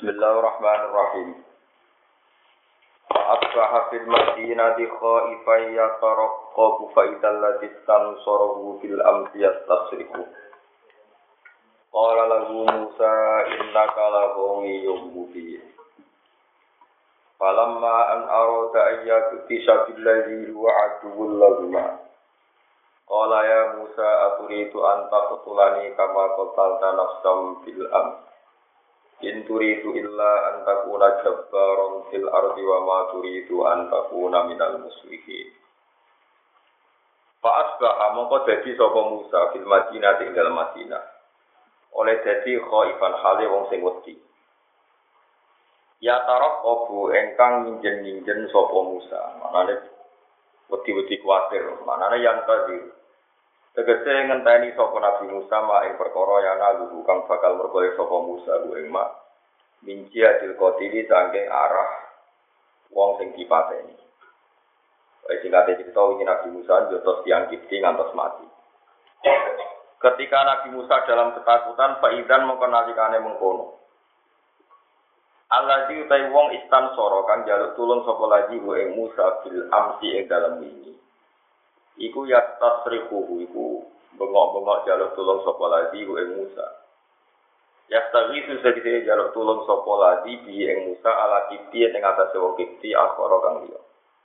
Bismillahirrahmanirrahim. Asbaha fil madinati khaifan yataraqqabu fa idzal ladzi tansarahu bil amsi yastasriku. Qala lahu Musa innaka laghawiyun mubin. Falamma an arada ayyaktisha bil ladzi huwa aduwwul lahuma. Qala ya Musa aturidu an taqtulani kama qatalta nafsan bil amsi. In turidu illa an takuna jabbaran fil ardi wa ma turidu an takuna minal muslimin. Fa asbaha mongko dadi sapa Musa fil Madinah ing dalem Madinah. Oleh dadi khaifan hale wong sing wedi. Ya taraqabu engkang minjen-minjen sapa Musa. Manane wedi-wedi kuwatir, manane yang tadi tegese ngenteni sapa Nabi Musa mak ing perkara yana lugu kang bakal merkoe sapa Musa ku ing mak minci adil qotili saking arah wong sing dipateni. Wis singkate cerita iki Nabi Musa jotos tiyang Kipti ngantos mati. Ketika Nabi Musa dalam ketakutan faidan mongko nalikane mengkono. Alladzi utai wong istansara kang njaluk tulung sapa lagi ku ing Musa bil amsi ing dalem wingi. Iku ya tasrihuhu iku bengok-bengok jaluk tulung sapa lagi ku ing Musa. Ya tawisu segede jaluk tulung sapa lagi bi ing Musa ala Kipti ing atase wong Kipti akhara kang liya.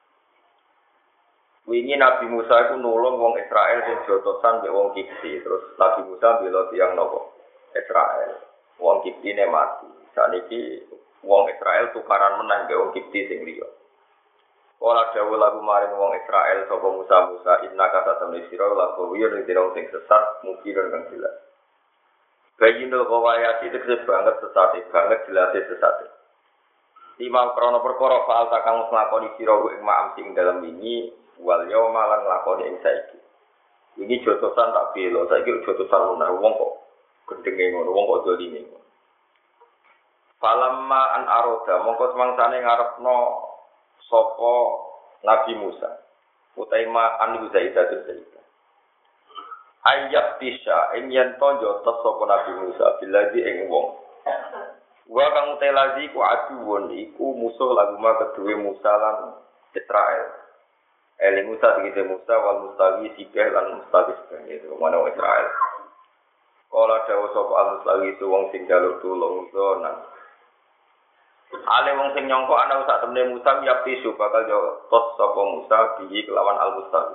Wingi Nabi Musa iku nulung wong Israel sing jotosan mbek wong Kipti, terus Nabi Musa bela tiyang napa? Israel. Wong Kiptine mati. Saniki wong Israel tukaran menang mbek wong Kipti sing liya. Ora dawuh lagu maring wong Israel sapa Musa innaka satamni sira lagu wiyun dirong sing sesat mungkin kang jelas. Bayinul qawayati tegese banget sesate, banget jelas sesate. Lima krana perkara faal kang nglakoni sira ing ma'am sing dalem wingi wal yauma lan nglakoni ing saiki. Wingi jotosan tak bela, saiki jotosan lunah wong kok gendenge ngono, wong kok dolime. Falamma an aroda mongko semangsane ngarepno sapa Nabi Musa utaima anu Zaidatul Zaidah ayat tisha ing yen tonjo sapa Nabi Musa bilaji ing wong wa kang utelazi ku aduwun iku musuh laguma kedue Musa lan Israel Musa tegese Musa wal mustawi sikeh lan mustawi itu mana Israel kala dawuh sapa al-mustawi wong sing jaluk tulung zonan ale wong sing nyangka ana sak temne Musa yapti su bakal yo tos sapa Musa bihi kelawan al-Mustawi.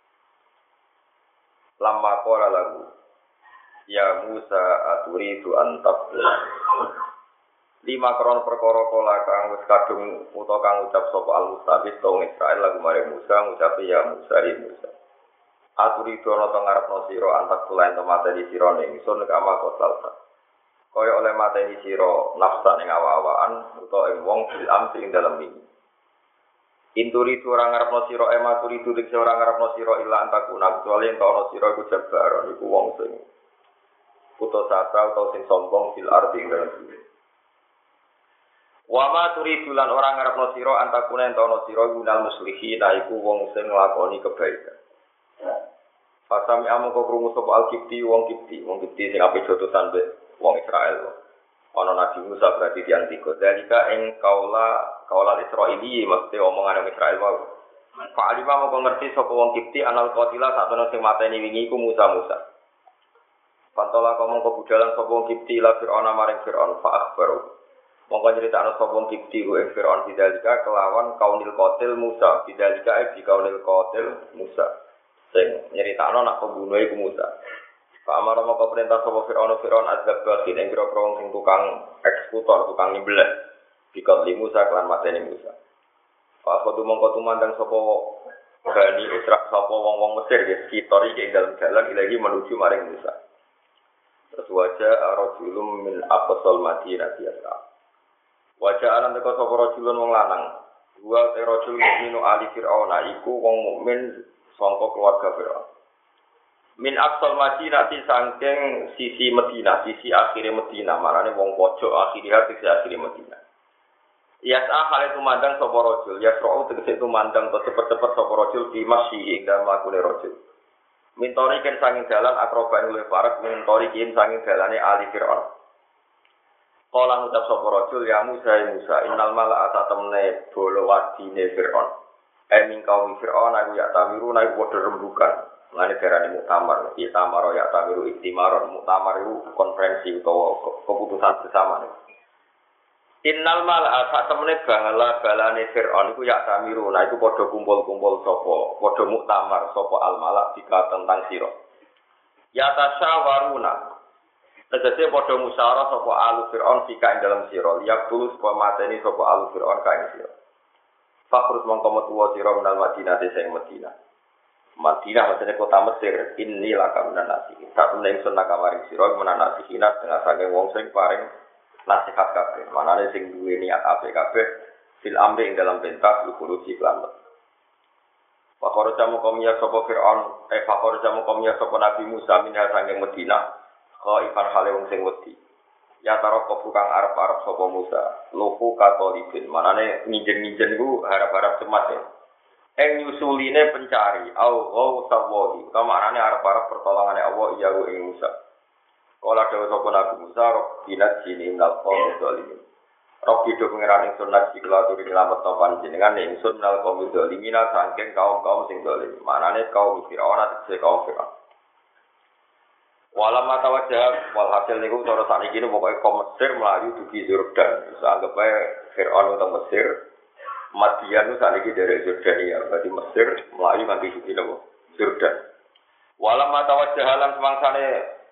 Lamma qala lagu ya Musa aturidu an taqula. Lima kron perkara kala kang wis kadung utawa kang ucap sapa al-Mustawi tong Israel lagu mare Musa ngucapi ya Musa ri Musa. Aturidu ana teng ngarepno sira antak tulen temate di sira ning ingsun kama kotal. Kaya oleh mateni sira nafsa ning awa-awaan utawa ing wong bil amsi ing dalem ini. Inturi ora ngarepno sira ematuri dik ora ngarepno sira ila antakuna kecuali ento ana sira iku jabaron iku wong sing putus asa utawa sing sombong bil arti ing dalem bumi. Wa ma turidu lan ora ngarepno sira antakuna ento ana sira minal muslihin iku wong sing nglakoni kebaikan. Fasami amung kok krungu sapa al-Kipti wong Kipti sing ape jotosan mbek wong Israel. Ana Nabi Musa berarti tiyang tiga. Dalika ing kaula Israili mesti omongan wong Israel wae. Pak Alima moko ngerti sapa wong Kipti anal qatila sakjane sing mateni wingi iku Musa. Pantola mongko budhalan sapa wong Kipti la Fir'aun maring Fir'aun fa akhbaru. Mongko nyritakno sapa wong Kipti ku ing Fir'aun bidalika kelawan kaunil qatil Musa. Bidalika di kaunil qatil Musa. Sing nyritakno nak pembunuh iku Musa. Pak Amar moko perintah sapa Fir'aun azab batin ing pira wong sing tukang eksekutor, tukang nyembelih. Dikot li Musa kelan mateni Musa. Pak kudu mongko tumandang sapa Bani Israil sapa wong-wong Mesir ya sekitar iki ing dalem dalan ilahi menuju maring Musa. Terus wajah rajulun min aqsal Madinah biasa. Wajah anan teko sapa rajulun wong lanang. Wa rajul mukminu ali Fir'aun iku wong mukmin sangka keluarga Fir'aun. Min aqsal Madinah saking sisi Madinah, sisi akhire Madinah, marane wong pojok akhire sisi akhire Madinah. Yas'a hale tumandang sapa rajul, yasra'u tegese tumandang to cepet-cepet sapa rajul di masjid ing dalem lakune rajul. Mintori ken sanging dalan akroba ing luwih parek mintori kin sanging dalane ali Fir'aun. Kala ngucap sapa rajul ya Musa innal mala'ata temne bolo wadine Firaun. Mingkau Firaun aku ya tamiru naik padha rembukan. Ngene darane muktamar, ya tamaro ya tamiru iktimaron. Muktamar itu konferensi utawa keputusan bersama. Innal mala'ata temne balane Firaun iku ya tamiru naik padha kumpul-kumpul sapa, padha muktamar sapa al malak tentang sira. Ya tasyawaruna tegese padha musyawarah sapa alu Fir'aun fika ing dalam sira liyak tulus supaya mateni sapa alu Fir'aun ka ing sira fakrus mongko metu sira menal Madinah sing Madinah maksudnya kota Mesir ini laka minan nasihin sak temene ingsun nakamaring sira menan nasihin dengan saking wong sing paring nasihat kabeh manane sing duwe niat apik kabeh fil amri ing dalam perintah lukuruji kelambat fakor jamu komia sapa Fir'aun fakor jamu komia sapa Nabi Musa minha saking Madinah Ifan hale wong sing wedi. Ya tarok kang arep-arep sapa Musa. Lufu katolibin. Manane nginjen-nginjen iku harap-harap cemas ya. Nyusuline pencari au sawahi. Kamarane arep-arep pertolongane Allah iya ing Musa. Kala dawuh sapa Nabi Musa, "Rabbina jini minal qaumil zalimin." Rabbi do pengiran ingsun nasi kula aturi nyelamet topan jenengan ingsun minal qaumil zalimin saking kaum-kaum sing zalim. Manane kaum Firaun atau kaum Firaun. Walam mata wajah walhasil niku cara sakniki niku pokoke kaum Mesir mlayu dugi Yordan. Wis anggap ae Firaun utawa Mesir, Madian itu sakniki dari Jordania. Berarti Mesir mlayu nganti dugi napa? Yordan. Walam mata wajah lan semangsane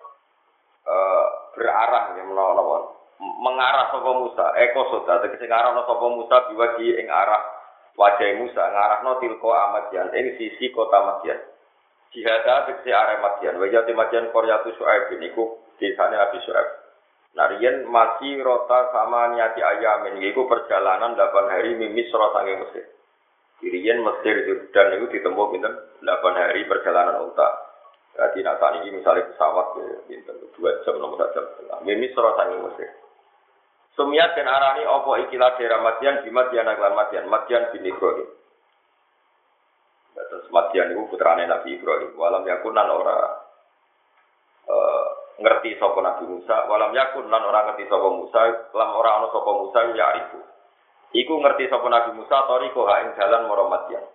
berarah ya menawa mengarah sapa Musa. Eko sota tegese ngarahno sapa Musa biwagi ing arah wajah Musa ngarahno tilko Madian ing sisi kota Madian. Jihada tegese arah Madian, wajah Madian Koryatu Syuaib niku desane Nabi Syuaib. Narian masih rota sama niati ayamin, yaitu perjalanan 8 hari mimis sange Mesir. Dirian Mesir dan itu ditempuh pinten 8 hari perjalanan unta. Jadi nak saat ini misalnya pesawat pinten 2 jam nomor jam setengah. Mimis sange Mesir. Sumiat dan arani opo ikilah daerah Madian di Madian aglan Madian bin Ibrahim. Terus Madian itu putrane Nabi Ibrahim. Walam yakunan ora ngerti sapa Nabi Musa. Walam yakun lan ora ngerti sapa Musa. Lam ora ana sapa Musa ya arifu. Iku ngerti sapa Nabi Musa tariko ha ing dalan marang Madian.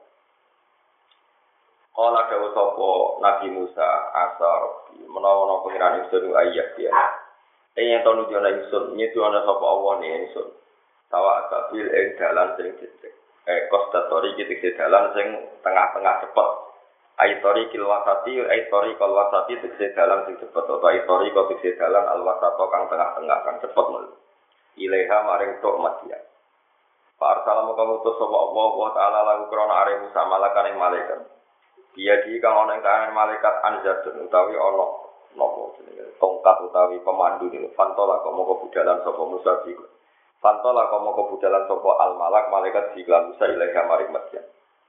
Kala dawuh sapa Nabi Musa asar menawa pengiran ingsun ayat dia. Yen to nuju ana ingsun nyetu ana sapa Allah ne ingsun. Tawa kabil ing dalan sing cecek. Kostatori gitu dalan sing tengah-tengah cepet. Aitori kilwasati, aitori kalwasati tegese dalan sing cepet. Atau aitori kau tegese dalan alwasato kang tengah-tengah kang cepet mul. Ileha maring tok Madian. Pak Arsalamu kamu utus sapa Allah Ta'ala lagu krana are Musa malakan ing malaikat. Dia di kang ana ing kanan malaikat anzatun utawi ana napa jenenge tongkat utawi pemandu niku fantola kok moko budalan sapa Musa iku. Fantola komo kebudalan sopo al malak malaikat jiklan Musa ilaiha maring Madian.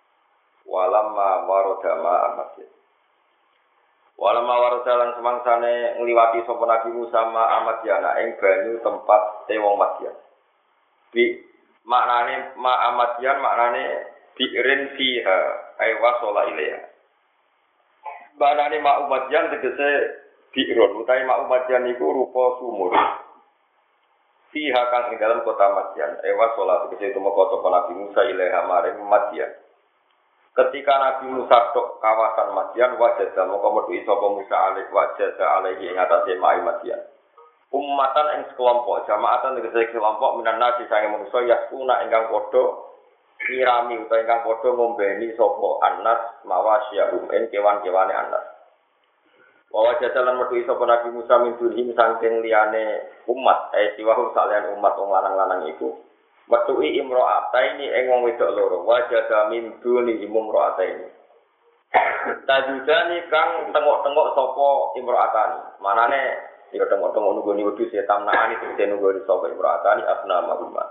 Walamma warodama Madian. Walamma warodalan semangsane ngliwati sopo Nabi Musa ma Madiana ing banyu tempat wong Madian. Bi maknane ma Madian maknane bi'rin fiha ay wasala ilaiha. Maknane ma Madian tegese bi'ron utawi ma Madian iku rupa sumur. Fiha kang ing dalam kota Madian, ewa sholat itu kota Nabi Musa ilaiha maring Madian. Ketika Nabi Musa tok kawasan Madian, wajah dalam komodo isopo Musa alaih wajah alaihi ing atase mai Madian. Ummatan ing sekelompok, jamaatan ing sekelompok minan nasi sange manusa yaskuna ingkang padha nyirami utawa ingkang padha ngombeni sapa anas mawasyahum ing kewan-kewane anas. Bahwa jajalan metu sapa Nabi Musa min dunhim saking liyane umat, siwahu salian umat wong lanang-lanang iku. Metu'i imro'ataini ing wong wedok loro, wajah min dunhim imro'ataini. Tajudani kang tengok-tengok sapa imro'atani. Manane ya tengok-tengok nunggoni wedhus ya tamnaani tegese nunggoni sapa imro'atani asna mahuma.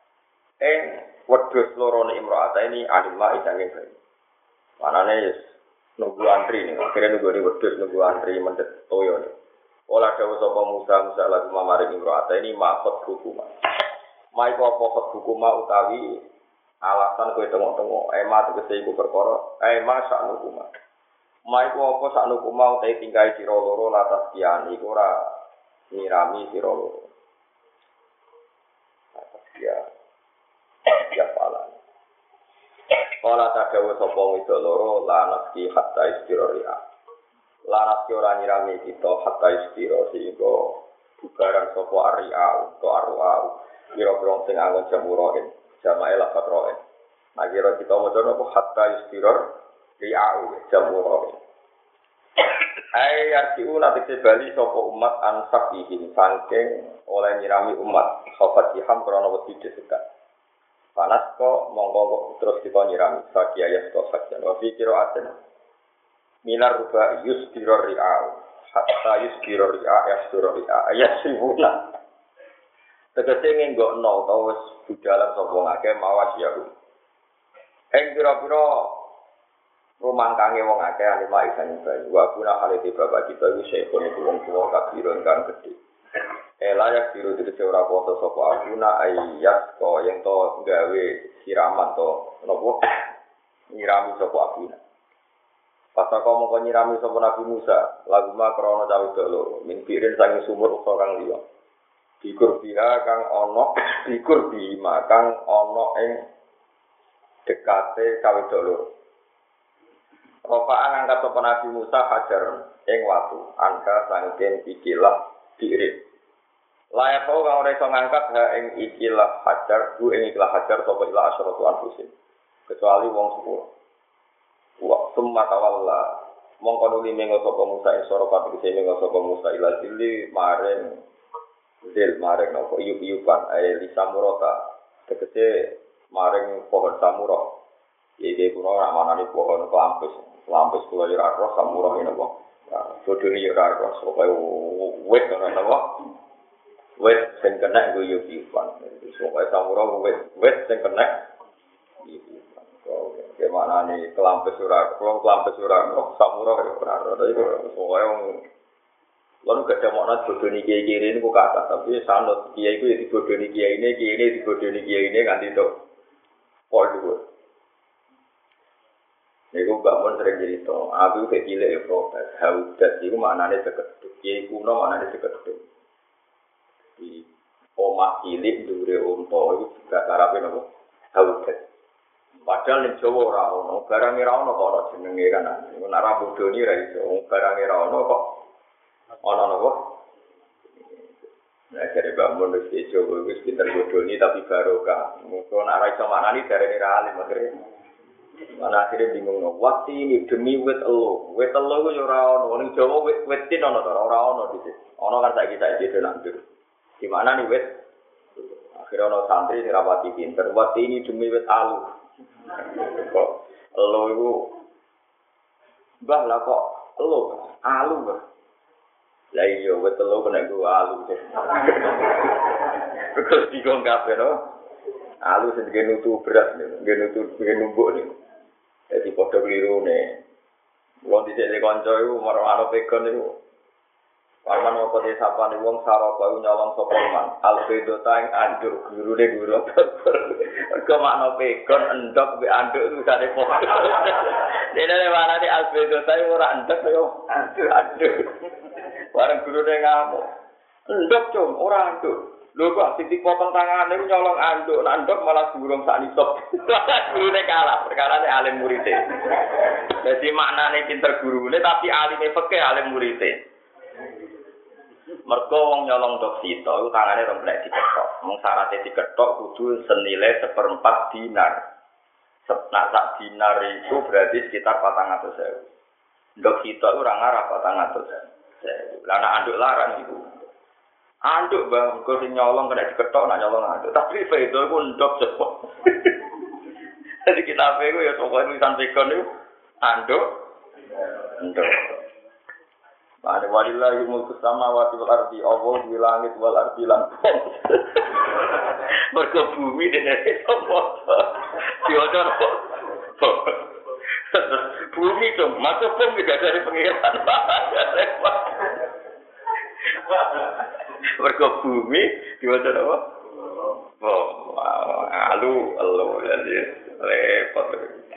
Wedhus loro ne imro'ataini alimma isange bae. Manane nunggu antri nih, akhirnya nunggu wedhus nunggu antri mendet toyo nih. Olah dawuh sapa Musa lagu mamaring imro'ata ini makot hukumah. Mai kok pokok hukumah utawi alasan kowe tengok-tengok, tegese iku perkara, sak hukumah. Mai kok apa sak hukumah utawi tingkai sira loro latas kian iku ora nyirami sira loro. Ya, ya pala. Kala tadawu sapa wedok loro lanas ki hatta istirahat. Lanas ki ora nyirami kita hatta istirahat sehingga bubaran sapa aria utawa arua. Kira-kira sing angon jamuroin, jamae lafat roin. Nah kira kita maca napa hatta istirahat riau jamuroin. Ai arti nanti bali sapa umat ansak iki saking oleh nyirami umat khafatiham krana wedi desekat. Panas kok monggo terus kita nyirami sakia ya kok sakjan wa fi qira'atin minar ruba yusdirur ri'a hatta yusdirur ri'a yasdirur ri'a yasibuna tegese ngenggokno utawa wis budalan sapa ngake mawas ya pira-pira rumangkange wong akeh alima isan bayi wa kuna halite bapak kita iki sekone wong tuwa kabiron kang gedhe layak biru itu ora foto sapa aguna ayat ko yang to gawe siraman to nopo nyirami sapa aguna pas kok mongko nyirami sapa Nabi Musa lagu mak krana cawe loro min pirin saking sumur uga kang liya dikur bira kang ana dikur bima kang ana ing dekate cawe loro Rofa'an angkat sapa Nabi Musa hajar ing watu angka saking ikilah diirit layak kau kang ora iso ngangkat ha ing ikilah hajar bu ing ikilah hajar sapa ila asyratu anfusin kecuali wong sepuluh wa summa tawalla mongko nuli mengo sapa Musa ing sora pati mengo sapa Musa ila zilli maring nopo iyup-iyupan ae li samurata tegese maring pohon samura iki kuno ora manani pohon lampus kula ora roh samura napa bodoni ora roh sapa wit ora napa wet sing kena guyu pipan. Supaya samura wet sing kena iki. Oke, mana nih kelampes ora, kelampes ora samura ora. Tapi supaya lalu gak ada makna bodoni kiai-kiai ini kok kata, tapi sanut kiai itu ya dibodoni kiai ini dibodoni kiai ini nganti tok pol dulu. Iku bangun sering cerita, aku kayak gila ya protes, haudat itu maknanya sekeduk, kiai kuno maknanya sekeduk. Di omah cilik dure unta itu juga karape napa haudat padahal ning Jawa ora ono barang ora ono kok jenenge kan nek ora bodoni ra iso barang ora ono kok ono napa nek jare bangun wis Jawa wis pinter bodoni tapi barokah mungkin ora iso manani darene ra alim akhire mana akhire bingung no waktu ini demi wit elo ku yo ora ono ning Jawa wit-witin ono ora ono dhisik ono kan saiki nandur di mana nih wet? Akhirnya ono santri sing rapati pinter. Wet ini demi wet alu. Kok elo iku mbah lah kok elo alu mbah. Lah iya wet elo kena ku alu. Terus digong kabeh no. Alu sing nutu beras nutu numbuk nih. Jadi padha klirune. Wong dhisik kanca iku marang pegon iku Paman apa sapa ni wong sarapa nyolong sapa man. Albedo tang anduk gurune guru. Mergo makna pegon endok mbek anduk itu sare padha. Dene mana di albedo tang ora endok yo anduk. Bareng gurune ngamuk. Endok cum ora anduk. Lho kok sing dipotong tangane nyolong anduk, anduk malah burung sak nisop. Gurune kalah, perkarane alim murite. Dadi maknane pinter gurune tapi alime fikih alim murite. Mergo wong nyolong dok sito iku tangane rong blek diketok. Mung syaraté diketok kudu senilai 1/4 dinar. Nah, sak dinar itu berarti sekitar 400.000. Dok sito iku ora ngarah 400.000. Lah nek anduk larang iku. Anduk bang, kok sing nyolong kena diketok nak nyolong anduk. Tapi itu iku ndok cepet. Jadi kita iku ya pokoke tulisan pegon iku anduk ndok. Mane walillahi mulku samawati wal ardi Allah di langit wal ardi lan. Mergo bumi dene sapa? Diodor. Bumi itu masuk pun tidak dari pengiran. Mergo bumi diodor apa? Oh, alu jadi repot.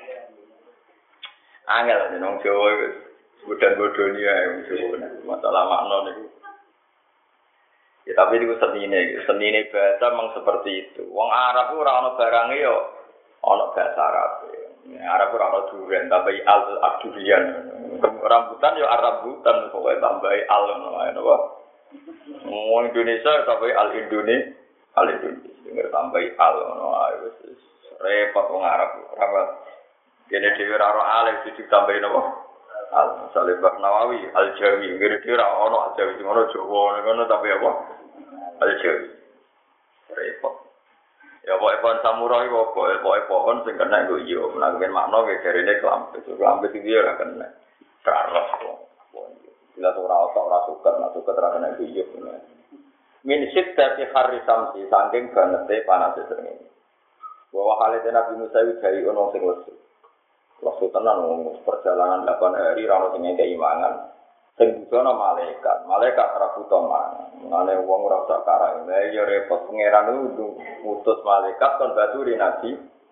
Angel nang Jawa wis bodan-bodoni ae masalah makna niku. Ya tapi itu senine bahasa memang seperti itu. Wong Arab ora ana barange yo ana bahasa Arab. Arab ora ana duren tambahi al-durian. Rambutan yo Arabutan pokoke tambahi al ngono ae napa. Wong Indonesia tambahi al-Indonesia tambahi al ngono ae wis repot wong Arab. Dene dhewe ora alif ditambahi napa? Al-Salih Nawawi, Al-Jawi, kira-kira ono Al-Jawi, ngono Jawa, ngono tapi apa? Al-Jawi. Repot. Ya pohon samurai kok pohon sing kena nggo yo, menawa makna ge jarene kelampet iki ora kena. Karos kok. Bila ora suket, ora kena yo. Min siddati harri samsi saking banete panase srengenge. Bahwa halite Nabi Musa iki ono sing lesu. Waktu tenan perjalanan 8 hari rano sing keimangan sing butuhna malaikat ra butuh mangan ngene wong ora usah karang lha ya repot pangeran ngutus malaikat kon baturi nabi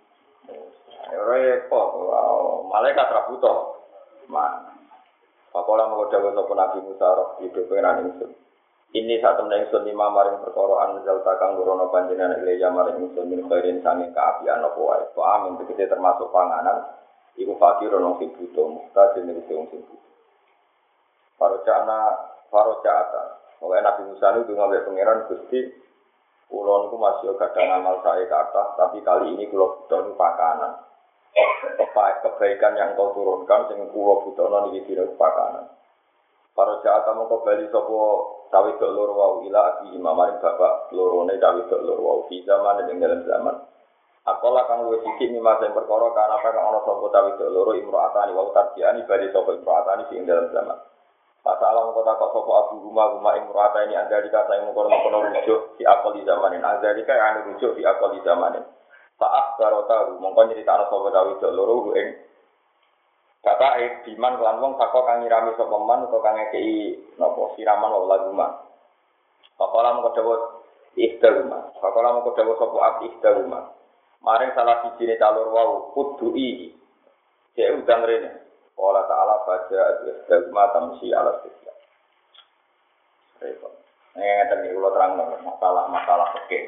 repot malaikat ra butuh mangan pakola mau dawuh sapa Nabi Musa roh di pangeran ingsun ini sak temen ingsun lima maring perkara anjal takang nurono panjenengan ilya maring ingsun min khairin sange kaapian apa wae amin tegese termasuk panganan iku fakir ono sing butuh, mustahil nek wong sing butuh. Farojaata. Oleh Nabi Musa itu ngambek pangeran Gusti, kula niku masih kadang amal saya ke atas, tapi kali ini kula butuh pakanan. Kebaikan yang kau turunkan sing kula butuhno niki dina pakanan. Farojaata mongko bali sapa cawe dok loro wau ila abi mamaring bapak lorone cawe dok loro wau di zaman ing dalam zaman. Akola kang luwih sithik mimma sing perkara kana kang ana sapa tawi loro imro'atani wa tarjiani bali sapa imro'atani sing dalam zaman. Masalah mengko takok sapa Abu Rumah imro'atani andalika sing mengkono rujuk di akali zamanin andalika anu rujuk di akali zamanin. Saat barota mongko nyritakno sapa tawi loro ing kata diman lan wong saka kang nyirami sapa man utawa kang ngekeki napa siraman wa laguma. Pakola mengko dawuh ikhtaruma. Pakola mengko dawuh sapa ikhtaruma. Maring salah siji ne calur wau kudui. Cek udang rene. Allah Ta'ala baca al-istigma tamsi ala sifat. Repot. Ngeten iki kula terangno masalah fikih.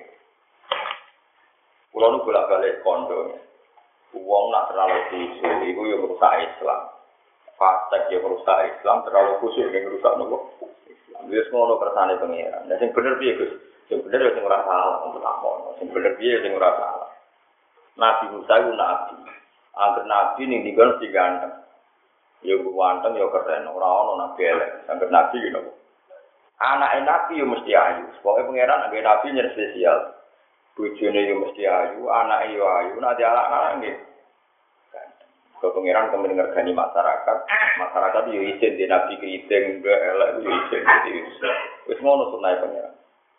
Kula nu bolak-balik kondo. Wong nak terlalu khusyuk iku yo merusak Islam. Fasik yo merusak Islam, terlalu khusyuk ning merusak nopo? Islam. Wis ngono kersane pengiran. Lah sing bener piye, Gus? Sing bener yo sing ora salah untuk takon. Sing bener piye sing ora salah. Nabi Musa itu nabi. Angger nabi ning dikon si ganteng. Yo ganteng yo keren, ora ono nabi elek. Angger nabi gitu. Anake nabi yo mesti ayu. Pokoke pangeran angger nabi nyer spesial. Bojone yo mesti ayu, anake yo ayu, nek anak-anak nggih. Kok pangeran kemen ngergani masyarakat. Masyarakat yo isin di nabi kriting elek yo isin. Wis ngono sunah pangeran.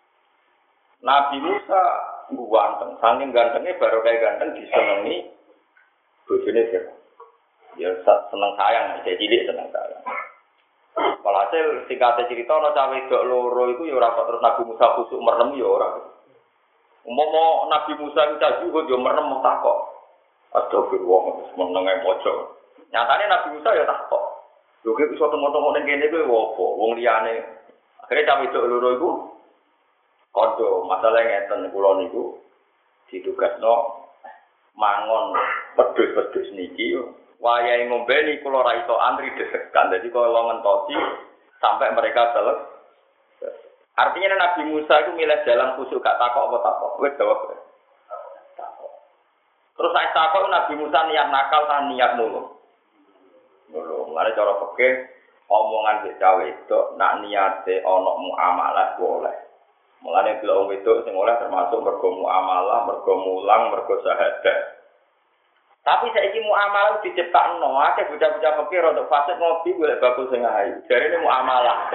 Nabi Musa ganteng, saking gantengnya baru kayak ganteng disenengi bojone Fir'aun. Ya seneng sayang, saya cilik seneng sayang. Walhasil singkatnya cerita ana cawe dok loro iku ya ora terus Nabi Musa khusuk merem ya ora. Umpama Nabi Musa iku juga yo merem takok. Astagfirullah, menenge pojok. Nyatane Nabi Musa ya takok. Lho kok iso tengok-tengok ning kene kuwi opo? Wong liyane. Akhire cawe dok loro iku kondo masalah ngeten kula niku ditugasno mangon pedhus-pedhus niki wayahe ngombe niku kula ra iso antri desekan dadi kula ngentosi sampai mereka selesai. Artinya Nabi Musa itu milih jalan khusyuk gak takok apa takok wis jawab. Terus saya takok Nabi Musa niat nakal ta niat nulung. Nulung lare cara fikih omongan sik cawe itu nak niate ana muamalah boleh. Mulane bila wong wedok sing oleh termasuk mergo muamalah, mergo mulang, mergo syahadat. Tapi saiki muamalah diciptakno, akeh bocah-bocah fikih rodok fasik ngopi golek bakul sing ayu. Jarene muamalah.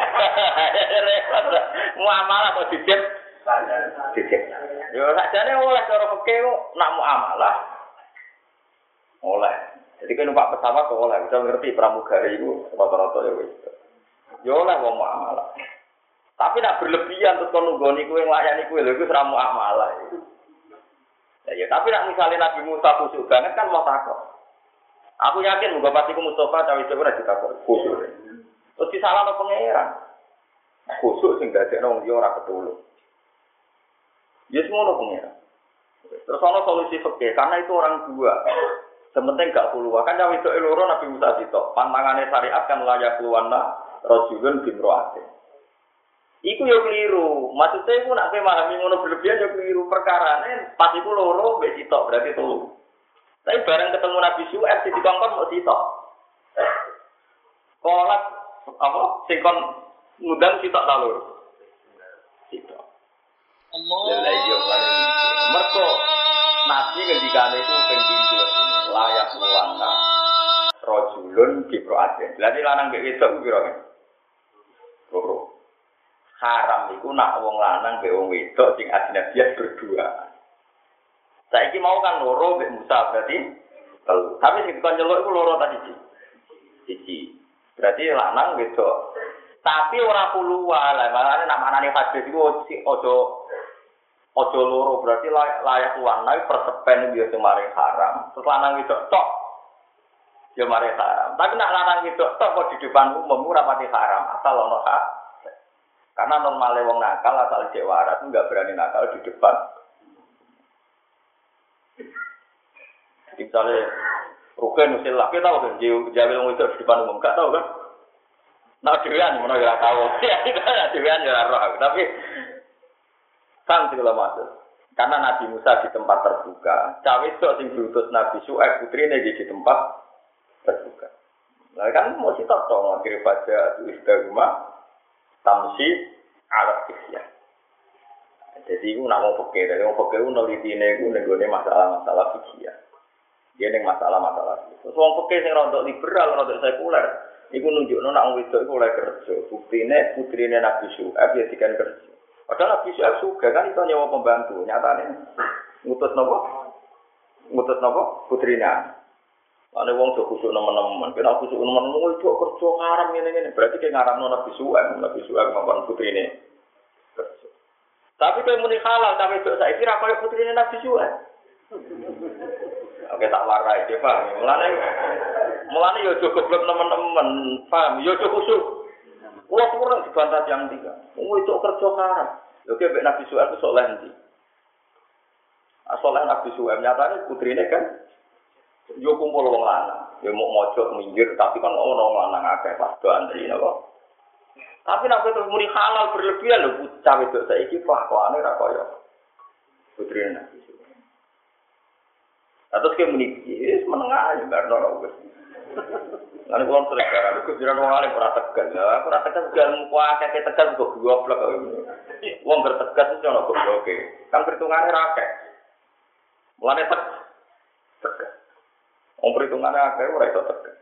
Muamalah kok diciptak. Yo sakjane oleh cara fikih nak muamalah. Oleh. Jadi kan numpak pesawat kok oleh, bisa ngerti pramugari iku rata-rata ya wis. Yo oleh wong muamalah. Tapi nak berlebihan terus kon nunggoni kowe nglayani kowe lho iku ora muamalah itu. Ya tapi nak misalnya Nabi Musa khusyuk banget kan mau takok. Aku yakin muga pasti ku Mustafa cawe itu ora ditakok khusyuk. Terus disalahno pangeran. Khusyuk sing dadekno wong liya ora ketulung. Ya semono pengira. Terus ana solusi fikih karena itu orang dua. Sementing gak keluar kan cawe itu loro Nabi Musa sitok. Pantangane syariat kan layak keluarna rajulun bimroate. Iku yo keliru. Maksudnya iku nak memahami ngono berlebihan yo keliru perkarane pas iku loro mbek sitok berarti telu. Tapi bareng ketemu Nabi Syuaib di dikongkon mau sitok. Kolak apa sing kon ngundang sitok ta loro. Sitok. Allah. Lah iya mergo Nabi ngendikane iku ping 7 layak luwana rajulun bimroate. Berarti lanang mbek wedok ku pira kan? Loro. Haram iku nak wong lanang mbek wong wedok sing ajnabiyan berdua. Saiki mau kan loro mbek Musa berarti telu. Tapi sing dikon nyeluk iku loro ta siji. Berarti lanang wedok. Tapi ora puluhan lah, makane nak manane hadis iku ojo loro berarti layak warna persepen dia semaring haram. Terus lanang wedok tok. Ya mari haram. Tapi nak lanang wedok tok kok di depan umum ora pati haram, asal ono hak. Karena normale wong nakal asal cek waras enggak berani nakal di depan. Misalnya Ruken usil laki tahu kan jawil wong itu di depan umum gak tahu kan? Nah dewan mana gak tahu. Ya dewan ya roh tapi kan segala macam. Karena Nabi Musa di tempat terbuka, cawe itu sing diutus Nabi Syuaib putrine di tempat terbuka. Nah kan mau sitok dong akhir baca istagma tamsi alat isya. Jadi itu nak mau pakai, dari mau pakai itu nelitine itu nenggone masalah-masalah fikih. Dia neng masalah-masalah. Terus wong pakai sing rodok liberal, rodok sekuler. Iku nunjukno nak wong wedok iku oleh kerja. Buktine putrine Nabi Syuaib ya dikan kerja. Padahal Nabi Syuaib juga kan itu nyawa pembantu. Nyatane ngutus napa? Putrina. Ane wong do kusuk nemen-nemen. Kena kusuk nemen-nemen itu kerja haram ngene-ngene. Berarti ki ngaramno Nabi Syuaib ngomong putrine kerja. Tapi kowe muni halal ta wedok saiki ra koyo putrine Nabi Syuaib. Oke tak warai iki, Pak. Mulane yo aja goblok teman-teman, paham? Yo aja kusuk. Kulo kurang dibantah yang 3. Wong itu kerja haram. Lho ki Nabi Syuaib iso soleh ndi? Asoleh Nabi Syuaib nyatane putrine kan yo kumpul wong lanang. Yo mau mojok minggir tapi kan ono wong lanang akeh pas do antri napa. Tapi nek terus muni halal berlebihan lho bocah wedok saiki kelakuane ra kaya putrine Nabi Syuaib. Terus ke meniki, menengah aja, nggak ada wes. Lalu kalau terus aku jiran orang lain pernah tegas, aku rasa tegas muka kayak tegas kok dua blok ini. Uang bertegas itu orang goblok, kan perhitungannya rakyat. Mulanya tegas. Uang perhitungannya rakyat orang itu tegas.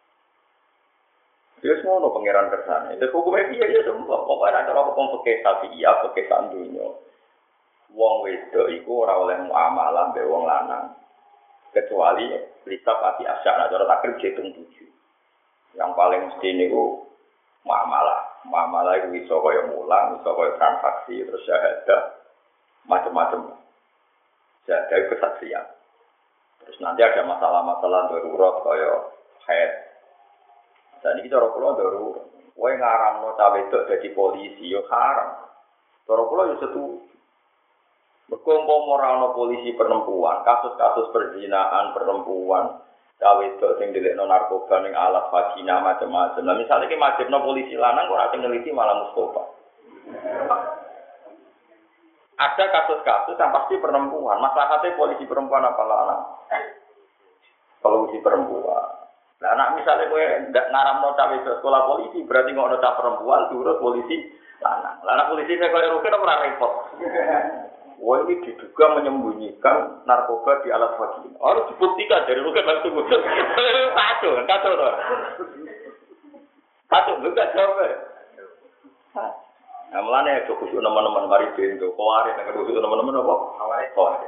Dia semua no pangeran kersane. Itu hukumnya dia semua. Pokoknya ada orang pakai sapi iya, pakai sandunya. Uang wedok itu orang oleh muamalah be uang lanang. Kecuali lisa pasti asyara cara takrib hitung 7. Yang paling mesti niku muamalah itu iso kaya mulang, iso kaya transaksi terus syahadah macam-macam. Syahadah kesaksian. Terus nanti ada masalah-masalah darurat kaya haid. Dan ini cara kula darurat. Kowe ngaramno cawe wedok dadi polisi yo haram. Cara kula yo setuju. Berkumpul moralno polisi perempuan, kasus-kasus perzinaan perempuan, cawe wedok sing dilekno narkoba ning alat vagina macam-macam. Nah misalnya ki majibno polisi lanang kok ora neliti malah Mustofa. Ada kasus-kasus yang pasti perempuan, masalahnya polisi perempuan apa lanang? Polisi perempuan. Nah anak misalnya kowe ndak ngaramno cawe wedok sekolah polisi, berarti ngono cah perempuan diurus polisi lanang. Lah anak polisi nek koyo rugi ora repot. Wah ini diduga menyembunyikan narkoba di alat vagina. Harus dibuktikan dari rugen langsung muncul. Kacau toh. Kacau enggak jawab. Nah mulane aja kusuk teman-teman mari bendo. Koware nek kusuk teman-teman apa? Koware.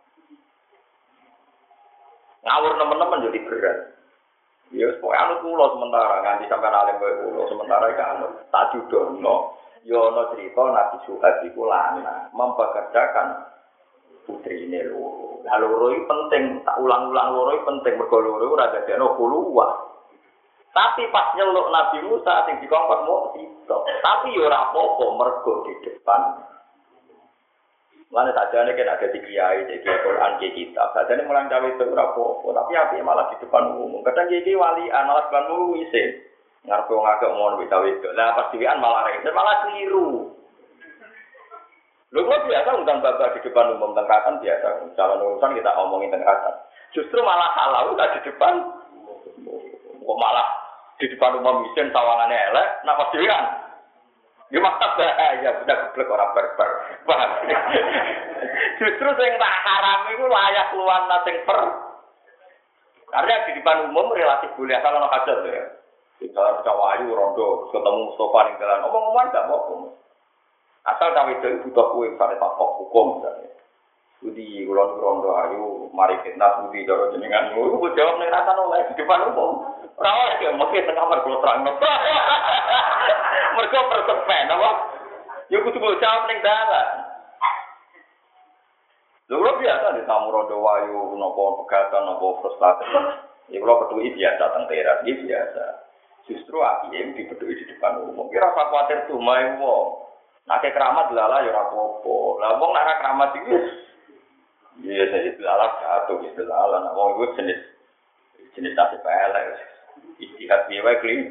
Ngawur teman-teman jadi berat. Ya pokoke anut kula sementara nganti sampean alim kowe kula sementara iki anut tak judono. Yono cerita Nabi Syuaib iku lanang mempekerjakan putrine loro. Lah loro iki penting, tak ulang-ulang loro iki penting mergo loro ora dadekno kuluwah. Tapi pas nyeluk Nabi Musa sing dikongkon mau sitok. Tapi yo ora apa-apa mergo di depan Mana saja nih kan ada di kiai, jadi Quran di kitab. Saja nih mulang cawe itu berapa? Tapi api malah di depan umum. Kadang jadi wali anak depan umum isi. Ngarep wong agak mau cawe itu. Lah pas diwian malah rese, malah keliru. Lu kok biasa undang bapak di depan umum tengkatan biasa. Calon urusan kita omongin tengkatan. Justru malah salah udah di depan. Kok malah di depan umum isen tawangannya elek, nak pas diwian. Ya mantap ya, udah geblek orang barbar. Paham? Justru sing tak haram itu layak luan sing per. Karena di depan umum relatif boleh asal ono hajat ya. Di dalam cawayu rondo ketemu Mustafa ning dalan omong-omongan gak apa-apa. Asal cawe itu butuh kuwi sare tak hukum misalnya. Budi ulon rondo ayu mari fitnah budi cara jenengan iku jawab ning rasa oleh di depan umum. Ora oleh ya mesti teng kamar kula terangno. Mergo persepen apa? Ya kudu jawab ning dalan. Lho biasa di tamu rondo wayu napa pegatan napa frustasi. Ya kula petuki biasa teng teras iki biasa. Justru AIM dipeduli di depan umum. Kira apa kuatir tuh main wong. Nah keramat lala ya ora apa-apa. Lah wong nek keramat iki iya saya itu alat satu gitu alat. Nah wong iku jenis tasik pelek. Istihad piye wae kli.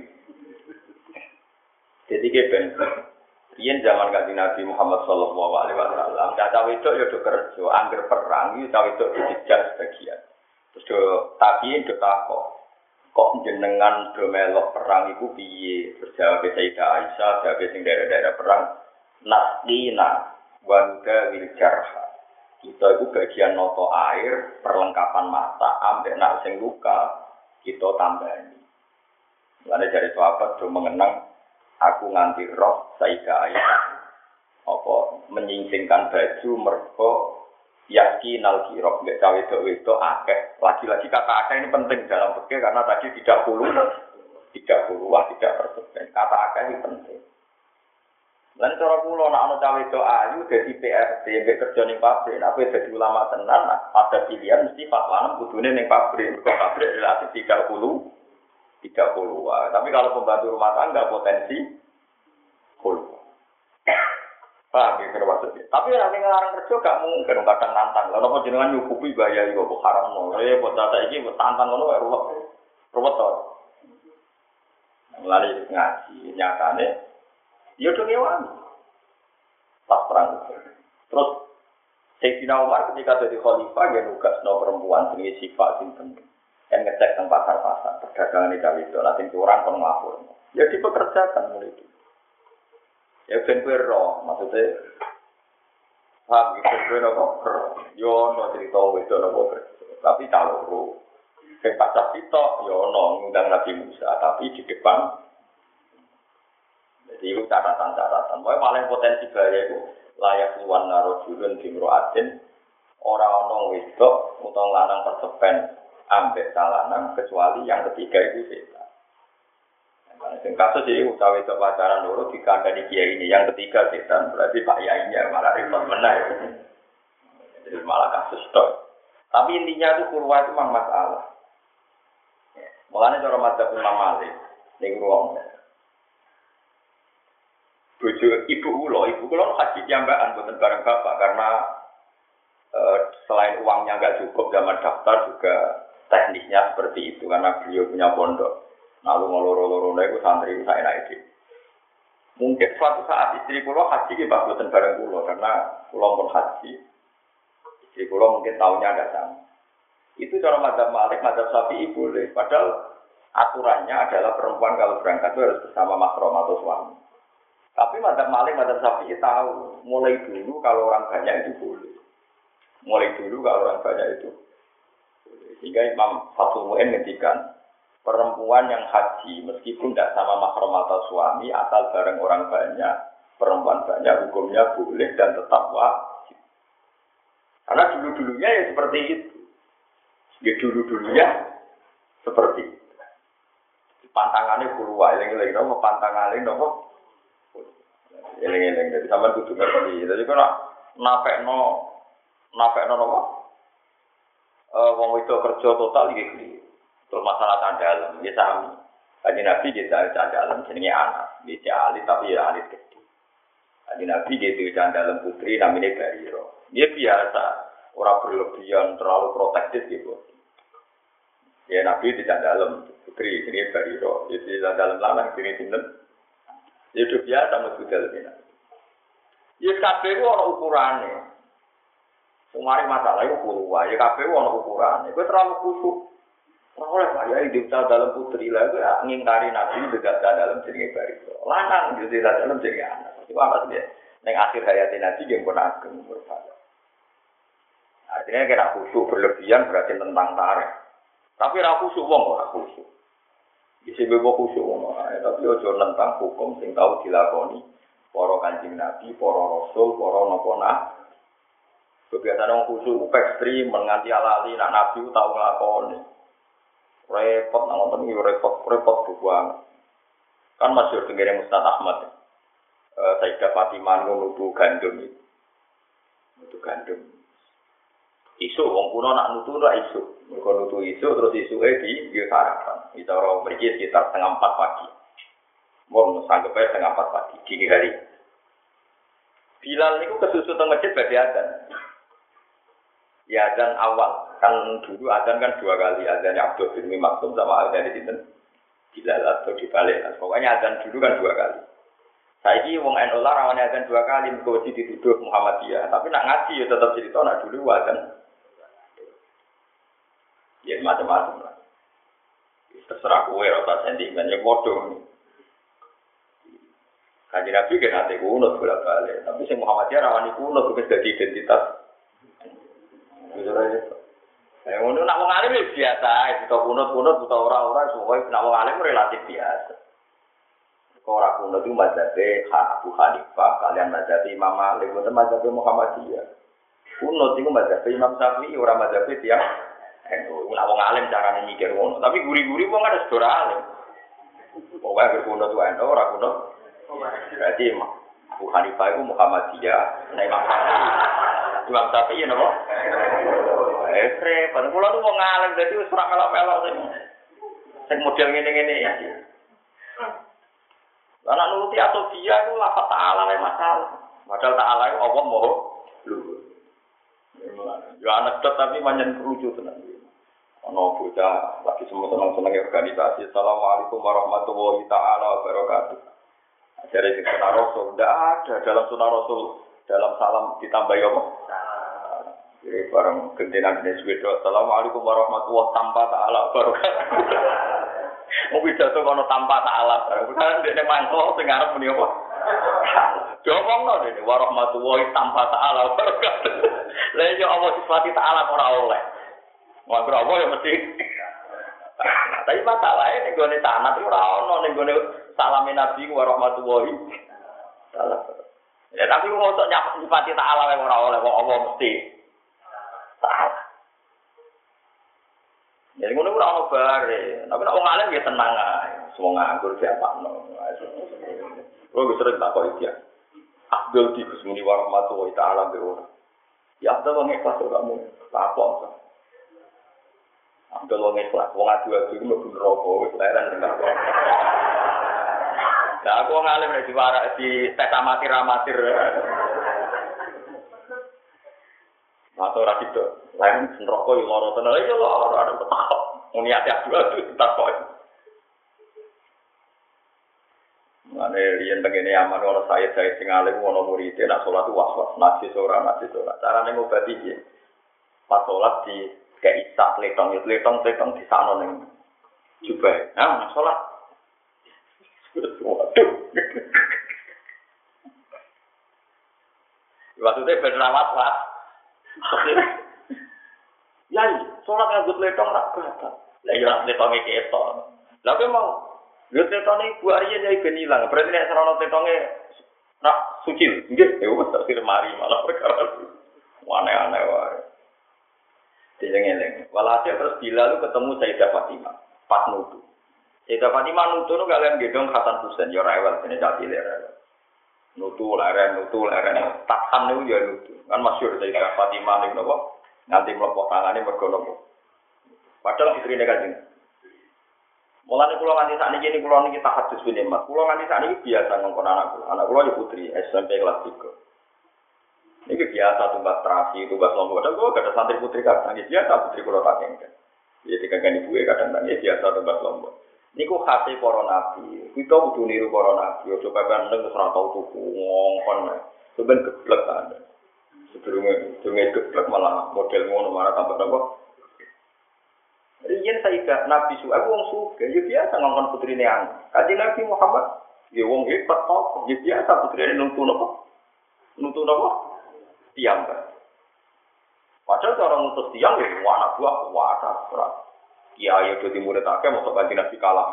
Jadi keben yen zaman Kanjeng Nabi Muhammad sallallahu alaihi wasallam, cacawe itu ya do kerja, angger perang iki cawe itu dijak sebagian. Terus do tabiin do takok. Kok jenengan do melok perang iku piye? Terus jawab Sayyidah Aisyah, jawab sing daerah-daerah perang, nasqina wa nudawil jarha. Kita itu bagian noto air, perlengkapan mata, ambek nak sing luka, kita tambahin. Mulane dari sahabat do mengenang aku nganti roh Sayyidah Aisyah. Apa menyingsingkan baju mergo yakinal kirok nek cawe itu akeh. Lagi-lagi kata akeh ini penting dalam fikih karena tadi tidak perlu tidak persen. Kata akeh ini penting. Lan cara kula nek ana cawe itu ayu dadi PRT mbek kerja ning pabrik, nek kowe dadi ulama tenan ada pilihan mesti fatwa kudune ning pabrik. Kok pabrik relatif 30. Tapi kalau pembantu rumah tangga potensi full. Paham ya maksudnya. Tapi nek ngarang kerja gak mungkin kadang nantang. Lah napa jenengan nyukupi bayar iku kok haram. Buat data iki tantang ngono wae ruwet to. Mulane ngaji nyatane ya do ngewan. Pas perang. Terus Sayyidina Umar ketika jadi khalifah dia nugasno perempuan sing sifat sinten. Kan ngecek teng pasar-pasar perdagangan di Jawa nanti orang kon nglapor. Ya dipekerjakan mulai itu. Ya ben roh maksudnya gitu nopo yo no cerita itu nopo tapi kalau sing pacak sitok yo no ngundang Nabi Musa tapi di depan. Jadi itu catatan-catatan. Pokoknya paling potensi bahaya itu layak luan narojulun dimroatin orang-orang wedok utang lanang persepen ambek salanan kecuali yang ketiga itu setan. Nah, kasus ini utawi itu pacaran dulu dikandani kiai ini yang ketiga setan berarti pak yainya malah repot menang. Jadi malah kasus tok. Tapi intinya itu kurwa itu memang masalah. Mulanya cara madzhab Imam Malik ning ruang. Bojo ibu kula haji jambakan boten bareng bapak karena selain uangnya enggak cukup zaman daftar juga teknisnya seperti itu karena beliau punya pondok. Lalu ngeloro-loro itu santri saya naik. Mungkin suatu saat istri kula haji ki boten bareng kula karena kula pun haji. Istri kula mungkin tahunnya ada sama. Itu cara madzhab Malik, madzhab Syafi'i boleh. Padahal aturannya adalah perempuan kalau berangkat itu harus bersama mahram atau suami. Tapi madzhab Malik, madzhab Syafi'i tahu mulai dulu kalau orang banyak itu boleh. Mulai dulu kalau orang banyak itu. Sehingga Imam Fathul Mu'in ngendikan perempuan yang haji meskipun tidak sama mahram atau suami asal bareng orang banyak, perempuan banyak hukumnya boleh dan tetap wajib. Karena dulu-dulunya ya seperti itu. Ya dulu-dulunya seperti itu. Pantangannya keluar, eling-eling nopo pantangannya nopo. Eling-eling dari sampean kudu ngerti. Jadi kok napekno nopo? Wong itu kerja total iki. Terus masalah candalem, ya sami. Kanjeng Nabi kita candalem jenenge anak, dia alit tapi ya alit gede. Kanjeng Nabi gitu dalam putri namanya Bariro. Dia biasa, orang berlebihan terlalu protektif gitu. Ya Nabi tidak dalam putri ini Bariro, jadi dalam lanang ini sinten. Itu biasa mesti dalam ini. Ya kabeh ku ana ukurane. Sumare masalah iku kulo wae, ya kabeh ana ukurane. Kowe terlalu kusuk. Ora oleh kaya hidup dalam putri lah itu ngingkari Nabi dekat dalam jenenge Bariro. Lanang yo dalam jenenge anak. Itu apa sih? Neng akhir hayatnya Nabi yang pun ageng berfala. Artinya kira khusyuk berlebihan berarti tentang tarikh. Tapi ra khusyuk wong ora khusyuk. Isi bebo khusyuk wong tapi ojo tentang hukum sing tau dilakoni para Kanjeng Nabi, para rasul, para napa. Kebiasaan wong khusyuk ekstrem menganti alali nak Nabi tau nglakoni. Repot nang ngoten iki repot banget. Kan masyhur tengene Ustaz Ahmad. Sayyidah Fatimah nutu gandum itu. Nutu gandum. Isu wong kuno nak nutu ora isu. Mergo nutu isu terus isuke di sarapan. Kita ora mriki sekitar 3:30 pagi. Mun sanggepe 3:30 pagi dini hari. Bilal niku kesusu teng masjid badhe adzan. Ya adzan awal. Kan dulu adzan kan 2 kali, adzan Abdul bin Maksum sama adzan sinten? Bilal atau dibalik. Pokoknya adzan dulu kan 2 kali. Saiki wong NU lah rawane adzan 2 kali mergo dituduh Muhammadiyah, tapi nak ngaji ya tetap cerita nak dulu adzan. Ya macam-macam lah. Terserah kowe ora sentimen ya padha. Kanjeng Nabi kan ate kunut bolak-balik, tapi sing Muhammadiyah rawani kunut wis dadi identitas. Ngono nak wong alim biasa, kita kunut-kunut utawa ora-ora semoga nak wong alim relatif biasa. Ora kuno itu mazhabe Abu Hanifah, kalian mazhabe Imam Malik, bukan mazhabe Muhammadiyah. Kuno itu mazhabe Imam Syafi'i, ora mazhabe dia. Nak wong alim carane mikir ngono, tapi guri-guri wong ada sedora alim. Pokoke kuno itu ora kuno. Berarti Abu Hanifah itu Muhammadiyah, nah Imam Syafi'i napa? Repot. Kulo tuh wong alim dadi wis ora melok-melok sing model ngene-ngene ya. Anak nuruti atau dia itu lafaz ta'ala yang masalah. Padahal ta'ala itu Allah mau luhur. Ya anak tapi manjan kerucut tenang. Ono bocah lagi semua senang-senang organisasi. Assalamualaikum warahmatullahi ta'ala wabarakatuh. Dari sunnah Rasul tidak ada dalam sunnah Rasul dalam salam ditambah apa? Jadi bareng gentenan jenis wedo. Assalamualaikum warahmatullahi tanpa ta'ala wabarakatuh. Mungkin jatuh kono tanpa ta'ala. Bukan dia mangkok sing arep muni apa? Diomongno dene warahmatullahi tanpa ta'ala barokat. Lah yo Allah sifati ta'ala ora oleh. Wong ora ya mesti. Tapi masalahnya ning gone tanah ora ono ning gone salame Nabi warahmatullahi ta'ala. Ya tapi kok untuk nyifati ta'ala ora oleh wong Allah mesti. Ta'ala. Jadi ngono ora ono bare, tapi nek wong alim ya tenang ae. Wong nganggur siapakno. Oh wis sering takok iki. Abdul di Gusmuni warahmatullahi taala beora. Ya Abdul wong ikhlas kamu. Takok. Abdul wong ikhlas, wong adu-adu iku mlebu neraka wis leren tenan. Lah aku wong alim nek diwarak di tes amatir-amatir. Atau ora gitu. Lain neraka yo lara tenan. Iki lara ada petak. Muni ati-ati takok. Mane riyen tengene aman ono saya sing alim ono murid nak salat was-was najis ora. Carane ngobati piye? Pas salat di kayak isak letong di sana ning jubah. Nah, salat. Waduh. Waktu itu berrawat lah. Ya, sholat nganggut letong rak berapa? Lah ya letonge ketok. Lah kowe mau nggut letone Bu Arya nyai ben ilang. Berarti nek serono letonge rak suci. Nggih, ya wis tak mari malah perkara. Aneh-aneh wae. Dileng-eleng. Walhasil terus Bilal ketemu Sayyidah Fatimah pas nutu. Sayyidah Fatimah nutu nu kalian gedong Hasan Husain ya rewel dene cah cilik rewel. Nutu leren. Takhan niku ya nutu. Kan masyhur Sayyidah Fatimah niku napa? Nanti mlepok tangane mergo napa. Padahal istrine Kanjeng. Mulane kula nganti sakniki ini kula niki tahajud ben Mas. Kula nganti sakniki biasa ngongkon anak kula. Anak kula ya putri SMP kelas 3. Ini biasa tumbas terasi, tumbas lombok. Dan kula gak ada santri putri kadang biasa putri kula tak kengken. Ya dikagani ibuke kadang-kadang biasa tumbas lombok. Niku khase para nabi. Kita kudu niru para nabi. Ojo pepen nang ora tau tuku ngongkon. Sampeyan geblek ta. Sedurunge geblek malah model ngono malah tambah-tambah. Riyen Sayyidah Nabi Su'aib wong sugih, ya biasa ngongkon putrine an. Kanjeng Nabi Muhammad, ya wong hebat kok, ya biasa putrine nuntun apa? Nuntun apa? Tiang kan. Padahal cara ngutus tiang ya anak buah kuwata ora. Kiai yo dadi murid akeh mosok Kanjeng Nabi kalah.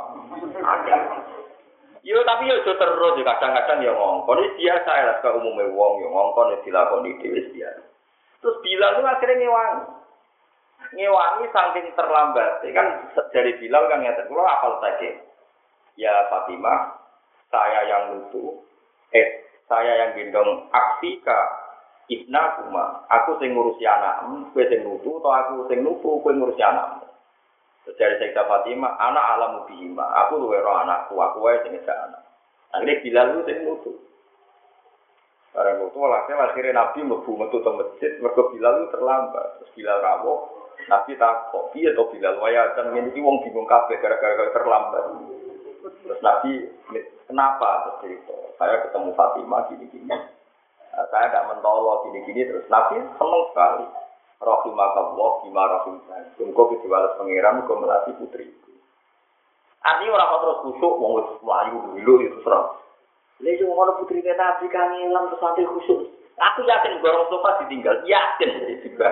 Yo tapi yo terus kadang-kadang ya ngongkon iki biasa ya ke umume wong yo ngongkon dilakoni dhewe biasa. Terus Bilal itu akhirnya ngewangi saking terlambat, kan dari Bilal kan ngeten, kula hafal saja. Ya Fatimah, saya yang lutu, saya yang gendong aksika ibna kuma, aku sing ngurusi anakmu, kowe sing lutu, atau aku sing lutu, kowe ngurusi anakmu. Dari Sayyidah Fatimah, anak alamu bihima, aku luwe roh anakku, aku wae sing ngejak anak. Akhirnya Bilal itu sing lutu. Barang lutu, akhirnya Nabi mlebu metu teng masjid, mergo Bilal itu terlambat, terus Bilal rawuh. Nabi takut, piye to Bilal waya kan ngene iki wong bingung kabeh gara-gara terlambat. Terus Nabi, kenapa terus itu? Saya ketemu Fatimah gini-gini. Saya tidak mentolo gini-gini terus Nabi seneng sekali. Rahimakallah bima rahimah. Engko dibalas pangeran engko melatih putriku. Artinya orang terus khusyuk wong wis mlayu dulu itu serang. Lha yo ngono putrine Nabi kan ilang terus sampai khusyuk. Aku yakin gorong sofa ditinggal, yakin juga.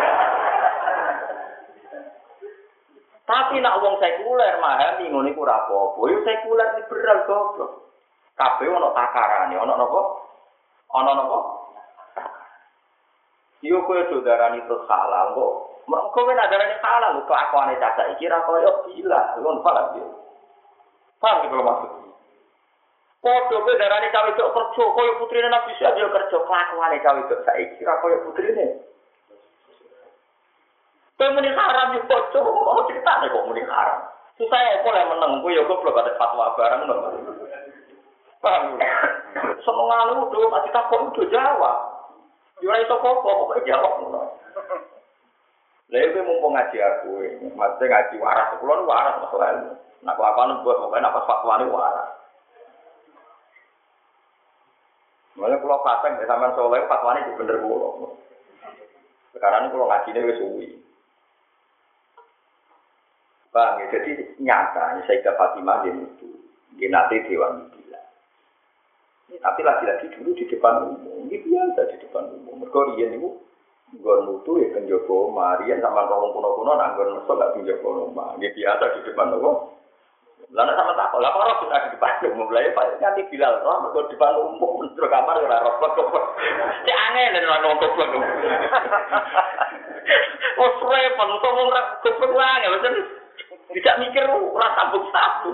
Tapi nak wong sekuler memahami ngono iku ora apa-apa. Yo sekuler liberal goblok. Kabeh ana takarane, ana napa? Ana napa? Yo kowe saudarane terus halal kok. Mergo kowe nadarane halal kok akone caca iki ra koyo gila. Ngono paham yo. Paham iki kalau maksud. Padha kowe darane cawe tok kerja koyo putrine Nabi Syekh yo kerja kelakuane cawe tok saiki ra koyo putrine. Muni haram yo bocor, ono critane kok muni haram. Susah apa lek meneng ku yo goblok ada fatwa barang ngono. Paham. Senengane udah mati takon udah jawab. Yo ora iso kok jawab ngono. Lha iki mumpung ngaji aku, mate ngaji waras, kula waras masalah. Nak kelakuan buat pokoke apa fatwane waras. Mulane kula pasang sampean soleh fatwane bener kula. Sekarang ini kula ngajine wis suwi. Bang, jadi nyata, Sayyidah Fatimah dia itu, dia nanti Dewan Bila. Tapi lagi-lagi dulu di depan umum, ini biasa di depan umum. Mereka rian itu, nggon mutu ya penjogo Marian sama orang kuno-kuno, nggon mesok gak penjogo rumah. Dia biasa di depan umum. Lalu sama takut, lah orang sudah di depan umum, lah ya nanti Bilal, mereka di depan umum, terus kamar ya rokok. Cek aneh dan orang goblok. Oh, repot, untuk orang goblok ya, macam tidak mikir ora sabuk-sabuk.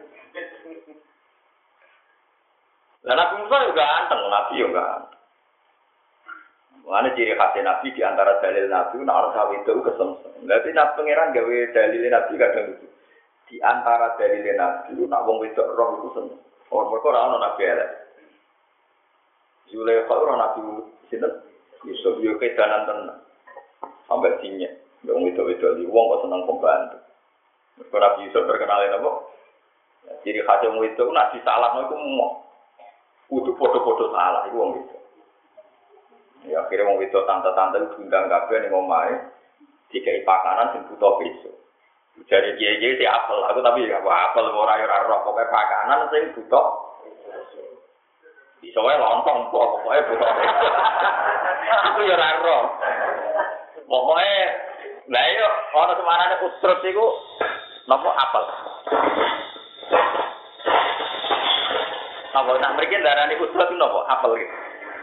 Lah Nabi Musa juga ganteng, Nabi juga ganteng. Mana ciri khas Nabi di antara dalil Nabi nak orang sawi itu kesemsem. Berarti Nabi pangeran gawe dalil Nabi kadang itu. Di antara dalil Nabi nak wong wedok roh itu seneng. Orang mereka ora ono Nabi elek. Zulekha ora Nabi sinten? Yusuf yo kedanan tenan. Sampai sinyek. Wong wedok-wedok di wong kok seneng pembantu. Mereka Nabi Yusuf terkenal apa? Jadi khasnya itu nak disalah itu mau kudu foto-foto salah itu wong itu. Ya akhirnya wong itu tante-tante diundang kabeh ning omahe dikai pakanan sing butuh besok. Jadi kiai-kiai si apel, aku tapi ya apel ora ora roh pokoke pakanan sing butuh. Bisa wae lontong pokoke butuh. Aku ya ora roh. Pokoke lha yo ana semarane usrut iku napa apel. Apa nak mriki darane usrut napa apel iki.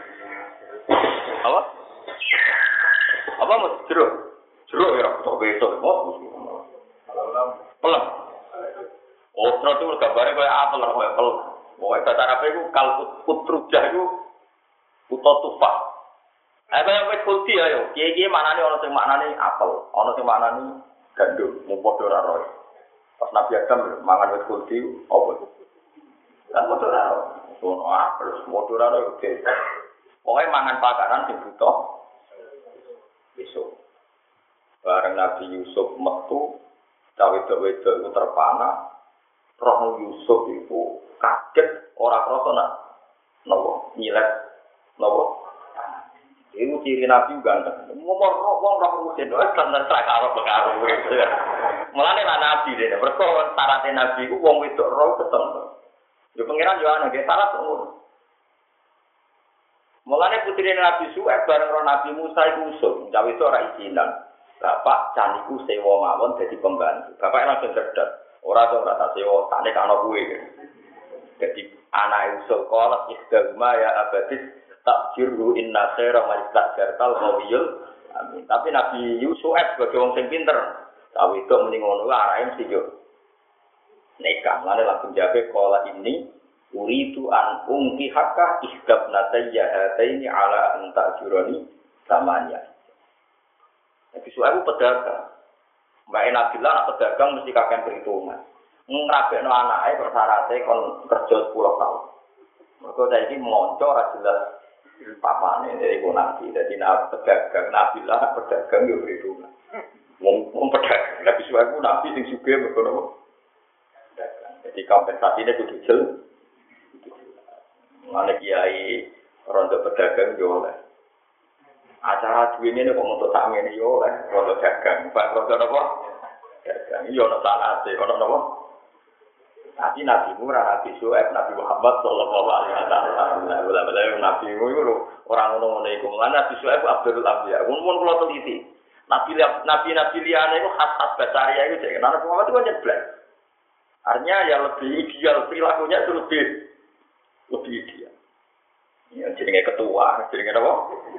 Apa? Apa mas jeruk? Jeruk ya kok besok kok. Pelem. Usrut itu gambare koyo apel koyo apel. Pokoke bahasa Arab iku kalkut utrujah iku utawa tufah. Kaya wis kulti ayo, kiye-kiye manane ana sing maknane apel, ana sing maknane gandum, mung padha ora roe. Pas Nabi Adam mangan wit kulti apa? Kan motor ora. Ono terus motor ora oke. Pokoke mangan pakaran sing butuh besok. Bareng Nabi Yusuf metu wedok-wedok itu terpana. Roh Yusuf itu kaget ora krasa nak nopo nyilet nopo. Iku ciri Nabi ganteng. Ngomong wong roh rusin wae standar karo karo. Mulane lan Nabi dene, mergo syaratnya Nabi iku wong wedok roh ketemu. Yo pangeran yo ana ge syarat umur. Mulane putri Nabi Suhaib bareng roh Nabi Musa iku usul, cawe itu ora izinan. Bapak caniku sewa mawon dadi pembantu. Bapak langsung cerdas. Ora tak sewa, tak nek ana kuwe. Dadi anak usul kolak ikhdama ya abadis takjiru inna khaira majtajartal qawiyul amin. Tapi Nabi Yusuf sebagai wong sing pinter, cawe itu mending ngono arahe mesti yo. Nekam lan langsung jabe kola ini uritu an ungki hakka ihdab natayya hataini ala an ta'jurani samanya. Nabi Suhaib pedagang. Mbak Nabilah anak pedagang mesti kakek perhitungan. Ngrabekno anake persyaratnya kon kerja 10 tahun. Mergo saiki monco ora jelas papane iku nanti. Dadi pedagang Nabilah pedagang yo perhitungan. Wong pedagang Nabi Suhaib nabi sing sugih mergo napa? Jadi kompensasinya kudu jelas. Mana kiai rondo pedagang yo oleh. Acara duwene nek kok untuk sak ngene yo oleh rondo dagang. Pak rondo napa? Dagang yo ono sanate, ono napa? Tapi Nabi Nabi Suhaib, Nabi Muhammad sallallahu alaihi wasallam. Wala Nabi iku ora ngono-ngono iku. Nabi Suhaib Abdul Anbiya. Mun kula teliti. Nabi liyane iku khas-khas basaria iku cek. Nabi Muhammad itu nyeblek. Artinya yang lebih ideal perilakunya itu lebih ideal. Ya jenenge ketua, jenenge apa?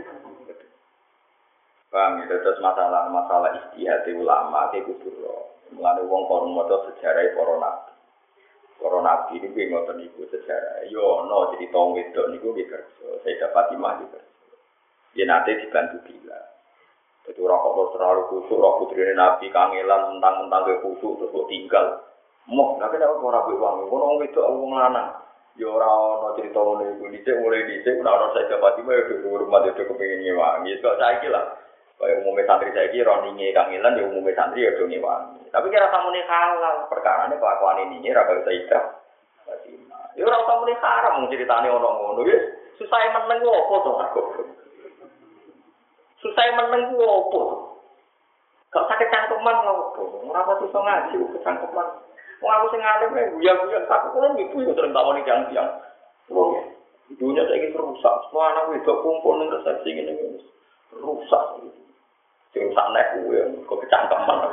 Paham ya, terus masalah istihad ulama itu kudu. Mulane wong kon maca sejarah para nabi. Para nabi ini kuwi ngoten niku sejarah. Yo ono cerita wedok niku nggih kerja. Sayyidah Fatimah iki kerja. Dia nanti dibantu bila. Jadi orang kok terlalu kusuk, roh putrine nabi kangelan mentang-mentang ke kusuk terus kok tinggal. Moh, nek ora ora buat uang, kono wedok wong lanang. Ya ora ono cerita ngene iku dhisik mulai dhisik ora ono Sayyidah Fatimah ya di rumah itu kepengin nyewangi. Kok saiki lah. Kaya umumnya santri saiki roninge kangelan ya umumnya santri ya do nyewangi. Tapi kira samune halal, perkarane kelakuan ini ra kaya Sayyidah Fatimah. Ya ora samune haram ceritane ono ngono wis. Susah meneng opo to aku. Susah meneng opo. Kok sakit cangkeman opo. Ora apa iso ngaji kok cangkeman. Wong aku sing alim guya-guya tak kok ibu yo sering tawani tiang-tiang. Wong dunia saiki rusak. Semua anak wedok kumpul ning resepsi ngene rusak. Sing sak nek kuwe kok kecangkeman.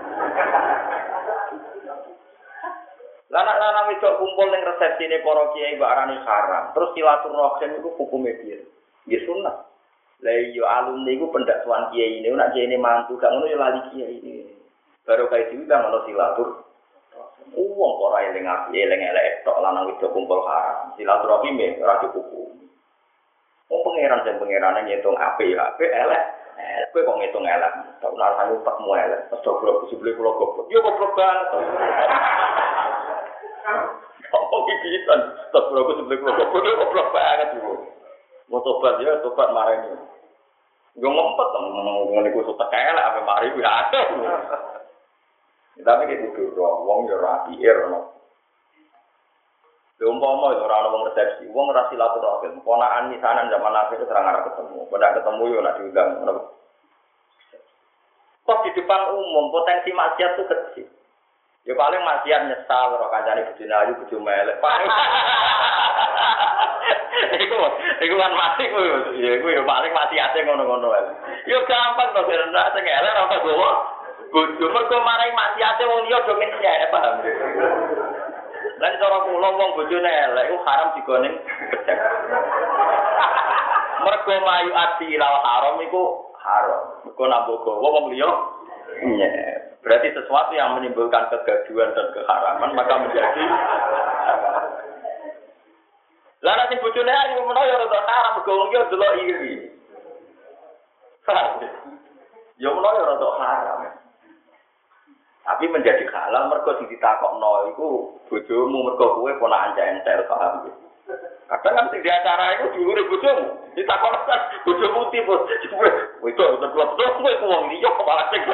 Lanang-lanang wedok kumpul ning resepsine para kiai mbak arane haram. Terus silaturahim iku hukume piye? Nggih sunah. Lah yo alumni iku pendakwan kiai ini nek kiai mantu gak ngono yo lali kiai ini. Baru kae diundang ono silatur. Wong ora eling api, eling elek tok lanang wedok kumpul haram. Silaturahim ora dihukum. Wong pangeran sing pangerane ngitung apik elek. Kowe kok ngitung elek. Tak ora sayu tekmu elek. Goblok sebule kula goblok. Yo goblok banget. Apa pipisan? Tak ora sebule kula goblok banget yo. Mau tobat ya, tobat marane. Yo ngempet ngene iku sok elek ape mari kuwi ada. Tapi kita kudu wong yo rapi ono. Umpama ora ana wong resepsi, wong ora silaturahim, ponakan misanan zaman akhir itu serang arah ketemu. Pada ketemu yo nak diundang ngono. Kok di depan umum potensi maksiat itu kecil. Ya paling maksiat nyesal karo kancane bojone ayu bojo melek. Iku kan mati ku ya iku yo paling maksiate ngono-ngono ae. Yo gampang to serendah sing elek ora gowo. Bojo mergo marai maksiate wong liya do menyek paham. Lan cara kula wong bojone elek iku haram digone gedhe. Mergo mayu ati lal haram iku haram. Mergo nambah gawa wong liya nyek. Berarti sesuatu yang menimbulkan kegaduhan dan keharaman maka menjadi lah nek bojone ayu menawa ya rada haram mergo wong liya delok iri. Ya menawa ya rada haram. Tapi menjadi halal mergo sing ditakokno iku bojomu mergo kowe ponakan entel paham. Kadang kan sing di acara iku dulure bojomu. Ditakokno kan bojomu tipe. Kowe itu betul-betul kowe wong liya kok malah sing.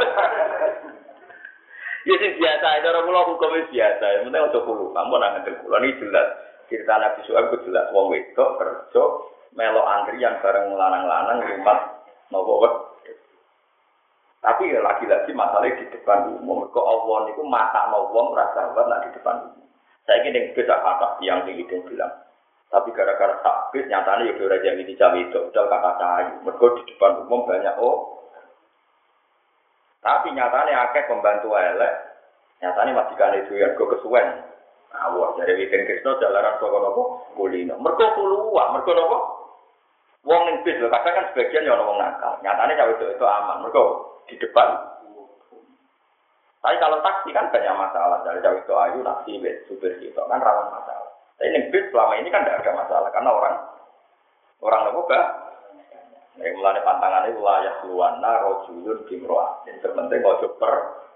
Ya sing biasa cara kula hukumnya biasa. Yang penting aja kulo. Kamu nang ngene kula iki jelas. Cerita Nabi Syuaib ku jelas wong wedok kerja melok antrian bareng lanang-lanang rumah nopo wet. Tapi ya lagi-lagi masalahnya di depan umum. Kok Allah niku matakno wong ora sahabat nak di depan umum. Saiki ning beda kata yang sing itu bilang. Tapi gara-gara takbir nyatane ya ora jadi dicawe itu, udah kata cahayu. Mergo di depan umum banyak tapi nyatane akeh pembantu elek. Nyatane majikane doyan go kesuwen. Awak dari Wiken Krisna jalaran saka napa kulino. Mergo kuluwa, mergo napa? Wong ning bis lho, kadang kan sebagian ya ana wong nakal. Nyatane cawe itu aman. Mergo di depan. Tapi kalau taksi kan banyak masalah. Dari jauh itu ayu, taksi, supir itu kan rawan masalah. Tapi yang bis selama ini kan tidak ada masalah. Karena orang apa? Yang mulai pantangannya wilayah luwana, rojulun, bimroa. Yang terpenting ojo per.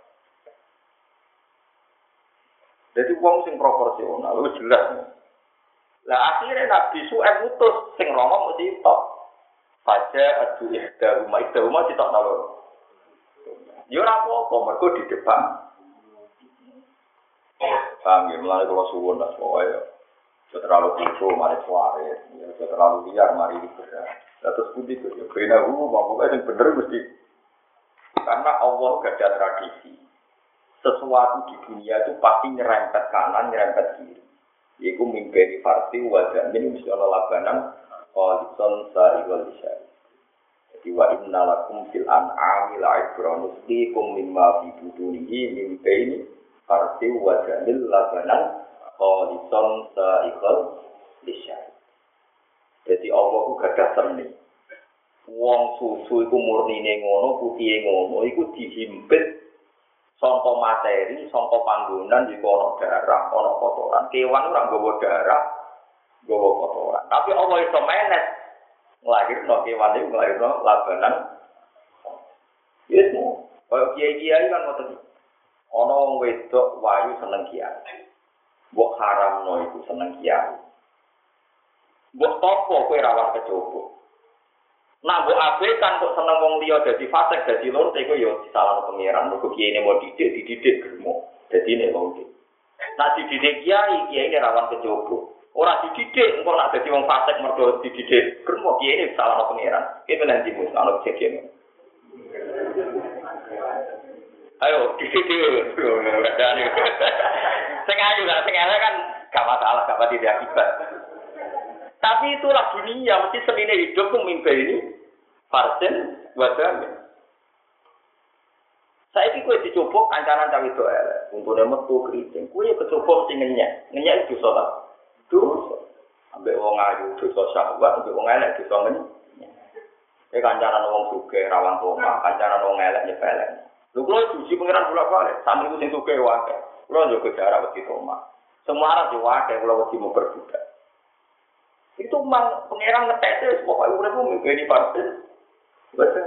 Jadi uang sing proporsional, itu jelas. Lah akhirnya Nabi Syuaib mutus, sing romo mesti tok. Faja adu ihda rumah ditok nalur. Ya ora apa-apa, mergo di depan. Paham ya, mulai kalau suwun lah, pokoknya terlalu kucu, mari suare, terlalu liar, mari liberal. Terus putih itu, ya benar, pokoknya yang benar mesti. Karena Allah gak ada tradisi. Sesuatu di dunia itu pasti nyerempet kanan, nyerempet kiri. Yaitu mimpi farsi, wajah ini mesti ada labanan, qalison sa'igol isyari. Wa inna lakum fil an'ami la'ibran nustikum mimma fi budunihi min baini farsi wa jamil labanan qalison sa'iqal lisyai. Jadi Allah ku gadah seni. Wong susu iku murnine ngono, putihe ngono, iku dihimpit saka materi, saka panggonan iku ana darah, ana kotoran. Kewan ora nggawa darah, nggawa kotoran. Tapi Allah iso manage nglahirno kewan iki nglahirno labanan. Yes, mo. Kaya kiai-kiai kan ngoten. Ana wong wedok wayu seneng kiai. Mbok haramno iku seneng kiai. Mbok topo kowe rawat kecoba. Nah, mbok abekan kok seneng wong liya dadi fasik dadi lur iku ya disalahno pangeran. Mergo kiai mau dididik gremo. Dadi nek wong iki. Nah dididik kiai rawan kecoba. Ora dididik, engko nak dadi wong fasik mergo dididik. Kremo kiye iki salah pangeran. Iki nanti mus ana kejadian. Ayo dididik. Sing ayu lah, sing elek kan gak masalah, gak pati akibat. Tapi itulah dunia, mesti senine hidup ku mimpi ini. Farsen wadame. Saiki kowe dicoba kancanan cawe itu elek. Untune metu kriting. Kowe ya kecoba sing ngenyek. Ngenyek itu dosa. Dosa. Ambek wong ayu dosa syahwat, ambek wong elek dosa ngenyek. Kancanan wong sugih rawan koma, kancanan wong elek nyepelek. Lho kula diuji pangeran bolak-balik, sampe sing sugih wae. Kula njogo jarak wedi koma. Semua arep wae kula wedi memperbudak. Itu mang pangeran ngetete pokoke uripmu ngene parten. Betul.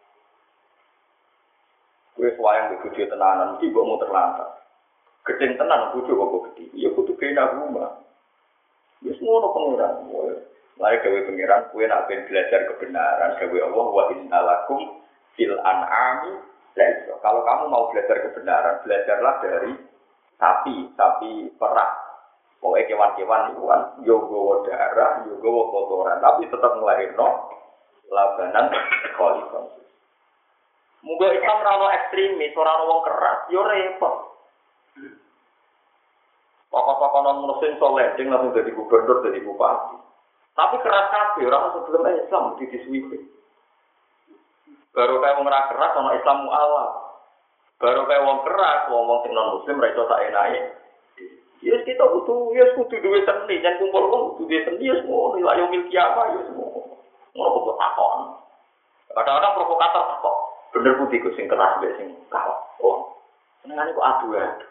Kowe wayang bojo tenanan mesti mbok muter lantas. Gedeng tenan bojo kok gedhi. Ya kudu kena rumah. Wis ngono pangeran. Lare gawe pangeran kowe nak ben belajar kebenaran gawe Allah wa innalakum fil an'ami laisa. Kalau kamu mau belajar kebenaran, belajarlah dari sapi perah. Pokoke kewan-kewan iku kan yo nggawa darah, yo nggawa kotoran, tapi tetap nglahirno labanan kholifah. Muga Islam ora ono ekstremis, ora ono wong keras, yo repot. Pokok-pokok non muslim soleh, sing langsung jadi gubernur, jadi bupati. Tapi keras kabeh, ora sebelum Islam disuwipe. Baru kayak wong ora keras, ono Islam mu'alaf. Baru kayak wong keras, wong sing non muslim ra iso sak enake. Yes kita kudu duwe seni, jan kumpul wong kudu duwe seni, yes ngono, la yo milki apa, yes ngono. Ngono kok takon. Kadang-kadang provokator kok. Bener putih ku sing keras mbek sing kawat. Oh. Senengane kok adu-adu.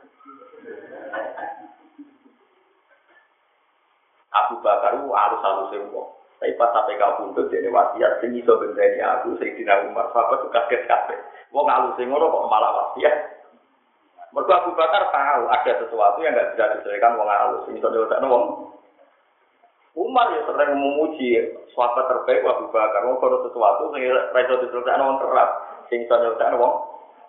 Abu Bakar ku alus-alus kok. Tapi pas sampai kau buntut dene wasiat sing iso bendeni aku Sayyidina Umar sahabat kaget kabeh. Wong alus ngono kok malah wasiat. Mergo Abu Bakar tahu ada sesuatu yang enggak bisa diselesaikan wong halus. Iso nyelesaikan wong. Umar ya sering memuji sahabat terbaik Abu Bakar. Wong kalau sesuatu sing ora iso diselesaikan wong keras, sing iso nyelesaikan wong.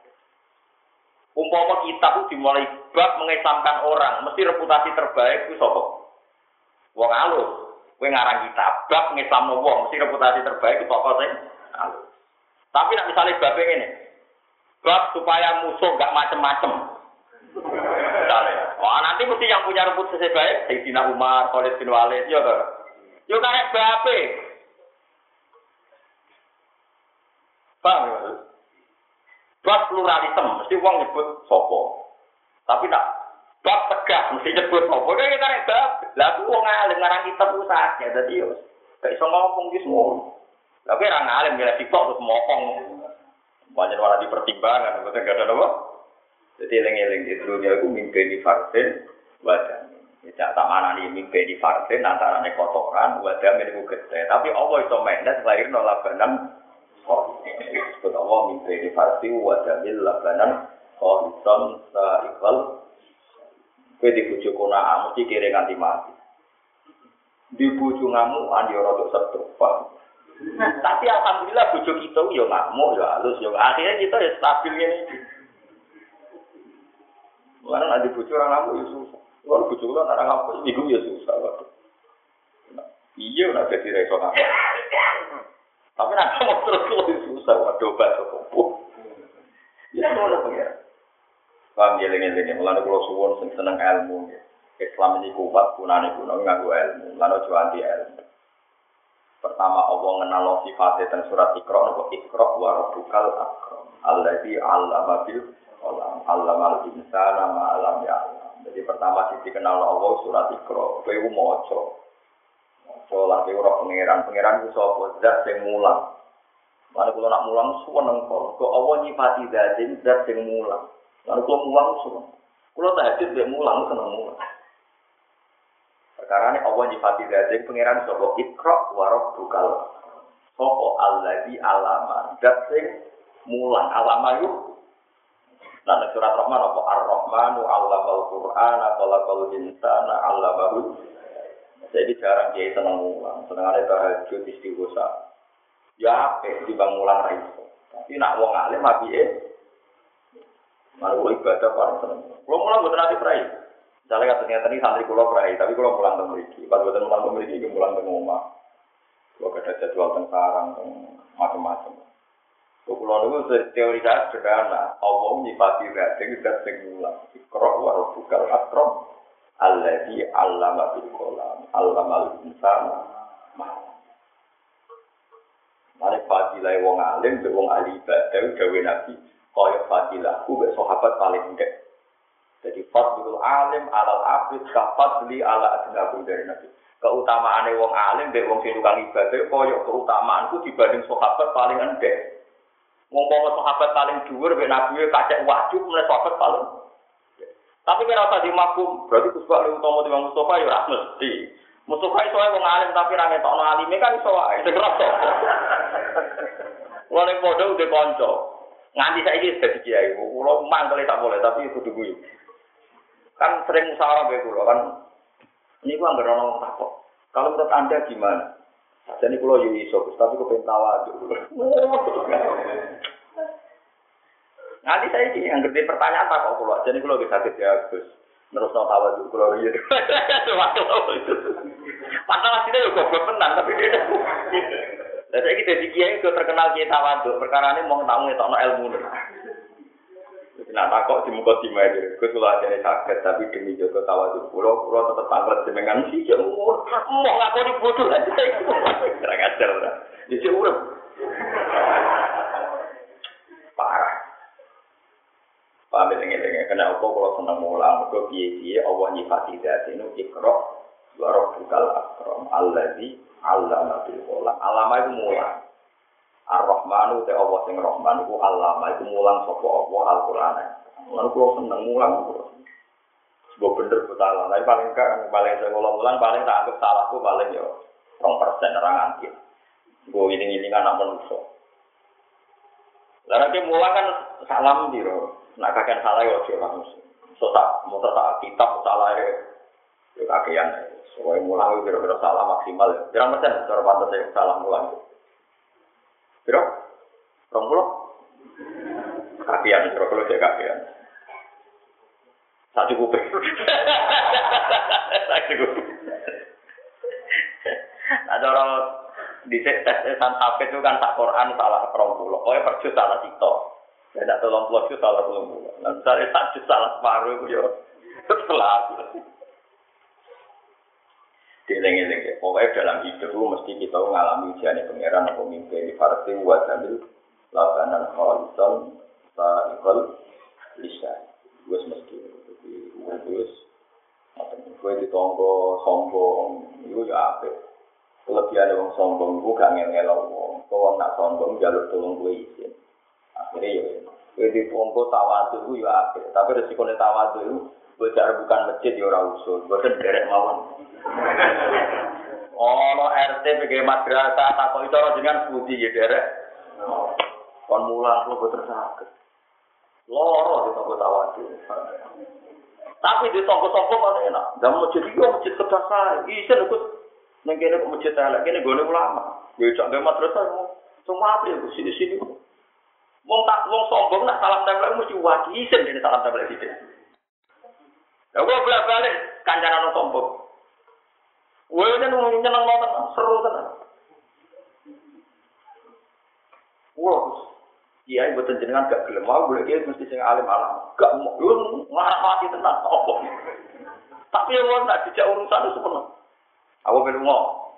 Umpama kitab itu dimulai bab mengesamkan orang, mesti reputasi terbaik itu sapa? Wong halus. Kowe ngarang kitab bab ngesamno wong, mesti reputasi terbaik itu apa sih? Halus. Tapi nek misale bab ngene. Bab supaya musuh enggak macem-macem. Wah, nanti mesti yang punya reputasi baik Sayyidina Umar, Khalid bin Walid, ya toh. Yo karek bape. Paham ya? Bab pluralisme, mesti wong nyebut sapa. Tapi tak bab tegak mesti nyebut sapa. Kayak karek bab. Lah ku wong alim ngarang kitab usahanya dadi yo gak iso ngomong ki semua. Tapi ra ngalim ya sitok terus mokong. Banyak orang dipertimbangkan, betul gak ada apa? Jadi eling-eling di dunia itu mimpi di vaksin, wadah. Tidak tak mana nih mimpi di vaksin antara kotoran, wadah milik gede. Tapi Allah itu mainnya selain labanan. Oh, sebut Allah mimpi di vaksin, wadah milik labanan. Oh,ison seikhal. Kue dibujuk kuna mesti kira nganti mati. Dibujuk ngamu andi orang untuk setruk. Tapi alhamdulillah bujuk kita yo ngamuk yo halus yo akhirnya kita ya stabil ini. Mulane nek dibujuk ora ngamuk yo susah. Kalau bujuk ora ngamuk iku yo susah waduh. Iya ora dadi reso ngamuk. Tapi nek mau terus susah waduh batu opo. Ya ora pengen. Paham eling-eling mulane kula suwun sing seneng ilmu. Islam ini kuat gunane kuno nganggo ilmu. Lan aja anti ilmu. Pertama Allah ngenal sifatnya teng surat Iqra napa Iqra wa rabbukal akram allazi 'allama bil qalam 'allamal insana ma 'lam ya'lam. Jadi pertama sing dikenal Allah surat Iqra kowe maca. Maca lan kowe ora pangeran ku sapa zat sing mulang. Lan kula nak mulang suweneng kok Allah nyifati zat sing mulang. Lan kula mulang suwen. Kula tahajud mek mulang seneng mulang. Karena Allah nyifati dari pangeran sapa Iqra wa rabbukal sapa allazi alama dat sing mulang alama yo lan surat Rahman apa Ar-Rahmanu 'allamal Qur'ana khalaqal insana 'allamahu. Jadi jarang kiai seneng mulang senengane tahajud istighosah ya apik dibang mulang ra iso tapi nak wong alim apike malu ibadah paling seneng kulo mulang mboten ati prai. Misalnya ternyata ini santri kulo perai, tapi kulo pulang ke Meriki. Pas buatan pulang ke Meriki, dia pulang ke rumah. Kulo ada jadwal tentang macam-macam. Kulo itu teori saya sederhana. Allah nyifati rating dan singulang. Iqra wa rabbukal akram allazi 'allama bil qalam 'allamal insana ma. Mare fadilah wong alim, wong ahli ibadah, gawe nabi. Kaya fadilah, ku sahabat paling ndek. Jadi fadlul alim alal abid kafadli ala adnakum dari nabi. Keutamaane wong alim mbek wong sing tukang ibadah kaya keutamaanku dibanding sahabat paling endek. Wong sahabat paling dhuwur mbek nabi kacek wajib mulai sahabat paling. Tapi kira usah dimakum, berarti kusbah lu utama timbang Mustafa ya ora mesti. Mustafa iso wong alim tapi ra ngetokno alime kan iso wae sing rasa. Wong padha udah kanca. Nganti saiki dadi kiai, kula mangkel tak boleh tapi kudu guyu. Kan sering musyawarah be kula kan niku anggere ana takok. Kalau menurut Anda gimana? Jadi kula yo iso, tapi kok pengen tawadhu. Nanti saya iki yang ngerti pertanyaan takok kula. Jadi kula wis saged ya Gus. Nerusno tawadhu kula riyen. Padahal asline yo goblok tenan tapi dia. Lah saiki dadi kiai kok terkenal kiai tawadhu, perkarane mung tak ngetokno ilmu. Nah, takok di muka di meja, kesulah jadi sakit, tapi demi jaga tawadhu, pulau tetap tangklet dengan si jemur, mau ngaku dibutuh aja, kurang ajar lah, di jemur, parah, paham ini, kena apa kalau senang mulang, kalau biaya Allah nyifati dari itu Iqra wa rabbukal akram allazi 'allama bil qalam, alama itu mulang. Ar-Rahmanu te Allah sing Rahman iku allama iku mulang sapa Allah Al-Qur'an. Lan kula seneng mulang kula. Sebab bener betul lah, paling saya ngulang paling tak anggap salahku paling yo 2% orang nganti. Gue ini anak manusia. Lah nek mulang kan salam diro. Nek kakek salah yo ojo langsung. So tak mau tak kitab salah yo kakean. Soale mulang kira-kira salah maksimal. Pirang persen cara pantes salah mulang. Piro? 20. Kakean kira-kira cek kakean. Tak cukup. Tak cukup. Ada orang di tes-tesan hafid itu kan tak Quran salah 20. Pokoknya per juz salah sito. Tidak 30 juz salah 30. Nah, misalnya tak juz salah separuh itu ya setelah. Dieling-eling ya. Pokoknya dalam hidup itu mesti kita mengalami ujian pengeran atau mimpi di parti wajamil lakanan khalisan sa'ikal lisan. Gue mesti wis kowe ditonggo sombong iku ya apik. Kelebihane wong sombong iku gak ngel-ngelo wong. Kok nak sombong njaluk tulung kowe izin. Akhire ya kowe ditonggo tawadhu iku ya apik, tapi resikone tawadhu iku bocah bukan masjid ya ora usul, boten derek mawon. Ono RT PG madrasah takok cara jenengan budi ya derek. Kon mulang kok boten saged. Loro ditonggo tawadhu. Tapi di toko-toko mana enak. Zaman masjid itu masjid kedasar. Isen ikut nengkene ke masjid elek kene gone ulama. Ya cak ge madrasah semua apa ya sini-sini. Wong sombong nak salam tempel mesti wadi isen dene salam tempel sithik. Ya gua bolak-balik kancanan sombong. Kowe nyeneng banget seru tenan. Wah, iya, buat jenengan gak gelem mau boleh dia mesti sing alim alam. Gak mau ngarep mati tenan apa. Tapi yang nak dijak urusan itu sepenuh. Aku perlu ngomong.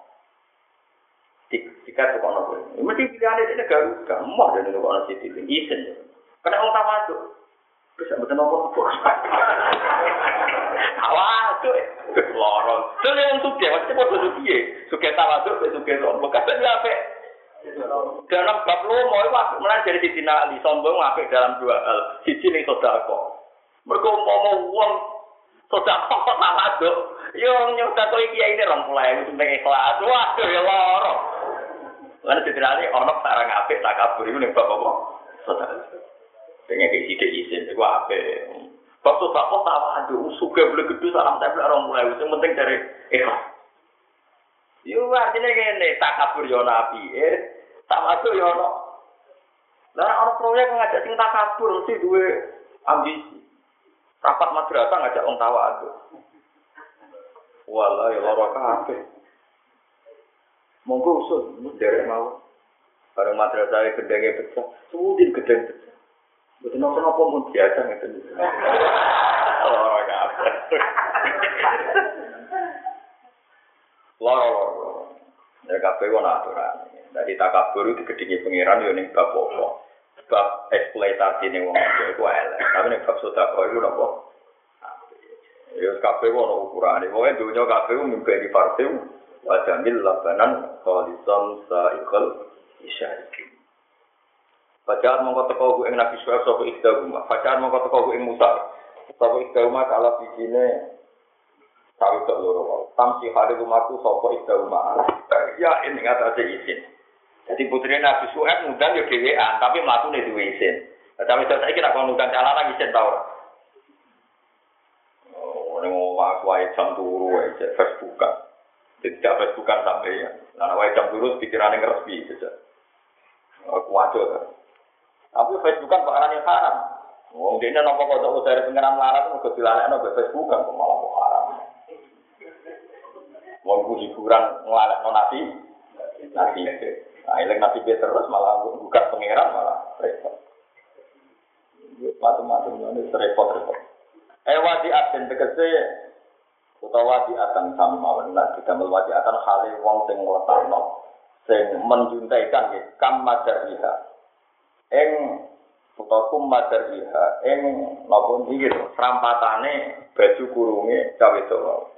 Jika itu kono kowe. Mesti pilihane dene gak mau dene kono sithik isen. Kena wong tawadhu. Bisa mboten apa-apa. Tawadhu. Loro. Dene yang suke, mesti padha suke. Suke tawadhu, suke sombong. Kabeh apik. Dalam bab lomo itu mulai dari sisi nali sombong apik dalam dua hal. Siji ning sedekah. Mergo umpama wong sedekah kok tawadhu, yo nyedekah iki ini 20.000 ning ikhlas. Waduh ya loro. Lan ditirani ana sarang apik takabur iku ning bab apa? Sedekah. Pengen iki sithik isin iku apik. Bab sedekah tawadhu suge boleh gedhe salam tempel 20.000 sing penting dari ikhlas. Yo artine ngene, takabur yo nabi, tawadhu yo ono. Lah ana proyek ngajak sing takabur mesti duwe ambisi. Rapat madrasah ngajak wong tawadhu. Wallahi lara kabeh. Monggo usul derek mau. Bareng madrasah gedenge pecah, sudin gedeng pecah. Mboten napa-napa mun biasa ngeten. Lara kabeh. Loro. Ya kabeh ana aturan. Dadi takabur itu digedhingi pangeran yo ning bab apa? Bab eksploitasi ning wong iku elek. Tapi ning bab sedekah iku napa? Ya kabeh ana ukurane. Pokoke dunya kabeh mimpi di partai wa jamil labanan khalisan sa'ikal isyariki. Bacaan mongko teko ku ing Nabi Syuaib sapa ikdahuma. Bacaan mongko teko ku ing Musa. Sapa ikdahuma kala bijine kawit loro wae. Tamsi hari rumahku sapa ikdahuma. Ya ini ngatasi izin. Jadi putrine Nabi Syuaib ngundang yo dhewean, tapi mlatune duwe izin. Tapi saiki nek kon ngundang calon izin ta ora? Oh, ning omah wae jam turu wae Facebookan. Tidak Facebookan sampai ya. Nah, wae jam turu pikirane ngrespi saja. Aku wajar. Tapi Facebookan perkara yang haram. Wong dene napa kok dari pengeran larat kok dilalekno ke Facebookan kok malah haram. Wong hiburan nglalekno nabi. Nah, eleng nabi terus malah buka pengeran malah repot. Macam-macam ini repot-repot. Wadi aten tegese utawa di akan sama benar kita melwati akan hal wong sing ngletakno sing menjuntaikan nggih kam madariha ing utawa kum madariha ing napa nggih serampatane baju kurunge cawe wedok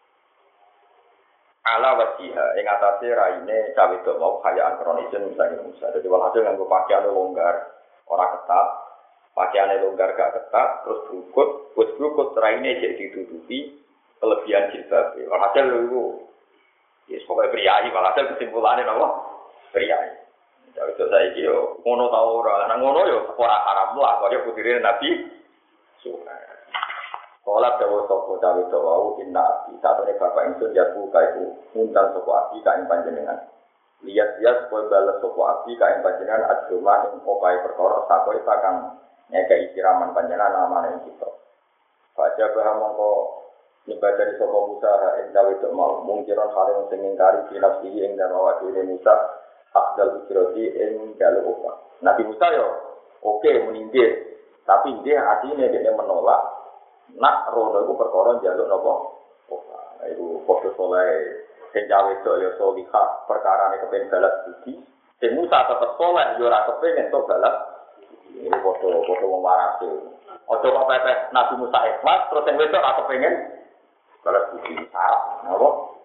ala wasiha ing atase raine cawe wedok mau kayaan kronisien misalnya Musa dadi walhasil nganggo pakaian longgar ora ketat pakaiane longgar gak ketat terus berukut raine jadi ditutupi kelebihan jilbab. Walhasil itu, ya pokoknya priayi. Walhasil kesimpulannya apa? Priayi. Cawe itu saiki yo ngono ta ora. Nang ngono yo ora haram lah kaya putire Nabi Suhaib. Kala dawa sapa cawe itu wau inna abdi satune bapak ingsun jabu kaiku ngundang sapa abdi ka ing panjenengan. Lihat-lihat supaya balas sapa abdi ka ing panjenengan ajruma ing opahe perkara sakoi kang nyekeki siraman panjenengan namane kita. Baca bahwa mongko nyembah dari sapa Musa ing cawe itu mau mungkiran hale sing ngingkari binafsi ing dan awak dhewe Musa afdal ujrati ing dalu upah. Nabi Musa yo oke meninggih tapi dia hatinya dia menolak. Nak rono iku perkara njaluk napa? Upah. Iku foto soleh sing cawe itu yo solihah perkarane kepen balas budi. Sing Musa tetep soleh yo ora kepengin tok balas. Ini foto wong waras. Ojo kok pepes Nabi Musa ikhlas terus sing wedok ora kepengin balas budi salah. Napa?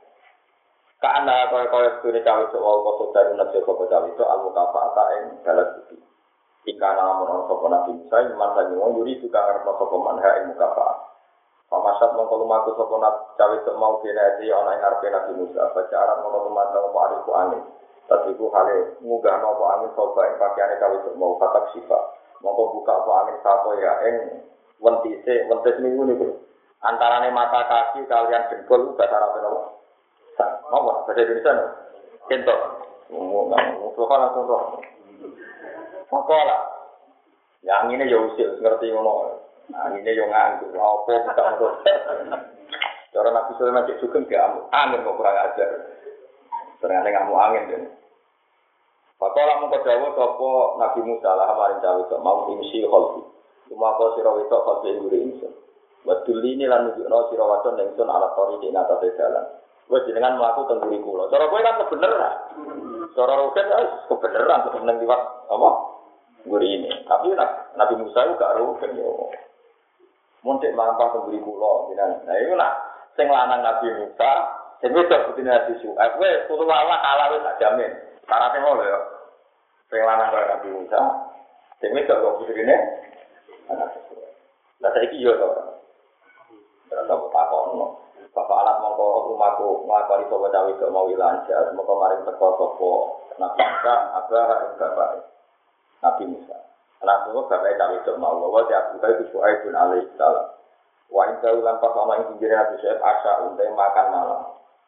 Karena kaya sune cawe itu wau kok saudara nabi kok cawe itu al-mukafaata ing balas budi. Jika lamun ana sapa Nabi Musa iman sangi wong yuri juga ngarep sapa manha ing mukafaat. Pamasat mongko lumaku sapa cawe itu mau dinati ana ing ngarepe Nabi Musa bacaran mongko tumandang apa ariku angin. Tadiku hale ngunggahno apa angin sapa ing pakaiane cawe itu mau katak sifat. Mongko buka apa angin sapa ya ing wentis minggu niku. Antarane mata kaki kalian dengkul bahasa Arab napa? Apa bahasa Indonesia? Kentok. Ngomong langsung roh. Pokola. Yang ini ya usil ngerti ngono. Angine yo nganggo apa bukan terus. Cara Nabi Sulaiman cek sugeng gak angin kok kurang ajar. Ternyata ngamuk angin kan. Pakola mung kedawa sapa Nabi Musa lah maring cawe kok mau imsi kholfi. Cuma kok sira wetok kholfi ngure insun. Wadul ini lan nunjukno sira wadon ingsun ala tori ing atase dalan. Wes jenengan mlaku teng nguri kula. Cara kowe kan kebeneran. Cara roket wis kebeneran seneng liwat apa? Nguri ini. Tapi Nabi Musa itu gak roket yo. Montek lampah teng nguri kula jenengan. Nah iku nak sing lanang Nabi Musa, sing wedok putine Nabi Suhaib wis kudu Allah kalah wis tak jamin. Syaratnya ngono ya. Sing lanang kaya Nabi Musa, sing wedok kok putrine anak Suhaib. Lah saiki yo to. Terus apa takono. Bapak alat mongko rumahku nglakoni sapa cawe kok mau lancar, mongko maring teko sapa Nabi Musa, abah ing bapak Nabi Musa. Anak kok bapak cawe kok mau wa ya Abu Bakar Suhaib bin alaihi salam. Wa in kau lan pas ana ing pinggir Nabi Suhaib asa unte makan malam.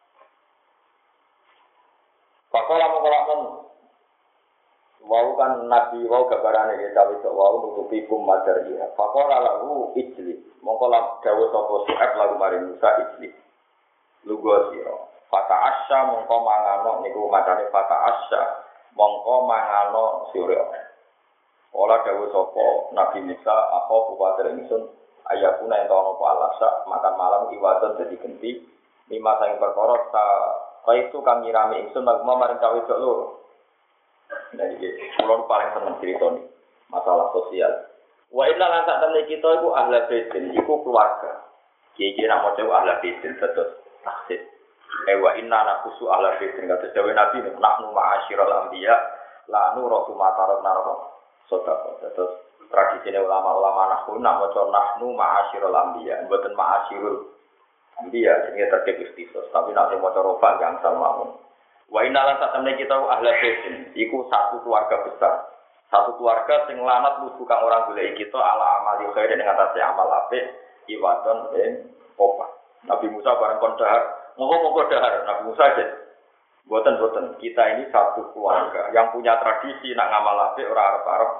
Pakola mongko lakon wau kan Nabi wau gambarane ya cawe kok wau nutupi kum madariya. Pakola lahu ijli mongko lak dawuh sapa Suhaib lagu maring Musa ijli. Lugo sira. Fata asya mongko mangano niku macane fata asya mongko mangano sira. Ola dawuh sapa Nabi Musa apa bupater ingsun ayakuna ento ana apa alasa makan malam iwadon dadi genti lima sang perkara ta kaitu kang nyirami ingsun magma maring cawe dok loro. Nah iki kula paling seneng critani masalah sosial. Wa inna lan sak temne kita iku ahli baitin iku keluarga. Iki nak maca ahli baitin terus taksir. Wa inna nakusu ahli baitin kata dewe Nabi nahnu ma'asyiral anbiya la nuru matarat naroko. Sedekah terus tradisine ulama-ulama nahwu nak maca nahnu ma'asyiral anbiya mboten ma'asyirul anbiya jenenge terkait istighfar tapi nek maca rofa gangsal mawon. Wa inna lan sak temne kita ahli baitin iku satu keluarga besar. Satu keluarga sing lanat lugu kang ora golek kita ala amali khair ing atase amal apik iwadon ing opah. Nabi Musa bareng kon dahar, monggo dahar Nabi Musa aja. Boten kita ini satu keluarga yang punya tradisi nak ngamal apik ora arep-arep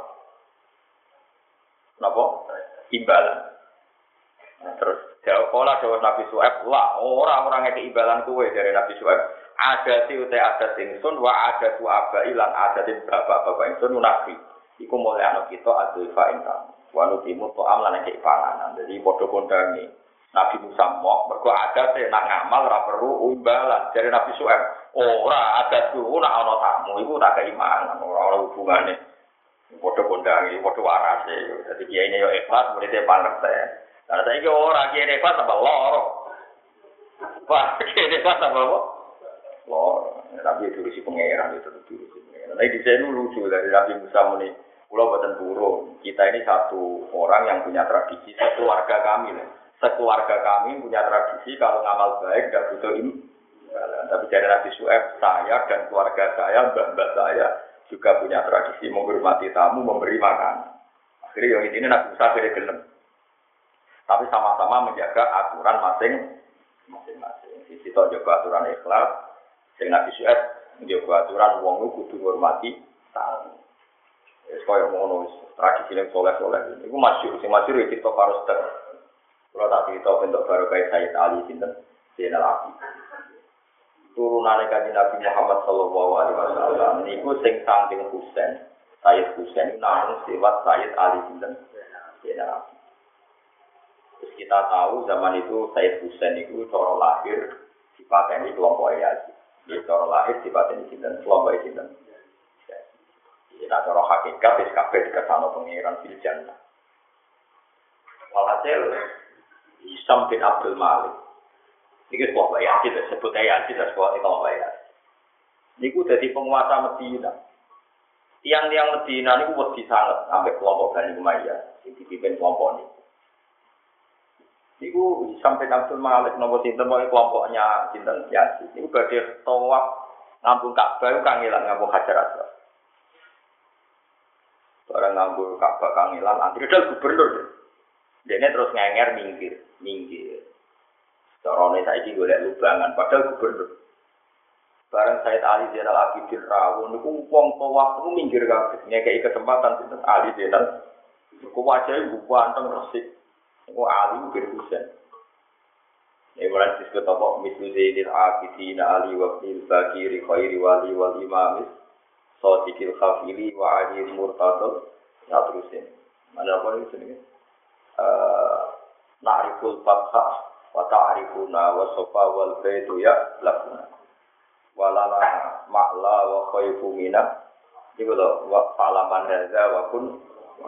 napa? Imbalan. Nah, terus jawab pola dawuh Nabi Suhaib, "Lah, ora ngeke imbalan kowe dari Nabi Suhaib. Ada si utai ada ingsun wa ada tu abai lan ada di bapak-bapak ingsun nabi. Iku mulai anak kita adulfa ingkang. Wa nutimu to amlan nek panganan. Jadi padha kondangi Nabi Musa mok mergo ada te nak ngamal ora perlu imbalan dari Nabi Suhaib. Ora ada tu nak ana tamu iku tak keimanan ora hubungane. Padha kondangi padha warase. Dadi kiai ne yo ikhlas murid e pangerten. Lah saiki ora kiai ikhlas tambah loro. Wah, kiai ikhlas tambah lor, tapi itu si pangeran itu si pangeran. Nah di sini lucu dari Nabi Musa ini, pulau Batan Burung. Kita ini satu orang yang punya tradisi, sekeluarga kami. Sekeluarga kami punya tradisi kalau ngamal baik tidak butuh imbalan. Tapi dari Nabi Suhaib, saya dan keluarga saya, mbak-mbak saya juga punya tradisi menghormati tamu, memberi makan. Akhirnya yang ini Nabi Musa akhirnya gelem. Tapi sama-sama menjaga aturan masing-masing. Sisi itu jaga aturan ikhlas, sing Nabi Syuaib menjaga aturan wong lu kudu ngurmati tamu. Wis koyo ngono wis tradisi yang soleh-soleh. Iku masyhur, sing masyhur iki to Farus Tek. Kalau tak cerita bentuk baru kayak Sayyid Ali sinten Zainal Abidin. Turunane kanjeng Nabi Muhammad sallallahu alaihi wasallam niku sing saking Husain, Sayyid Husain namung lewat Sayyid Ali sinten Zainal Abidin. Terus kita tahu zaman itu Sayyid Husain itu cara lahir dipateni kelompok Yazid. Dia cara lahir dipateni sinten kelompok sinten. Kita cara hakikat wis kabeh dikasano pangeran fil jannah. Walhasil Hisam bin Abdul Malik. Ini kelompok Yazid, disebut Yazid, sebuah kelompok Yazid. Ini jadi penguasa Medina. Tiang-tiang Medina ini wedi sangat sampai kelompok Bani Umayyah, yang dipimpin kelompok ini. Ini Hisam bin Abdul Malik, nomor sinten kelompoknya sinten Yazid. Ini badhe tawaf ngambung Ka'bah, kangelan ngambung Hajar Aswad. Barang ngambung Ka'bah kangelan, antri dal gubernur. Dene terus ngenger minggir. Carane saiki golek lubangan padahal gubernur. Bareng Sayyid Ali Zainal Abidin rawuh niku wong tawaf niku minggir kabeh. Ngekeki kesempatan sinten Ali Zainal. Niku wajahe ganteng resik. Niku Ali bin Husain. Mulai disebut apa mislu Zainal Abidin Ali wa Ibnul Bakir khairi wali wal imam Sadiqil Khafili wa Ali Murtadil. Ya terusin. Mana apa ini jenenge? Na'riful fathah wa ta'rifuna wa sofa wal baitu ya lakuna walala ma'la wa khayfu mina itu loh wa fa'laman hadza wa kun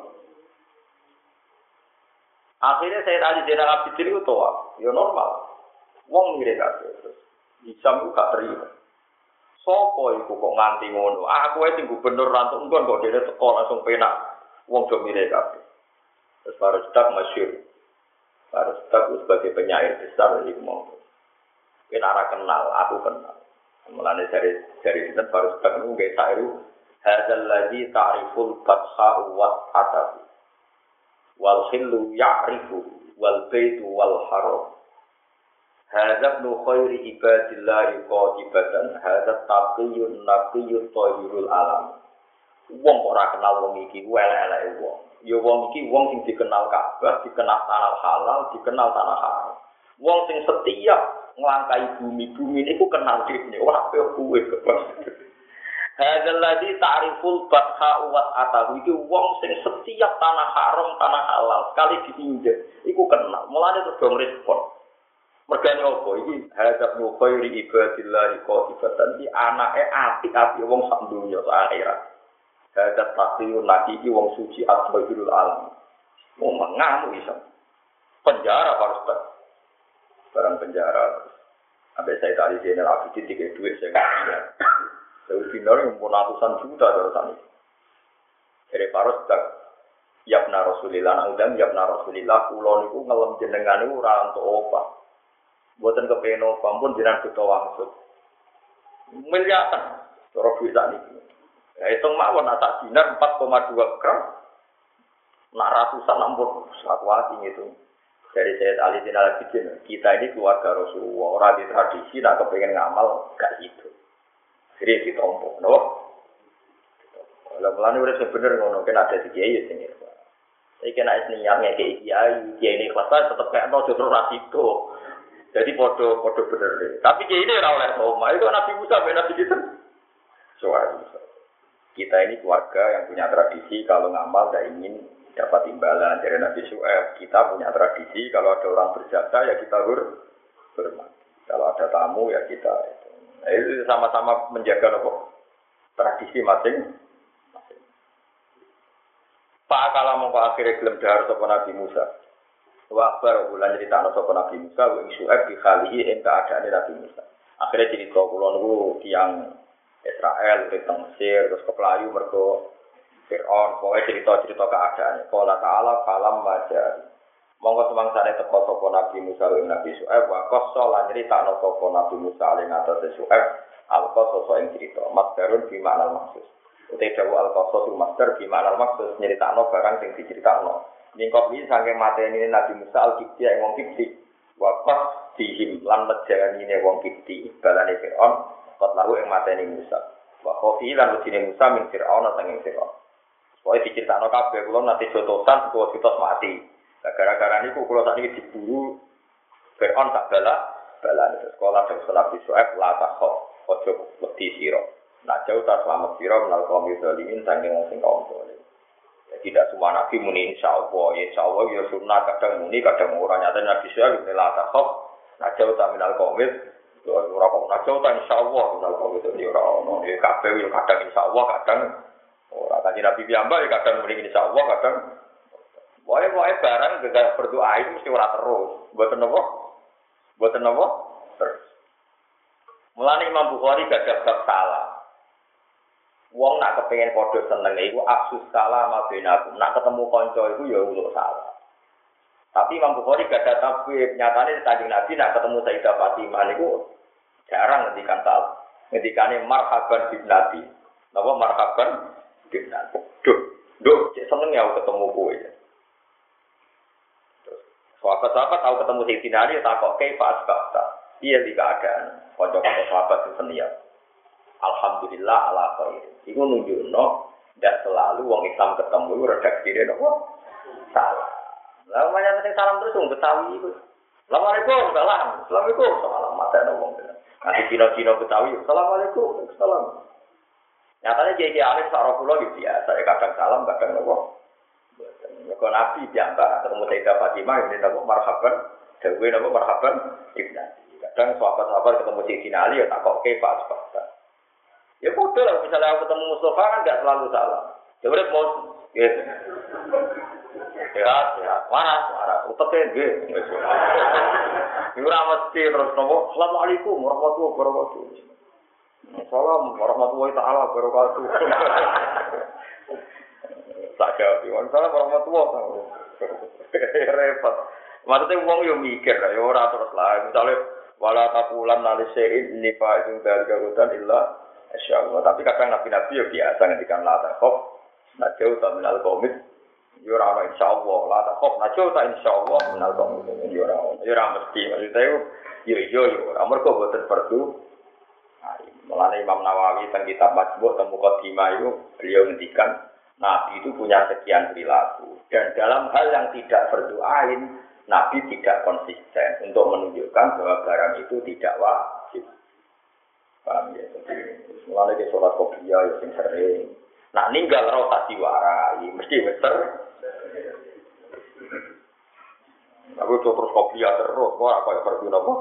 akhirnya Sayyid Ali Zainal Abidin itu tawaf ya normal wong mirip kabeh terus Hisam ku gak terima sapa iku kok nganti ngono aku wis gubernur rantuk engkon kok dene teko langsung penak wong do mirip kabeh. Terus Farus Tek masyhur. Farus Tek sebagai penyair besar ini mau. Kita kenal, aku kenal. Mulane dari sinten Farus Tek niku nggih sairu hadzal ladzi ta'riful fatha wa atahu. Wal khillu ya'rifu wal baitu wal haram. Hadza ibnu khairi ibadillahi qatibatan hadza taqiyyun naqiyyut tayyibul alam. Wong kok ora kenal wong iki elek-eleke wong. Ya wong iki wong sing dikenal Ka'bah, dikenal tanah halal, dikenal tanah haram. Wong sing setia nglangkai bumi niku kenal dhewe, ora kowe kebas. Hadzal ladzi ta'riful batha wa atahu iki wong sing setiap tanah haram, tanah halal sekali ditinjak, iku kenal. Mulane terus dong respon. Mergane opo iki hadzal khairi ibadillahi qatibatan di anake apik-apik wong sak donya sak akhirat. Hadat takliyun lagi iki wong suci asbabul alam. Mau mengamu iso. Penjara harus tak. Barang penjara. Sampai saya tadi Zainal Abidin tiga duit saya kasih. Saya final yang pun ratusan juta dari Dari Farus tak. Yabna Rasulillah nangdang Yabna Rasulillah kulon niku ngelem jenengan niku ora entuk opah. Mboten kepengin opah pun jenengan buta wangsut. Miliaran. Cara duit sak niki. Ya hitung mawon atas dinar 4,2 gram. Nak ratusan ampun sakwati itu. Dari Sayyid Ali Zainal Abidin, kita ini keluarga Rasulullah, orang di tradisi nak kepengen ngamal gak gitu. Jadi ditompok, no? Kalau mulane udah sebener ngono, kan ada di kiai sing iki. Saya kena niatnya kayak kiai ini kelas tetap kayak no justru rasiko. Jadi podo bener deh. Tapi kiai ini ora oleh oma, itu Nabi Musa ben Nabi gitu. Soal kita ini keluarga yang punya tradisi kalau ngamal tidak ingin dapat imbalan dari Nabi Syuaib. Kita punya tradisi kalau ada orang berjasa ya kita hormat. Kalau ada tamu ya kita itu sama-sama menjaga tradisi masing. Pak kalau mau akhirnya gelem dahar sapa Nabi Musa. Wa akbar ulah cerita sapa Nabi Musa wa Syuaib di khalihi ing keadaan Nabi Musa. Akhirnya cerita kula niku tiyang Israel, tentang Mesir, terus ke Pelayu, mergo Fir'aun, pokoknya cerita-cerita keadaannya. Qala ta'ala falam majari. Monggo semangsane teko sapa Nabi Musa lan Nabi Syuaib, wa qassa lan nyritakno sapa Nabi Musa ing atase Syuaib, alqa sapa ing cerita. Masdarun bi makna maksus. Utai dawu al-qasas master di makna maksud nyeritakno barang sing diceritakno. Ningkop iki saking mateni Nabi Musa al-Kibti ing wong Kibti. Waqas dihim lan mejanine wong Kibti balane Firaun kot lalu ing mateni Musa. Wa khofi lan ujine Musa min Firaun sanging Firaun. Pokoke diceritakno kabeh kula nate jotosan kula ditos mati. Gara-gara niku kula sakniki diburu Firaun tak balane sekolah dan sekolah di Su'aib la takhaf ojo wedi sira. Nak jauh tak selamat sira menal kaum zalimin saking wong sing kaum zalim. Tidak semua nabi muni insyaallah, ya sunnah kadang muni kadang ora nyata nabi Su'aib la takhaf. Nak jauh tak menal kaum ora kok nak jauh tak insyaallah menal kaum itu ora ono. Ya kabeh yo kadang insyaallah kadang ora kanjeng nabi piyambak ya kadang muni insyaallah kadang wae barang gegara berdoa itu mesti ora terus. Mboten apa? Mboten apa? Terus. Mulane Imam Bukhari gak bab salah. Wong nak kepengin padha seneng iku aksus salam benakum. Nak ketemu kanca iku ya uluk salah. Tapi Imam Bukhari gak ada tabib. Nyatane Kanjeng Nabi nak ketemu Sayyidah Fatimah niku jarang ngendikan salam. Ngendikane marhaban binati. Napa marhaban binati? Duh, cek seneng ya ketemu kowe. Sahabat-sahabat tahu ketemu Sayyidina Ali takok kaifa asbahta. Iya di keadaan kanca-kanca sahabat sing senia. Alhamdulillah ala khair. Iku nunjukno ndak selalu wong Islam ketemu redaksine napa salah. Lah banyak sing salam terus wong Betawi iku. Assalamualaikum, salam. Assalamualaikum, salam matane wong. Nanti Cina-Cina Betawi, assalamualaikum, salam. Nyatane kiai alim sak kula yo biasa, kadang salam, kadang napa. Kalau Nabi diantar ketemu Sayyidah Fatimah ini napa marhaban, dewe napa marhaban ibnati. Kadang sahabat-sahabat ketemu Sayyidina Ali ya takok ke Pak Sebab. Ya bodoh lah misalnya aku ketemu Mustafa kan enggak selalu salah. Ya udah mau gitu. Ya, waras, uteke nggih. Iku ora mesti terus napa Assalamualaikum warahmatullahi wabarakatuh. Assalamualaikum warahmatullahi taala wabarakatuh. Tak jawab, waalaikumsalam warahmatullahi wabarakatuh. Repot. Maksudnya wong yo mikir, yo ora terus lah. Misale wala taqulan nalisein nifa itu dari garutan illa insyaallah. Tapi kadang nabi-nabi yo biasa ngendikan la takhaf, najau ta minal qaumit. Yo ora insyaallah, la takhaf, najau ta insyaallah minal qaumit. Yo ora mesti. Maksudnya yo ora mergo boten perlu. Mulane Imam Nawawi teng kitab Majmu' teng Muqaddimah itu beliau ngendikan Nabi itu punya sekian perilaku dan dalam hal yang tidak berdoain Nabi tidak konsisten untuk menunjukkan bahwa barang itu tidak wajib. Paham ya? Jadi mulai ke sholat qobliyah ya sing sering. Nah ninggal roh diwarai mesti bener. Aku terus qobliyah terus kok apa ya perlu napa?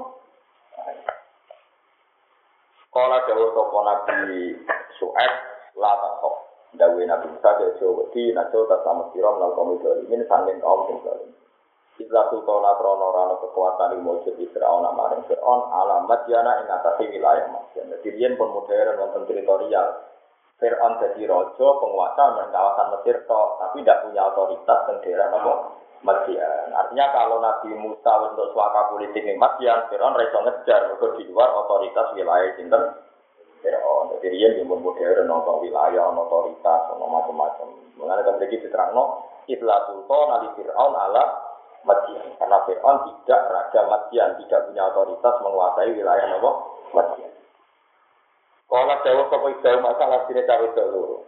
Kala dawuh sapa Nabi Su'aib la taqaf. Dawe Nabi Musa ke Jawa-Wedi, Najo, Tasama Sirom, Nalkomi Dolimin, Sangin kaum sing Dolim. Islah Sultana Krono Rano kekuatan yang mewujud di Fir'aun, Amaring Fir'aun, alamat Yana ing atasi wilayah Masjid. Jadi dia pun modern, wonten teritorial. Fir'aun jadi rojo, penguasa dan kawasan Mesir, tapi tidak punya otoritas dan daerah apa? Masjid. Artinya kalau Nabi Musa untuk suaka politik di Masjid, Fir'aun reso ngejar, di luar otoritas wilayah Sinten. Jadi dia yang modern, nonton wilayah, otoritas, macam-macam. Mengenai kemudian diterangno, Islah Sultan Ali Fir'aun ala Madian. Karena Fir'aun tidak raja Madian, tidak punya otoritas menguasai wilayah Madian. Kalau jauh ke jauh masalah sini cawe-cawe loro.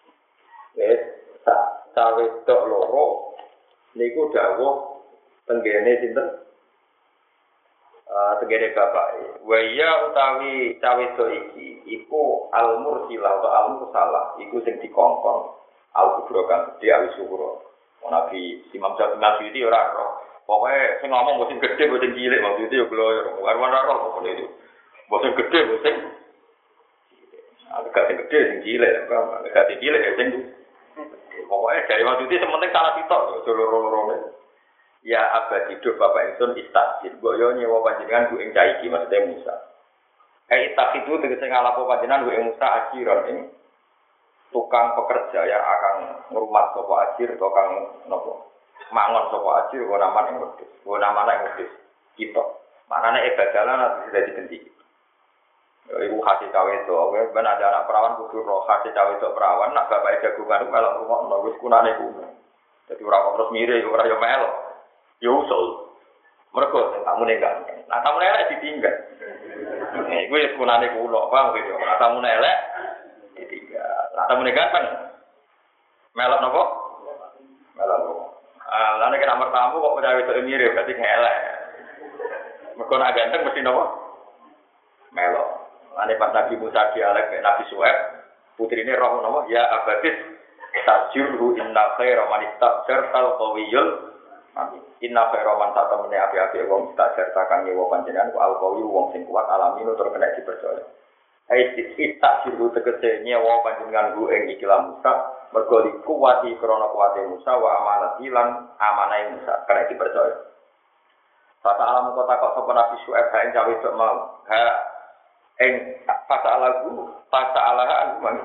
Cawe-cawe loro, niku jauh tenggene sinten. Tegene bapak, waya utawi cawedo iki, iku al-mursilah atau al-mursalah, iku sing dikongkon, al-kubro kan gede, al-suhuro. Nabi Imam Syafi'i itu ora roh, pokoknya sing ngomong bosen gede, bosen cilik, maksudnya itu gloyor, warna roh, pokoknya itu, bosen gede, bosen agak sing gede, sing cilik, agak sing cilik, sing pokoknya dari maksudnya sementing salah sitok, loro-lorone. Ya abad hidup Bapak Insun istajid. Mbok yo nyewa panjenengan ku ing caiki maksudnya Musa. Itak itu tegese ngalapo panjenengan ku ing Musa ajiron ing tukang pekerja yang akan ngrumat sapa ajir tukang napa. Mangon sapa ajir ora naman ing wedhus. Ora naman ing wedhus. Kita. Manane ibadalan atau sudah dibenti. Ibu kasih cawe itu, oke, ben ada anak perawan kudu roh kasih cawe itu perawan, nak bapak jagungan melok rumah nol, wis kunane kuno. Jadi orang terus mirip, orang yang melok, yo usul. Mereka tamu nengan, nah tamu elek ditinggal. Gue kunane kuno, bang, gitu. Nah tamu elek ditinggal, nah tamu ganteng, melok nopo, melok nopo. Lalu kita nomor tamu kok udah itu mirip, berarti elek. Mereka nak ganteng mesti nopo, melok. Ane pas Nabi Musa dialek Nabi Suhaib, putri ini roh nama ya abadis tajurhu inna khaira man istajar tal qawiyul amin. Inna khaira man tatamene api-api wong istajar takang nyewa panjenengan ku al qawiy wong sing kuat alaminu tur kena dipercaya. Ai istajiru tegese nyewa panjenengan ku ing ikilah Musa mergo dikuwati krana kuwate Musa wa amanati lan amanai Musa kena dipercaya. Fata alam kota kok sapa Nabi Suhaib ha ing cawe dok mau. Ha fasa alaha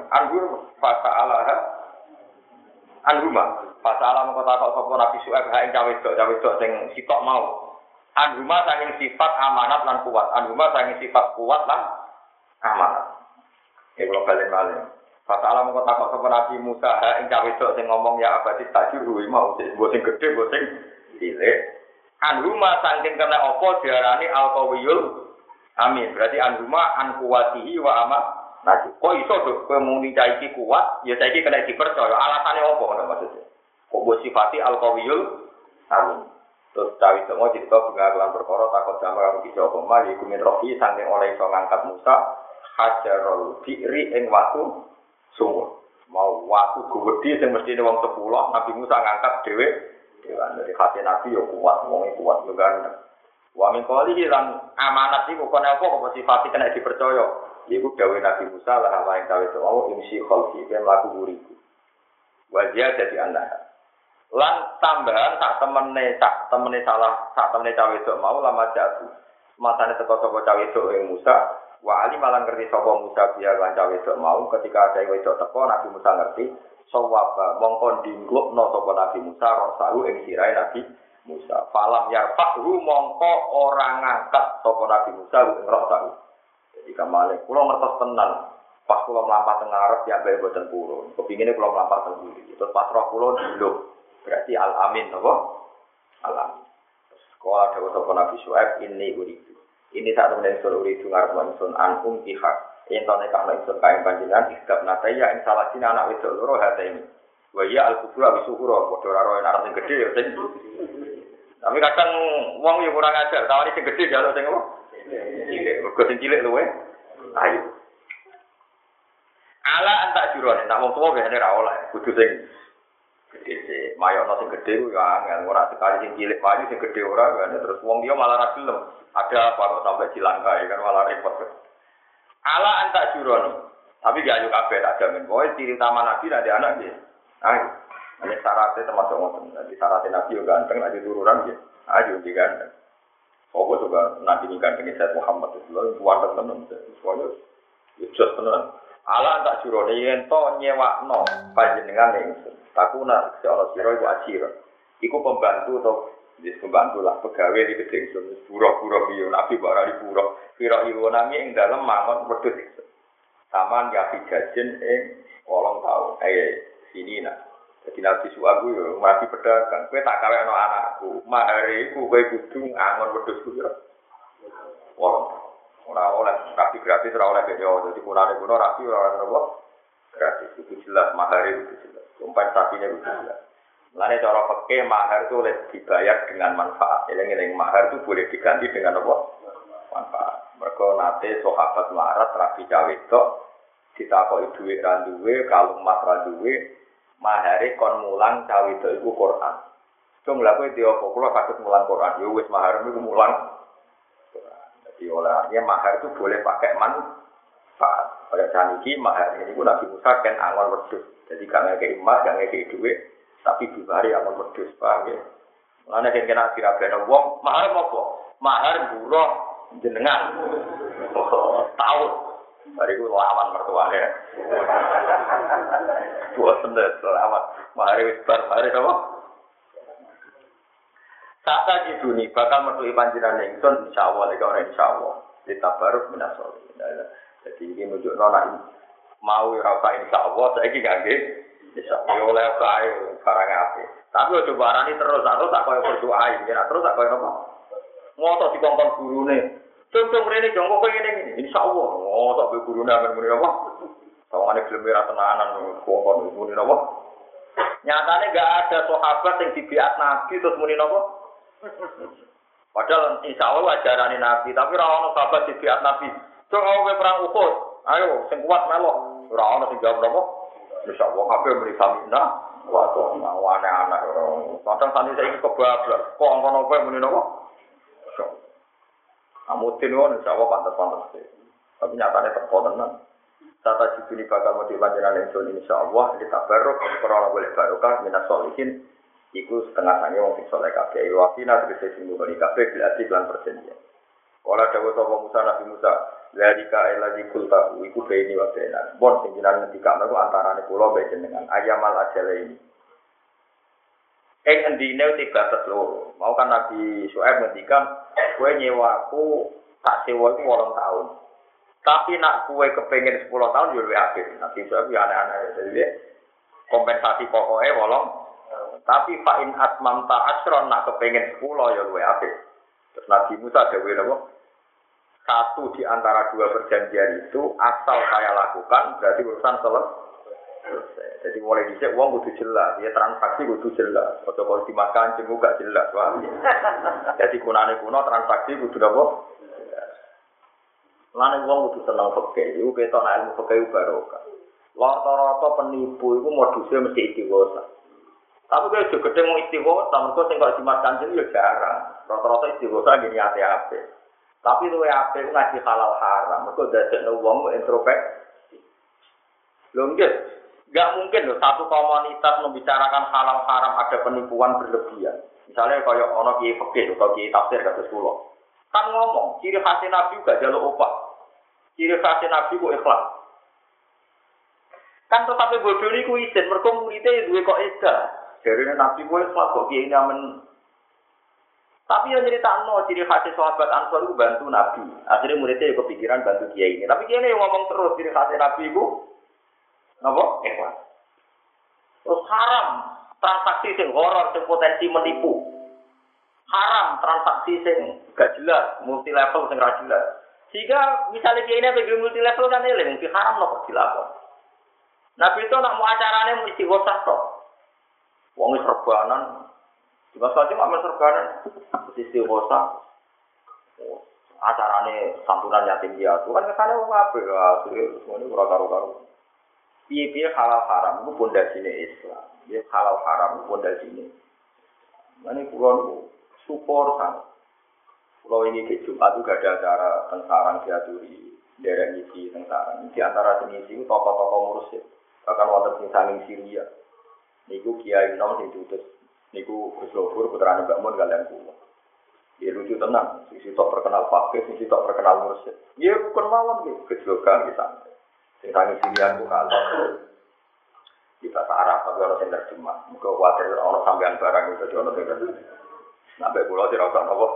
alam kota kok sapa Nabi Suhaib ha ing cawe dok sing sitok mau anhuma saking sifat amanat lan kuat anhuma saking sifat kuat lan amanat kula balen malih fasa alam kota kok sapa Nabi Musa ha ing cawe dok sing ngomong ya abadi tajuru mau sing gedhe mbok sing cilik anhuma saking kena apa diarani al-qawiyul amin, berarti anhuma an kuwatihi wa amat. Nah, kok iso dok kowe muni cah iki kuat, ya saiki kena dipercaya. Alasane opo ngono maksudnya? Kok mbok sifati al-qawiyul amin. Terus cah itu mau cerita pengakuan perkara takut sama kamu bisa apa mah iku min rofi saking oleh iso ngangkat Musa hajarul bi'ri ing watu sumur. Mau watu gede sing mestine wong 10, Nabi Musa ngangkat dhewe. Dari hati Nabi yo kuat, wong kuat yo ganteng. Wa min qawlihi lan amanat iku kono apa kok sifat kena dipercaya. Iku dawuh Nabi Musa lah apa ing dawuh Allah imsi khalqi ben laku buriku. Wa dia jadi anak. Lan tambahan sak temene cawe dok mau lama jatuh. Masane teko sapa cawe dok ing Musa, wa ali malang ngerti sapa Musa biar lan cawe dok mau ketika ada wedok teko Nabi Musa ngerti sawaba mongkon dinglukno sapa Nabi Musa rosahu ing sirahe Nabi Musa. Falam yarfa'hu mongko ora ngangkat sapa Nabi Musa ing rosahu. Jadi kamane kula ngertos tenan pas kula mlampah teng ngarep ya bae boten purun. Kepingine kula mlampah teng mburi. Terus pas roh kula diluk. Berarti al-amin apa? Al-amin. Sekolah dawuh sapa Nabi Syuaib ini uridu. Ini sak temen ingsun uridu ngarep ingsun anum ihak. Yen to nek ana ingsun kae panjenengan istab nataya ing salah sini anak wedok loro hate ini. Wa ya al-kubra bisuhura padha ora roe anak sing gedhe ya sing. Tapi kadang wong yo kurang ajar, tawari sing gedhe jaluk sing apa? Cilik. Mergo sing cilik luwe. Ayo. Ala antak jurone, tak wong tuwa biasane ra oleh, kudu sing gedhe sik. Mayono sing gedhe ku ya angel, ora sekali sing cilik payu sing gedhe ora kan terus wong liya malah ra gelem. Ada apa kok sampai cilangkai kan malah repot. Ala antak jurone. Tapi gak ayo kabeh tak jamin. Pokoke ciri utama Nabi nanti anak nggih. Ayo. Ini syaratnya termasuk ngoten. Jadi syaratnya Nabi yo ganteng, nanti turunan nggih. Ayo diganteng. Apa coba Nabi ini ganteng Sayyid Muhammad itu lho kuwat tenan. Semuanya just tenan. Ala tak jurone yen to nyewakno panjenengan ingsun. Takuna secara sira iku ajira. Iku pembantu to wis pembantu lah pegawe di gedhe ingsun. Pura-pura piye Nabi ora dipura. Pira iku nami ing dalem mangon wedhus ingsun. Taman ya pijajen ing 8 tahun. Sini nak. Jadi Nabi Suhaib yo mati pedagang. Kowe tak kawekno anakku. Mahare iku kowe kudu ngangon wedhusku yo. Ora oleh rapi gratis ora oleh video. Jadi kurane kuno rapi ora ono apa. Gratis itu jelas mahare itu jelas. Kompensasinya itu jelas. Mulane cara fikih mahar itu boleh dibayar dengan manfaat. Eling-eling mahar itu boleh diganti dengan apa? Manfaat. Mergo nate sahabat melarat rapi cawe tok ditakoki dhuwit ra duwe, kalung emas ra duwe. Mahare kon mulang cawe itu iku Quran. Cung lha kowe dhewe apa kula saged mulang Quran. Ya wis mahar niku mulang Quran. Jadi olehnya mahar itu boleh pakai manfaat. Pada saat ini mahar ini pun Nabi Musa kan angon wedhus. Jadi gak ngekei emas, gak ngekei duit, tapi dibari angon wedhus, paham ya? Mulane yen kena dirabene wong, mahar apa? Mahar buruh jenengan. Tahun. Bariku lawan mertuane. Bosen deh selamat. Mahari wis bar, mahari apa? Sata jiduni bakal metuhi panjenengan ingsun insyaallah lek ora insyaallah. Ditabaruk minasol. Jadi ini menunjuk nona mau rasa insyaallah saiki gak nggih. Insyaallah oleh kae barang apik. Tapi ojo barani terus tak koyo berdoa iki, terus tak koyo napa. Ngotot dikongkon gurune. Cung rene jongko koyo ngene insyaallah. Ngotot be gurune amen muni apa? Tawangane gelem ora tenanan kongkon muni napa. Nyatane gak ada sahabat yang dibiat Nabi terus muni napa. Padahal insyaallah ajarane Nabi, tapi ora ono sahabat dibiat Nabi. Cung kowe perang Uhud. Ayo sing kuat melok. Ora ono sing jawab napa. Insyaallah kabeh muni samina. Waduh, anak-anak orang. Kadang tadi saya ini kebablas. Kok angkon apa yang muni napa? Amutin kan insyaallah pantas-pantas. Tapi nyatanya teko tenan. Tata jibuni bakal mau dilanjutkan ingsun insyaallah kita barok ora boleh barokah minas solihin iku setengah sange wong sing saleh kabeh wakina tegese sing ngoni kabeh berarti lan perjanjian. Ora dawuh sapa Musa Nabi Musa, "Zalika ilazi kulta iku baini wa baina." Bon sing jenengan ngendikane ku antarane kula mbek jenengan ayamal ajale ini. Endine tiga loro. Mau kan Nabi Syuaib ngendikan, "Kowe nyewaku tak sewa iku 8 tahun." Tapi nak kue kepengen 10 tahun yo luwih akeh. Nanti itu ya aneh-aneh. Jadi kompensasi pokoknya wolong. Tapi fa in atmamta asron nak kepengen 10 yo luwih akeh. Terus Nabi Musa dawuh napa? Satu di antara dua perjanjian itu asal saya lakukan berarti urusan selesai. Jadi mulai dhisik wong kudu jelas, ya transaksi kudu jelas. Ojo kok dimakan jeneng gak jelas, paham. Jadi kunane kuno transaksi kudu napa? Lan wong kudu seneng fikih, iku ketok nek ilmu fikih barokah. Rata-rata penipu iku modusnya mesti istighosah. Tapi kalau juga gedhe mau istighosah, mergo sing kok jimat kanjeng ya jarang. Rata-rata istighosah gini ate-ate. Tapi luwe apik ku ngaji halal haram, mergo dadekno wong introspeksi. Lho nggih, enggak mungkin loh satu komunitas membicarakan halal haram ada penipuan berlebihan. Misalnya kayak ana kiai fikih atau kiai tafsir kados kula. Kan ngomong, ciri khas Nabi juga jaluk opah. Ciri khas Nabi ku ikhlas. Kan tetapi bodoh ini ku izin, mereka muridnya duwe kok edah. Jadi Nabi ku ikhlas kok kiai amen. Tapi yang cerita ciri khas sahabat Ansor itu bantu Nabi. Akhirnya muridnya kepikiran bantu kiai ini. Tapi kiai ini ngomong terus ciri khas Nabi ku napa? Ikhlas. Terus haram transaksi sing horor, sing potensi menipu. Haram transaksi sing gak jelas, multi level sing ra jelas. Sehingga misalnya dia ini bagi multi level kan eling, mungkin haram loh dilakon. Nabi itu nak mau acaranya mau istighosah toh. Wong serbanan, juga saja mak serbanan, istighosah. Acaranya santunan yatim piatu kan kesana wong apik ya, semuanya ora karo-karo. Piye-piye halal haram itu pondasine Islam. Ya halal haram itu pondasine. Mane kula support kan. Kalau ini ke Jumat juga ada acara tentang diaturi, daerah isi tentang. Di antara jenis itu tokoh-tokoh mursyid. Bahkan wonten sing saking Syria. Niku Kiai Nom sing diutus. Niku Gus Lofur putrane Mbak Mun kalian kula. Ya lucu tenang, sing tok terkenal fakih, sing tok terkenal mursyid. Ya bukan mawon nggih, kejogan di sana. Sing saking Syria ku kalau di bahasa Arab tapi orang yang terjemah. Muga kuwatir ana sampean barang itu ana sing terjemah. Sampai pulau tidak usah apa.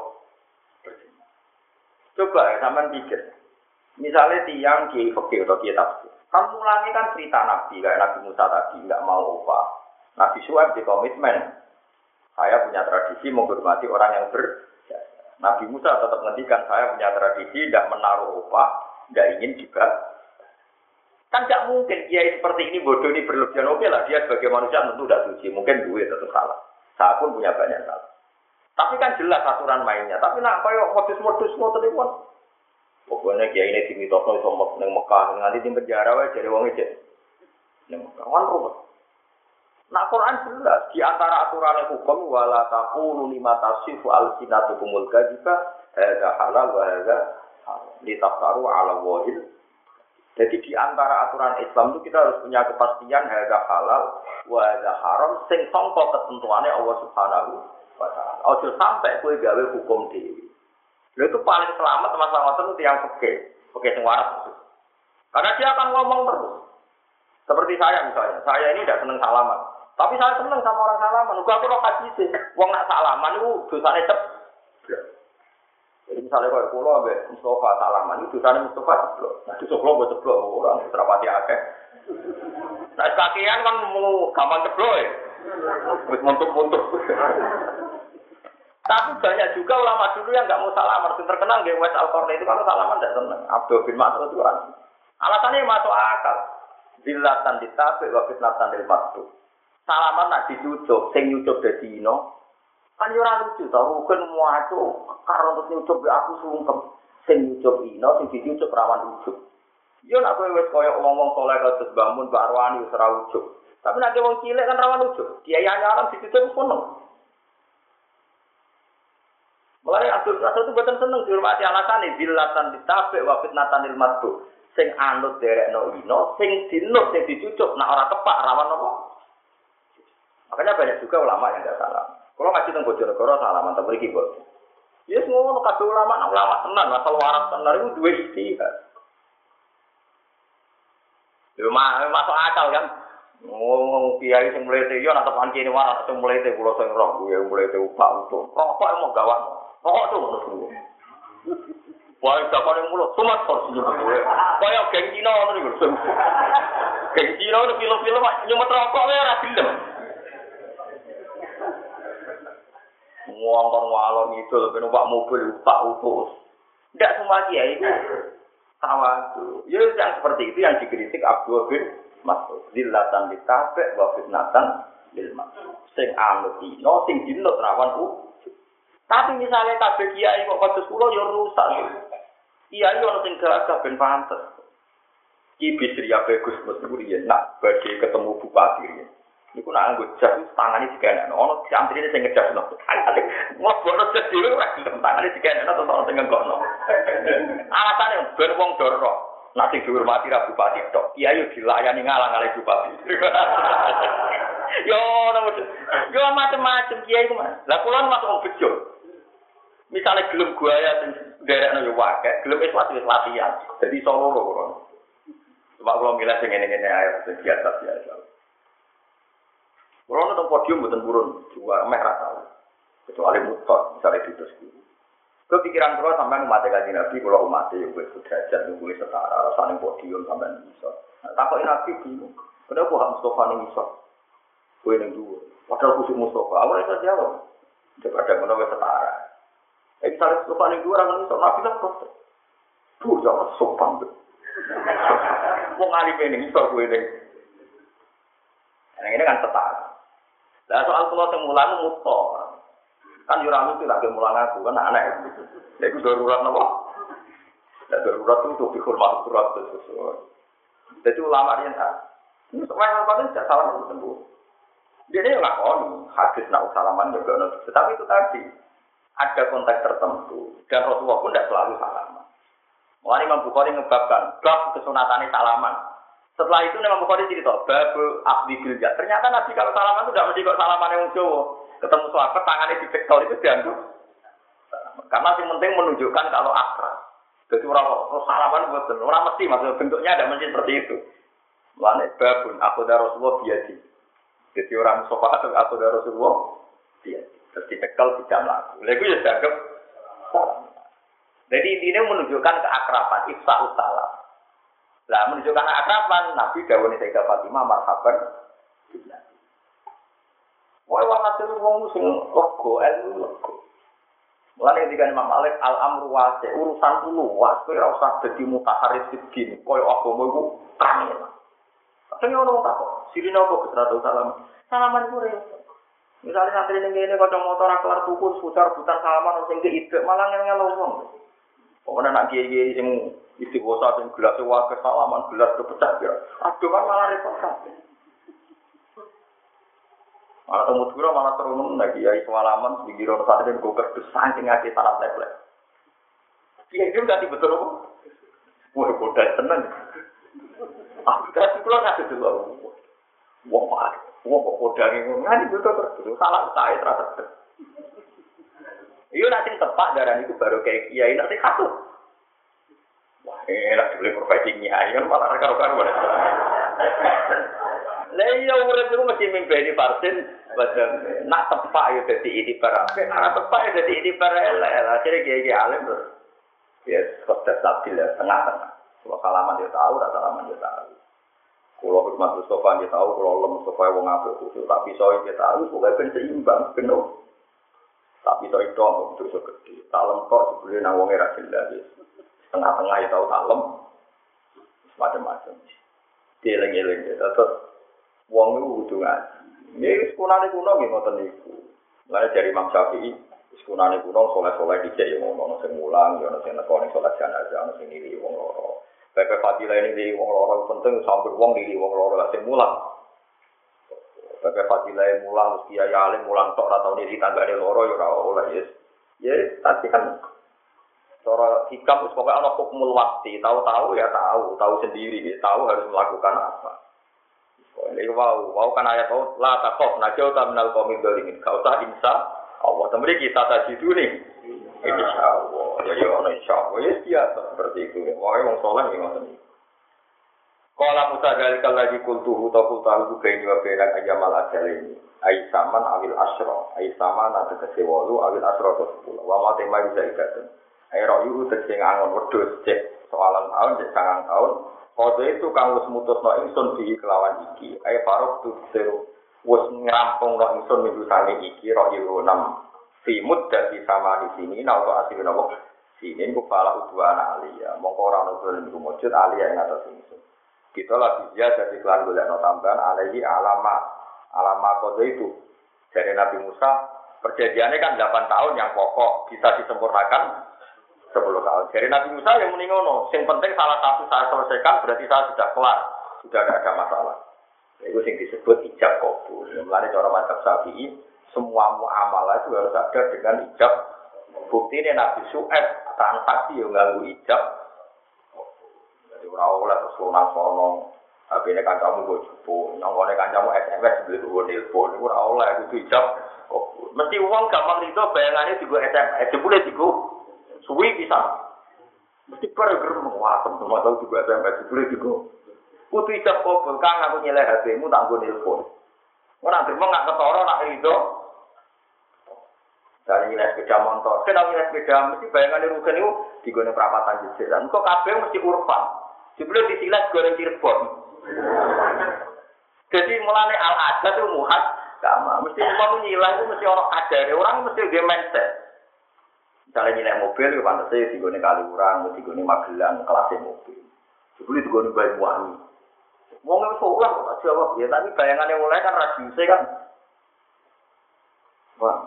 Coba ya, sampean pikir. Misalnya tiang kiai fikih atau kiai tafsir. Kan mulanya kan cerita Nabi, kayak Nabi Musa tadi, nggak mau upah. Nabi Syuaib di komitmen. Saya punya tradisi menghormati orang yang berjasa. Nabi Musa tetap ngendikan, saya punya tradisi tidak menaruh upah, tidak ingin juga. Kan nggak mungkin kiai seperti ini bodoh ini berlebihan. Oke lah, dia sebagai manusia tentu tidak suci. Mungkin duit tetap salah. Saya pun punya banyak salah. Tapi kan jelas aturan mainnya. Tapi nak koyo modus-modus ngoten niku kan. Pokoknya kiai ini dimitosno iso ning Mekah nganti di penjara wae jare wong iki. Ning Mekah kan ruwet. Nah Quran jelas di antara aturan hukum wala taqulu lima tasifu al-sinatukumul kadhiba hadza halal wa hadza haram. Litaftaru ala wahid. Jadi di antara aturan Islam itu kita harus punya kepastian hadza halal wa hadza haram sing sangka ketentuane Allah Subhanahu ojo sampai kue gawe hukum dewi. Lalu itu paling selamat masalah itu yang oke sing waras. Karena dia akan ngomong terus. Seperti saya misalnya, saya ini tidak senang salaman, tapi saya senang sama orang salaman. Uga aku lo hadis, wong nak salaman itu dosane ceblok. Jadi misalnya kalau pulau ambek Mustafa salaman itu sana Mustafa ceplok. Nah itu ceplok buat ceplok orang serapati akeh. Nah kakian kan mau gampang ceplok ya. Wis muntuk-muntuk. Tapi banyak juga ulama dulu yang nggak mau salaman. Yang terkenal di West Al-Qarni itu kalau salaman tidak senang. Abdul bin Mas'ud itu kan. Alasannya masuk akal. Zillatan ditabik wa fitnatan lil maktub. Salaman nak dicucuk, sing nyucuk dadi ino. Kan yo ora lucu to, rukun muacu karo terus nyucuk aku sungkem. Sing nyucuk ino, sing dicucuk rawan ujuk. Yo nak kowe wis koyo ngomong soleh kados bangun Pak Arwani wis ora ujuk. Tapi nek wong cilik kan rawan ujuk. Kiai anyaran dicucuk kono. Mulai Abdul Rasul itu buatan seneng dihormati alasane zillatan ditabik wa fitnatan lil maktub. Sing anut derekno ino, sing dinut sing dicucuk nak ora tepak rawan apa? Makanya banyak juga ulama yang tidak salah. Kalau ngaji tentang Bojonegoro salaman tak beri kibot. Ya semua kabeh ulama tenan asal waras tenan itu dua istihad. Yo masuk akal kan. Ngomong kiai sing mlete yo nak tepan kene waras sing mlete kula sing roh kuwi mlete upak utuh. Rokok emang gawat. Rokok tuh ngono. Wah, dapat yang mulut, cuma porsinya gue. Kayak geng Cina ngono lho. Geng Cina itu film-film nyumet rokok wae ora gelem. Ngomong ngalor ngidul ben numpak mobil tak utus. Tidak semua kiai itu tawadhu. Ya yang seperti itu yang dikritik Abdul bin Mas'ud. Zillatan ditabek wa fitnatan lil maksud. Sing anut dino, sing dinut rawan Tapi misalnya kabeh kiai kok kados kula ya rusak. Kiai ono sing gagah ben pantes. Ki Bisri Bagus Mesuriyen nak badhe ketemu bupati riyen. Niku nak nggo jas tangane dikene ono santrine sing ngejasno. Wong bono jas dhewe ora gelem tangane dikene terus ono sing nggokno. Alasane ben wong doro. Nak sing dihormati ra bupati tok. Kiai dilayani ngalang-alang bupati. Yo macam-macam kiai ku Mas. Lah kula masuk wong bejo. Misalnya gelem guaya sing nderekno yo wae, gelem wis latihan. Jadi solo lho. Coba kalau milih sing ngene-ngene ae biasa-biasa. Kalau nonton podium mboten purun, juga meh ra tau. Kecuali mutot, misalnya ditus guru. Kepikiran kula sampean umat Kanjeng Nabi, kula umat yo wis derajat wis setara rasane podium sampean iso. Takoki Nabi bingung. Kenapa hak Mustafa ning iso? Kowe ning dhuwur. Padahal khusus Mustafa, awake iso jawab. Daripada ngono wis setara. Misalnya sopan yang dua orang ini Nabi lah protes. Tuh jangan sopan tuh. Mau ngalih pening soal gue deh. Yang ini kan setara. Nah soal kalau temulan mutor, kan jurang itu lagi mulang aku kan aneh. Jadi darurat apa? Darurat itu untuk dihormati darurat sesuai. Jadi ulama dia tak. Ini soal apa ini tidak salah itu. Dia ini lakon hadis nak salaman juga nanti. Tetapi itu tadi. Ada konteks tertentu dan Rasulullah pun tidak selalu salaman. Mulai Imam Bukhari ngebabkan bab kesunatane salaman. Setelah itu Imam Bukhari cerita bab akdi bilja. Ternyata Nabi kalau salaman itu tidak mesti kok salaman yang Jawa. Ketemu sahabat tangannya dipektor itu dianggap. Karena yang penting menunjukkan kalau akrab. Jadi orang salaman betul. Orang mesti maksudnya bentuknya ada mesti seperti itu. Mulai babun aku dari Rasulullah biadi. Jadi orang sofa aku dari Rasulullah biadi. Terus ditekel tidak melaku. Lalu itu ya dianggap salam. Jadi intinya menunjukkan keakraban, ifsa'us salam. Nah menunjukkan keakraban, Nabi dawuh Sayyidah Fatimah marhaban. Wah walhasil wong sing lego ilmu lego. Mulane ketika Imam Malik al-amru wasi urusan luas, kowe ora usah dadi mutaharris din, koyo agama iku kangen. Kadang ono tak kok, sirine apa kesratu salam. Salaman ku repot. Misalnya santri ini kocok motor kelar tuku seputar butan salaman sing keide malah ngel wong. Pokoknya nak kiai sing istighosah sing gelas wae salaman gelas kepecah ya. Aduh kan malah repot kabeh. Malah temu dura malah terunung lagi kiai salaman pinggir ono santri kok kerdes saking akeh salam template. Kiai itu ganti betul apa? Wah bodoh tenan. Aku kan kula nggak dulu. Wah, wong kok kodange ngono nganti betul salah sae terus. Iya nanti tepak darah itu baru kayak kiai nanti katut. Wah, enak boleh profesi kiai kan malah karo-karo. Lah iya urip itu mesti mimpeni parsin Betul. Nak tepak ya dadi itibar apik, nak tepak ya dadi itibar elek. Akhire kiai alim terus. Ya, kok stabil ya, tengah-tengah. Kalau salaman dia tahu, rasa salaman dia tahu. Kalau hikmat Mustafa dia tahu, kalau Allah Mustafa wong apik khusus, tapi soal dia tahu, pokoknya ben seimbang, penuh. Tapi soal itu aku betul gede. Talem kok sebelum nang wong era jelas. Tengah-tengah ya tahu talem. Macam-macam. Dieling-eling ya, terus wong itu kudu ngaji. Ini sekunane kuno nggih ngoten niku. Mulane dari Imam Syafi'i, sekunane kuno soleh-soleh dicek ya ngono sing mulang, ya ono sing nekoni salat jenazah, ono sing nili wong loro. Pepe fadilah ini nili wong loro penting sambil wong nili wong loro lah sing mulang. Pepe fadilah mulang mesti kiai alim mulang tok ora tau nili tanggane loro ya ora oleh yes. Ya tapi kan cara hikam wis pokoke ana hukmul waqti, tahu-tahu ya tahu sendiri, tahu harus melakukan apa. Ini wow kan ayat oh la taqaf najauta minal qaumid dzalimin. Kau tak insya Allah. Temri kita tadi itu nih. Insyaallah. Ya ono insyaallah. Ya biasa seperti itu. Wah, wong saleh iki ngoten iki. Qala Musa dalikal ladzi qultuhu taqultu baini wa baina ayamal ajalaini. Ai saman awil asra. Ai saman ada kesewolu awil asra to 10. Wa ma tema bisa ikaten. Ai ra'yu tegese ngangon wedhus cek soalan tahun cek sangang tahun. Kode itu kang wis mutusno ingsun di kelawan iki. Ayo parok tu seru wis ngrampungno ingsun minggu sane iki ro yo 6. Simut dadi sama di sini nauto asih nopo. Sini ku pala udwana alia. Mongko ora ono dolen iku mujud alia ing atas ingsun. Kita lagi dia dadi kelan golekno tambahan alaihi alama kode itu. Dari Nabi Musa perjanjiannya kan 8 tahun yang pokok bisa disempurnakan 10 tahun. Jadi Nabi Musa yang muni ngono, yang penting salah satu saya selesaikan berarti saya sudah kelar, sudah tidak ada masalah. Itu yang disebut ijab qabul. Mulane cara mazhab Syafi'i, semua muamalah itu harus ada dengan ijab. Bukti ini Nabi Syu'aib transaksi yang nganggo ijab. Jadi ora oleh terus lunang-lunang. Tapi ini kancamu gue cupu, nyongkone kancamu SMS beli gue telepon, itu ora oleh itu ijab. Mesti uang gampang itu bayangannya juga SMS, jebule juga. Suwi bisa. Mesti perger muatem semua tahu juga sampai boleh juga. Kudu ijab kabul kang aku nyeleh HP-mu tak nggo nelpon. Ora dermo gak ketara nak rido. Dari nilai sepeda motor, kenal nilai sepeda mesti bayangane rugen niku digone perapatan jejak. Lan kok kabeh mesti urpan. Jebule disilas goreng Cirebon. Jadi mulane al-adat itu muhad sama. Mesti umpama nyilah itu mesti orang kadare, orang mesti ge mindset. Misalnya nilai mobil, pantasnya digone Kaliurang, digone Magelang, kelasnya mobil. Sebelum digone Banyuwangi. Wong wis ora kok jawab ya, tapi bayangannya mulai kan radiusnya kan. Wah.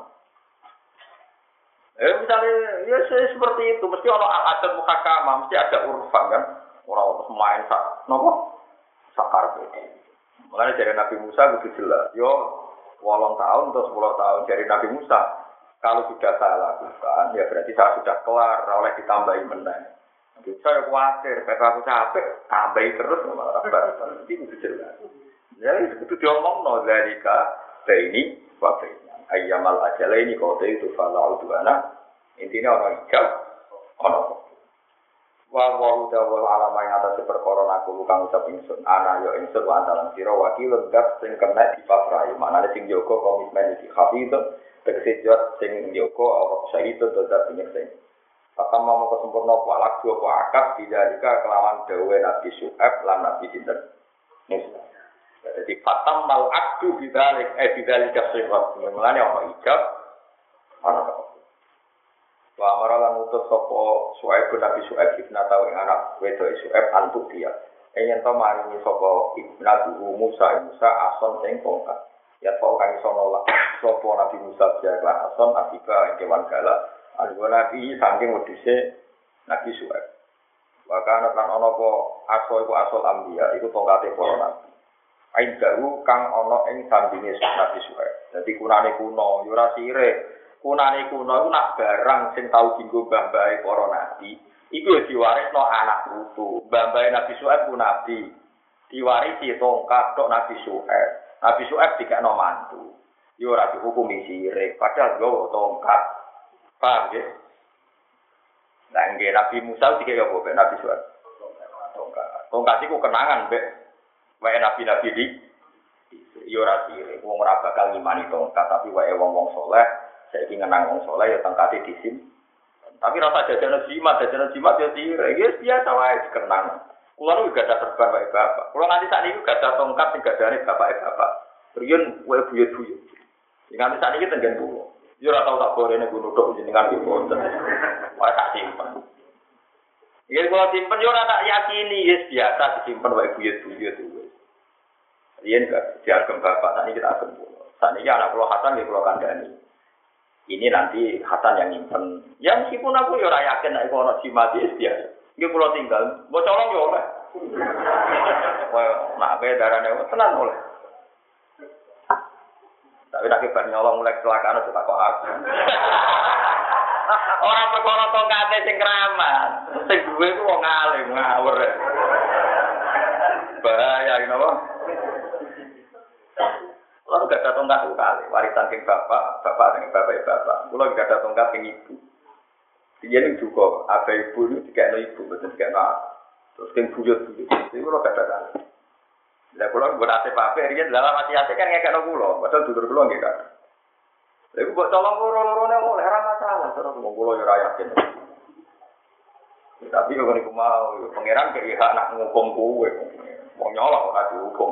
Misalnya ya seperti itu, mesti ono adat muhakama, mesti ada urfan kan. Orang main sak nopo? Sakar beda. Makanya dari Nabi Musa begitu jelas. Yo 8 tahun atau 10 tahun dari Nabi Musa. Kalau sudah saya lakukan, ya berarti saya sudah kelar, oleh ditambahi menang. Saya khawatir, karena aku capek, tambahi terus, malah itu jelas. Jadi itu diomong, no, dari ini, wakilnya. Ayyamal ajalah ini, kode itu, falau duana, intinya orang hijab, orang. Wawahu dawal alama yang atas perkoron aku lukang ucap ingsun, ana yo ingsun wa antalan siro, wakil lenggap, sing kena di pafrai, mana ada sing joko komitmen di khafi itu, tegese jot sing njoko apa syahid dodot penyeksen. Pertama mau kesempurna walak dua akad tidak kelawan dawe Nabi Syu'aib lan Nabi sinten Musa. Jadi fatam mal akdu bidzalik bidzalik sifat. Mulane ana ijab ana apa. Wa amara lan utus sapa Syu'aib Nabi Syu'aib ibn tahu ing anak wedok Syu'aib antuk dia. Yen to maringi sapa ibnu Musa ason sing tongkat. Ya tau kang iso nolak sapa Nabi Musa ya klason akiba kewan galak alwa nabi saking wedhuse Nabi Syu'aib. Wa kana lan ana apa aso iku asal ambiya iku tongkate para nabi. Aidahu kang ana ing sandinge Nabi Syu'aib. Dadi kunane kuno yo ora sire. Kunane kuno iku nak barang sing tau dienggo mbah-mbahe para nabi iku diwarisno anak putu. Mbah-mbahe Nabi Syu'aib ku nabi. Diwarisi tongkat tok Nabi Syu'aib. Nabi Syu'aib dikekno mantu. Yo ora dihukumi sirik, padahal nggawa tongkat. Paham ya? Lah nggih Nabi Musa dikek yo mbek Nabi Syu'aib. Tongkat. Tongkat iku kenangan mbek wae nabi-nabi di. Yo ora sirik, wong ora bakal ngimani tongkat, tapi wae wong-wong saleh, saiki ngenang wong saleh ya tongkate disim. Tapi rasa jajanan jimat ya sirik, ya biasa wae dikenang. Kulo nu gak ada serban wae bapak. Kulo nganti sak niki gak ada tongkat sing gadane bapak. Riyen wae buyut-buyut. Nganti sak niki tenggen kulo. Yo ora tau tak gorene gunung tok jenengan iki wonten. Wae tak simpen. Ya kalau simpen yo ora tak yakini, yes biasa disimpen wae buyut-buyut. Riyen gak diagem bapak, tadi kita agem pulau. Saat ini anak pulau Hasan di pulau Kandani. Ini nanti Hasan yang nyimpen. Ya meskipun aku ya yakin nek ono jimat dia. Iki pulau tinggal, mau colong yo oleh. Nak be darane tenan oleh. Tapi tak kibar nyolong mulai kecelakaan itu tak kok aku. Orang perkara tongkate sing keramat. Sing duwe ku wong alim ngawur. Bahaya iki napa? Kalau gak ada tongkat kali, warisan king bapak dengan bapak. Kalau gak ada tongkat king ibu, dia ini juga ada ibu ini tidak ibu, betul tidak terus king buyut. Jadi kalau gak ada kali. Nah kalau berarti bapak dia dalam hati kan nggak kena pulau, padahal dulur pulau nggak kan. Lalu buat tolong loro-lorone mulai masalah, terus mau pulau ya yakin. Tapi kalau niku mau pangeran kayak anak nghukum kue, mau nyolong orang dihukum.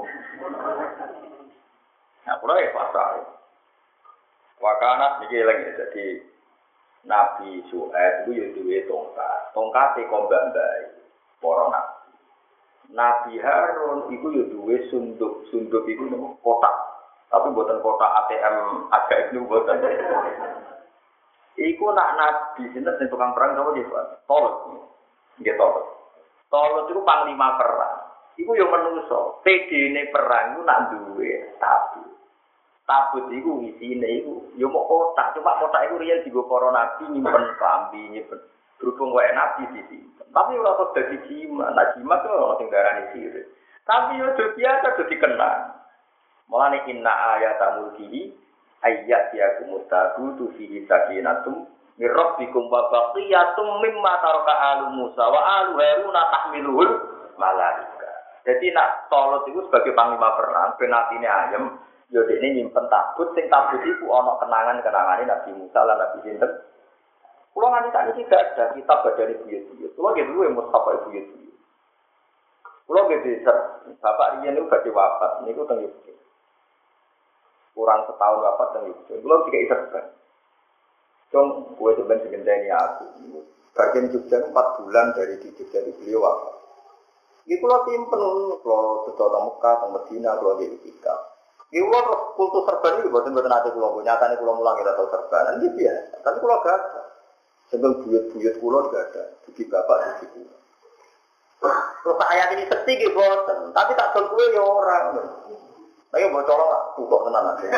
Nah, kalau ya pasal, wakana niki lagi jadi Nabi Syuaib itu yuduwe tongkat kombak bayi, para nabi. Nabi Harun itu yuduwe sunduk itu kotak, tapi buatan kotak ATM agak itu buatan. Iku nak nabi sinten tukang perang sama dia Pak, Tolut, Tolut itu panglima perang. Iku yo menungso, PD-ne perang itu nak duwe tabut. Tabut iku isine iku yo mok kotak, cuma kotak iku riyen digo para nabi nyimpen klambi, nyimpen berhubung wae nabi disimpen. Tapi ora kok dadi jimat, nah jimat itu ora sing darani sirik. Tapi yo biasa dadi kenang. Mulane inna ayatamul mulkihi ayat ya kumutabu fihi sakinatum mir rabbikum wa baqiyatum mimma taraka alu Musa wa alu Harun tahmiluhul malaika. Jadi nak Tolut itu sebagai panglima perang, penatine ayem. Yo dekne nyimpen tabut, sing tabut iku ana kenangan-kenangane Nabi Musa lan Nabi sinten. Kulo nganti sakniki tidak ada kitab badane buyut-buyut. Kulo nggih duwe mushaf buyut-buyut. Kulo nggih desa bapak riyen niku badhe wafat niku teng Yogyakarta. Kurang setahun wafat teng Yogyakarta. Kulo tiga iserban. Cung kowe sampeyan sing ngenteni aku. Bagian Jogja 4 bulan dari di Jogja beliau wafat. Iki kulo simpen kulo sedo teng Mekah, teng Madinah, kulo di Istiqamah. Iku kultus serban iki boten ate kula, nyatane kula mulang ora tau serban. Iki biasa, tapi kula gak ada. Sebab buyut-buyut kula gak ada. Dugi bapak dugi kula. Terus ayat ini sekti nggih boten, tapi tak dol kuwe ya ora. Ayo mbok colong tukok tenan aja.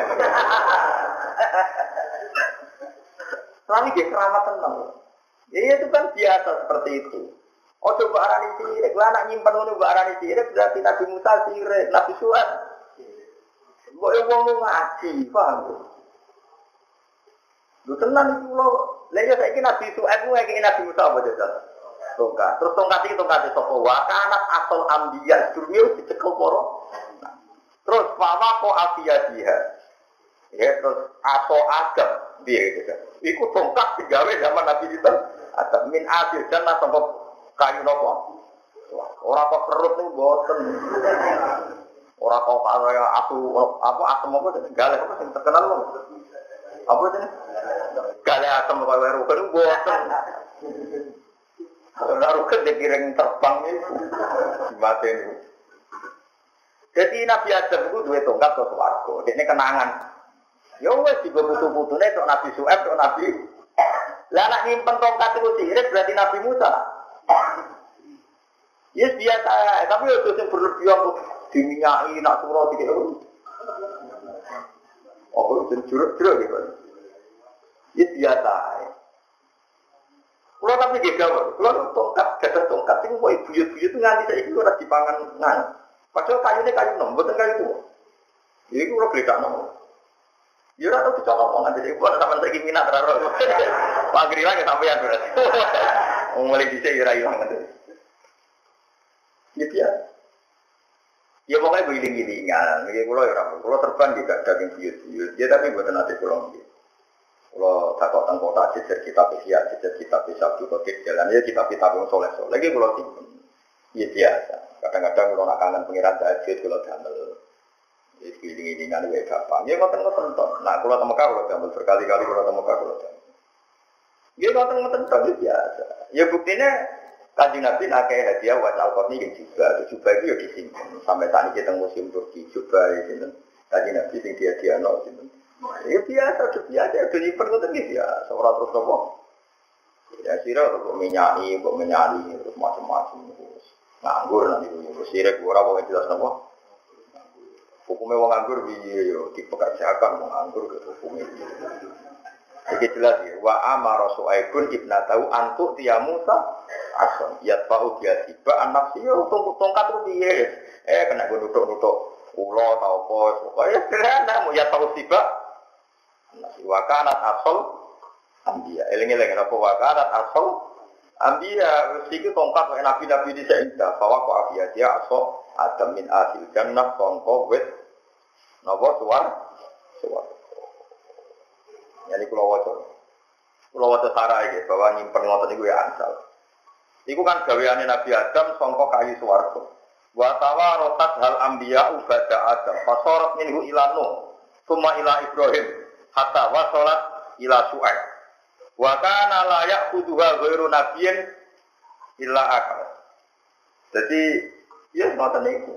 Selami nggih keramat tenan. Ya itu kan biasa seperti itu. Ojo mbok arani sirik, lha anak nyimpen ngono mbok arani sirik berarti Nabi Musa sirik, Nabi Syuaib kok wong ngaji, paham? Lho tenan iki kula, lha ya saiki Nabi Syuaib ku ngeki Nabi Musa apa jajal? Tongkat. Terus tongkat iki tongkat sapa wae kanat asal ambiya durmi dicekel para. Terus wawa kok afiyadiha. Ya terus atau agam piye gitu kan. Iku tongkat digawe zaman Nabi sinten? Ada min adil jannah sangko kayu napa? Ora kok perut niku boten. Ora kok kaya aku apa asem apa galeh apa sing terkenal lho. Apa jenenge? Galeh asem kaya weru kan boten. Ora ruket dikiring terbang niku. Dimateni. Jadi Nabi Adam itu duwe tongkat ke swarga. Dekne kenangan. Ya wis digo putu-putune tok Nabi Syuaib tok Nabi. Lah nek nyimpen tongkat itu sirik berarti Nabi Musa. Yes biasa, tapi itu sing berlebihan kok diminyaki nak surah dikek. Oh, itu juruk-juruk gitu. Yes biasa. Kalau tapi gak kalau tongkat, gadah tongkat itu kok buyut-buyut itu nganti saiki ora dipangan nang. Padahal kayune kayu nom, mboten kayu tuwa. Iki ora beda nom. Ya ora tau dicolong wong nganti iku ora sampeyan saiki minat ora ora. Pagri lagi sampeyan berarti. Wong mulai dhisik ya ora ilang nganti. Ya. Ya pokoknya giling-gilingan. Nggih kula ya ora. Kula terbang juga daging buyut-buyut. Ya tapi mboten nate kula nggih. Kula takok teng kota jejer kitab Ihya, jejer kitab Sabtu kok jalan ya kitab-kitab wong saleh-saleh. Lagi kula simpen. Ya biasa. Kadang-kadang kula nak kangen pengiran tahajud kula damel. Wis giling-gilingan wae gampang. Ya ngoten-ngoten to. Nah kula teng Mekah kula damel berkali-kali kula teng Mekah kula damel. Ya ngoten-ngoten to biasa. Ya buktinya Kanjeng Nabi nakeh hadiah wa al-Qurni yang juga itu ya disimpan sampai saat ini kita museum Turki juga itu Kanjeng Nabi sing dia no itu ya biasa udah nyimpen ngoten iki ya ora terus apa ya sira kok menyani terus macam-macam nganggur nanti yo sira ora kok jelas napa hukumnya wong nganggur piye yo dipekerjakan wong nganggur ke hukumnya iki jelas ya wa amara suaibun ibnatahu antu tiya Musa ason yatfa'u biasiba anak sih tongkat itu piye kena gue nutuk ulo tau apa pokoke sederhana mau yatfa'u siba anak sih wa kanat asal ambiya eling-eling apa wa kanat asal ambiya iki tongkat wae nabi-nabi di sainta bahwa kok afiya dia asal adam min asil jannah sangka wit napa suar yani kula waca sarah iki bahwa nyimpen ngoten niku ya ansal. Iku kan gaweane Nabi Adam sangka kayu swarga. Wa tawarotat hal anbiya ba'da Adam. Fasorat minhu ila Nuh, summa ila Ibrahim, hatta wasalat ila Syuaib. Wa kana la ya'khudhuha ghairu nabiyyin illa akal. Jadi ya ngoten niku.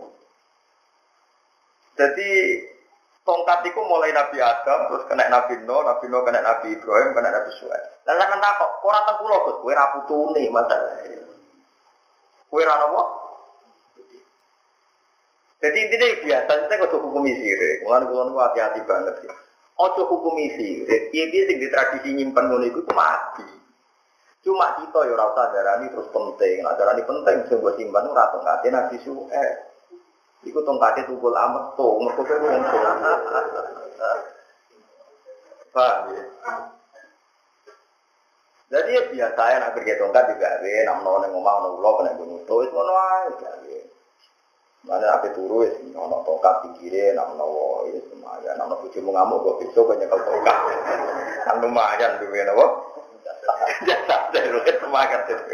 Jadi tongkat itu mulai Nabi Adam, terus kena Nabi Nuh kena Nabi Ibrahim, kena Nabi Syuaib. Lah sampeyan takok, ora teng kula Gus, kowe ra putune masalah. Kowe ra napa? Jadi intinya biasa kita kudu hukum sirik. Mulane kula niku hati-hati banget ya. Ojo hukum sirik. Piye-piye sing ditradisi nyimpen ngono iku mati. Cuma kita ya ora usah darani terus penting. Nek darani penting sing mbok simpen ora tongkate Nabi Syuaib. Iku tongkate tukul amet to, mergo kowe wong tuwa. Paham ya? Jadi ya biasa ya nak pergi tongkat juga we, nak menawa ning omah ono ulo kena gunung to wis ngono ae gawe. Mana ape turu wis ono tongkat pinggire nak menawa wis lumayan, nak bojomu ngamuk kok besok kok nyekel tongkat. Kan lumayan duwe napa? Jasa terus semangat itu.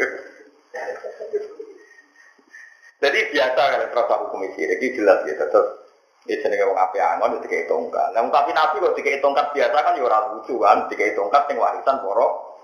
Jadi biasa kalau terasa hukum sirik ini jelas ya tetap ini jenenge wong apik angon dikai tongkat. Lah tapi Nabi kok dikai tongkat biasa kan ya ora lucu kan, dikai tongkat sing warisan para.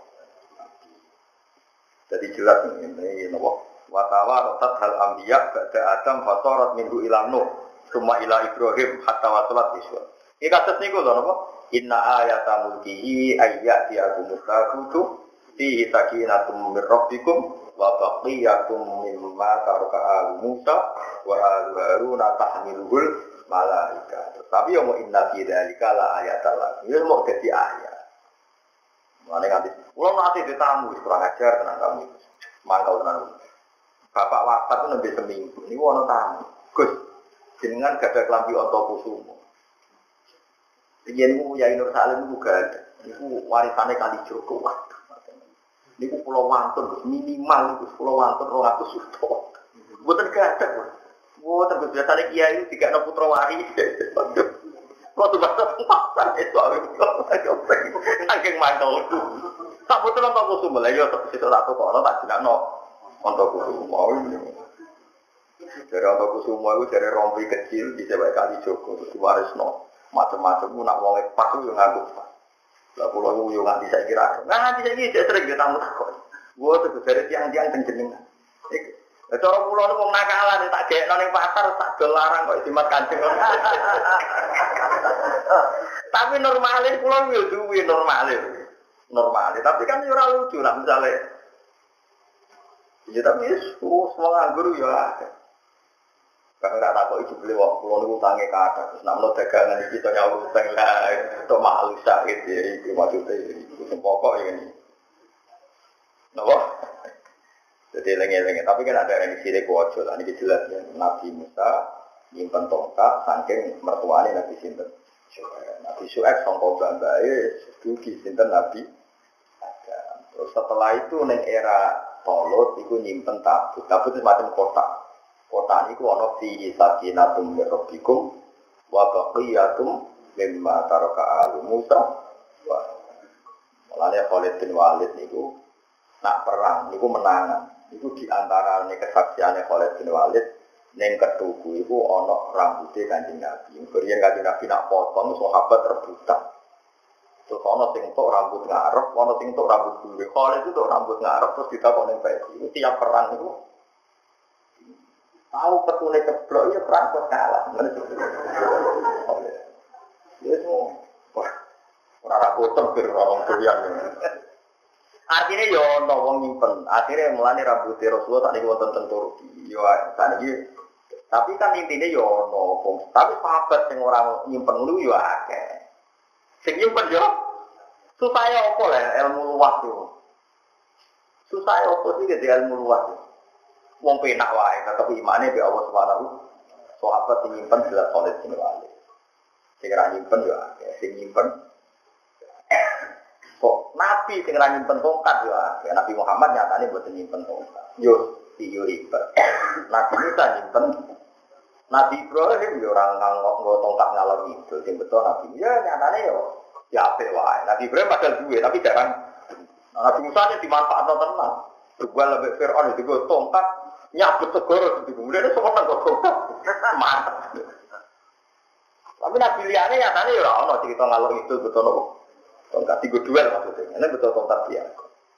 Jadi jelas ini napa wa tawarat hal anbiya ba'da Adam fasarat minhu ila Nuh summa ila Ibrahim hatta wasalat iswa. Iki kasus niku lho napa inna ayata mulkihi ayyati akumutakutu fi sakinatum mir rabbikum wa baqiyatum mimma taraka al-Musa wa al-Harun tahmiluhul malaika. Tapi yo mau inna fi dzalika la ayatal lakum. Yo mau dadi ayat. Mane nganti kula nate ditamu wis kurang ajar tenan kamu. Mangkal tenan. Bapak wafat itu nembe seminggu. Niku ana tamu. Gus, jenengan gak ada klambi Antakusuma. Riyen niku Yai Nur Salim niku gak ada. Niku warisane Kalijogo. Niku pulau wantun minimal niku pulau wantun 200 juta. Mboten gadah. Mboten biasane kiai iki dikakno putra waris. Kok tuh bahasa pasar itu saking mantul. Tak betul untuk kusum lah yo situ satu kok tak dikakno untuk kusum mau ini. Dari untuk kusum itu dari rompi kecil di sebelah Kalijogo terus warisno macam-macam nak wong pas yo nganggo. Lah kula yo nganti saiki ra. Nganti saiki sering ketemu takon. Wo terus dari tiang-tiang jenengan. Cara kula niku wong nakalan tak gekno ning pasar tak dolarang kok dimat Kanjeng. Tapi normale kula yo duwe normale. Normale, tapi kan yo ora lucu lah misale. Ya tapi semua nganggur yo akeh. Kalau tak tahu itu beli waktu pulau itu tangi kata, terus namun dagangan itu kita nyawa utang lah, itu malu sakit ya, itu maksudnya itu pokok ini. Napa? Jadi lengi-lengi, tapi kan ada yang di sini kuojo lah, ini jelas ya. Nabi Musa nyimpen tongkat, saking mertuanya Nabi Sinten. Nabi Syuaib sangka bambae, dugi Sinten Nabi Adam. Terus setelah itu neng era Tolut, itu nyimpen tabut itu macam kotak Kota niku ana fi sakinatum min rabbikum wa baqiyatum mimma taraka alu Musa. Mulane Khalid bin Walid niku nak perang niku menangan. Iku di antara kesaksiane Khalid bin Walid ning ketuku iku ana rambuté Kanjeng Nabi. Kemudian Kanjeng Nabi nak potong sahabat rebutan. Terus ana sing tok rambut ngarep, ana sing tok rambut gure. Khalid itu tok rambut ngarep terus ditakoni ning peci. Iku tiap perang niku tahu petune ceblok ya perang kok kalah. Ya semua. Wah. Ora ra potong bir wong doyan. Artinya yo ono wong nyimpen. Akhirnya mulane rambute Rasulullah sak niku wonten teng Turki. Yo saniki. Tapi kan intine yo ono wong. Tapi sahabat sing ora nyimpen ngono yo akeh. Sing nyimpen yo supaya apa lah ilmu luas yo. Supaya apa sih gede ilmu luas. Wong penak wae tetep imane be Allah Subhanahu. Sahabat sing nyimpen jelas Khalid bin Walid. Sing ora nyimpen yo akeh. Sing nyimpen kok Nabi sing ora nyimpen tongkat yo akeh. Nabi Muhammad nyatane mboten nyimpen tongkat. Yo ribet. Nabi Musa nyimpen. Nabi Ibrahim yo ora nganggo tongkat ngalor itu. Sing betul Nabi ya nyatane yo ya apik wae. Nabi Ibrahim padahal duwe tapi jarang. Nabi Musa nya dimanfaatno tenan. Juga lebih Fir'aun itu tongkat nyabut segoro itu. Kemudian itu semua nggak tongkat. Mantap. Tapi Nabi liane nyatane yo ora ono cerita ngalor itu betul nopo. Tongkat tiga duel maksudnya. Ini betul tongkat biasa.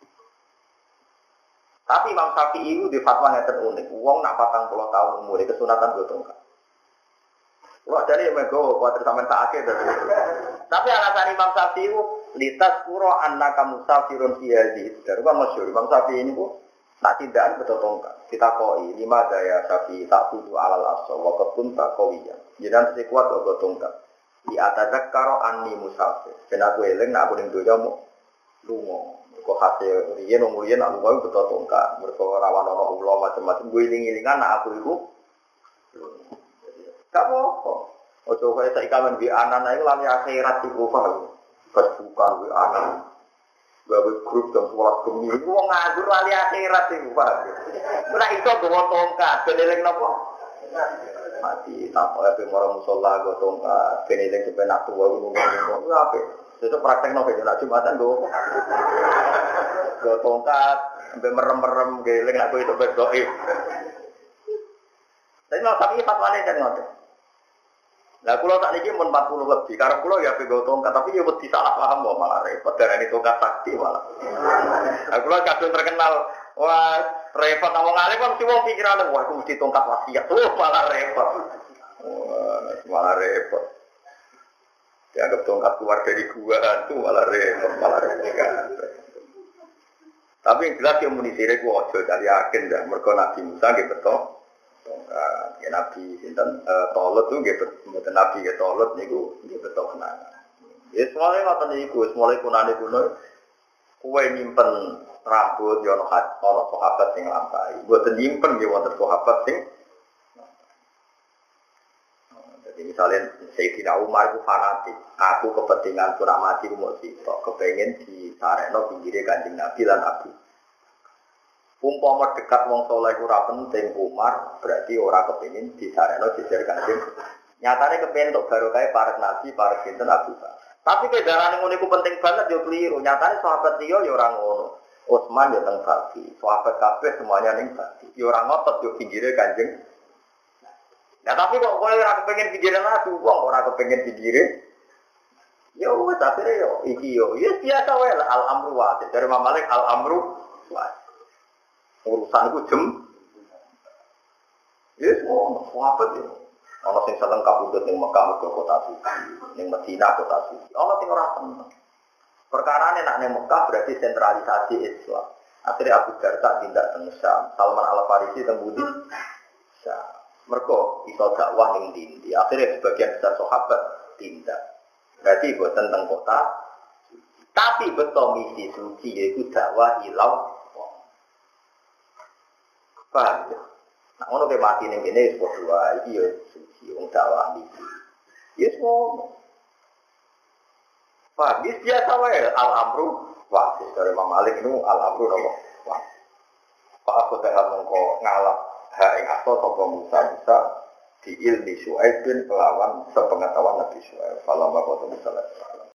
Tapi Imam Syafi'i itu di fatwa yang terunik. Uang nak 40 tahun umur kesunatan gue tongkat. Wah jadi mego kuatir sampean tak akeh dari. Tapi alasan Imam Syafi'i itu litas puro annaka musafirun fi hadhihi. Dari kan masyhur Imam Syafi'i ini ku tak tindakan betul tongkat. Kita koi 5 daya Syafi'i tak tuju alal asal wa qad tak qawiyan. Jangan sekuat kok tongkat. Di atadzakaro anni musafir. Ben aku eling nak aku ning donya mu lunga. Kok hasil riyen umur riyen aku wae betul tongkat. Mergo rawan ana ulama macam-macam gue iling-ilingan nak aku iku. Gak apa-apa. Ojo kaya saiki kamen di anak iku lali akhirat iku Pak. Pas bukan di anak. Gawe grup jam 11 bengi iku wong nganggur lali akhirat iku Pak. Ora iso gowo tongkat, ben eling napa? Mati tak oleh pemora musala go tongkat, ben eling sampe nak tuwa ngono-ngono. Apik. Sesuk praktekno ben nak Jumatan go. Go tongkat, sampe merem-merem geling nak kowe itu berdoa. Tapi mau tapi fatwane kan ngoten. Lah kula sak niki mun 40 lebih, karep kula ya pego tongkat, tapi ya wedi salah paham kok malah repot darani tongkat sakti malah. Lah kula kadung terkenal, wah repot wong alim kan mesti wong pikirane wah aku mesti tongkat wasiat. Malah repot. Malah repot. Dianggap tongkat keluar dari gua itu malah repot. Tapi yang jelas yang munisire ku aja cari yakin dah mergo Nabi Musa nggih beto. Tongkat ya Nabi sinten Tolut tuh nggih mboten Nabi ya Tolut niku nggih beto kenangan. Ya semuanya ngoten niku, semuanya kunane kuno kowe nyimpen rambut ya ono sahabat sing lampahi. Mboten nyimpen nggih wonten sahabat sing jadi misalnya Sayyidina Umar itu fanatik. Aku kepentingan pura mati ku mesti kepengen di sareno pinggire Kanjeng Nabi lan Abu. Umpama dekat wong saleh ora penting Umar, berarti ora kepengin di sareno jejer Kanjeng. Nyatane kepengin untuk barokah para nabi, para sinten Abu Bakar. Tapi kedarane ngono iku penting banget yo kliru. Nyatane sahabat liya yo ora ngono. Utsman yo teng Baki, sahabat kabeh semuanya ning Baki. Yo ora ngotot yo pinggire Kanjeng. Nah tapi kok kowe ora kepengin pinggire Nabi, wong ora kepengin pinggire. Yo wis akhire yo iki yo biasa wae al-amru wa. Dari Imam Malik al-amru wa. Urusan ku jem. Yes, sahabat yo. Ana sing seneng kabudut ning Mekah ke kota suci, ning Madinah kota suci. Ana sing ora seneng. Perkarane nek ning Mekah berarti sentralisasi Islam. Akhirnya Abu Darda tindak teng Syam, Salman Al-Farisi teng Budi. Syam. Mergo iso dakwah ning ndi. Akhirnya sebagian besar sahabat tindak. Berarti boten teng kota. Tapi betul misi suci yaitu dakwah ilau. Paham ya? Nah, ngono ke mati ning kene wis padha iki ya suci wong dakwah iki. Ya semua. Pak, biasa wae al-amru wajib dari Imam Malik itu al-amru nopo. Wah. Pak aku tak mongko ngalap hak ing asto sapa Musa di ilmi Syuaib bin kelawan sepengetahuan Nabi Syuaib. Falamma qad Musa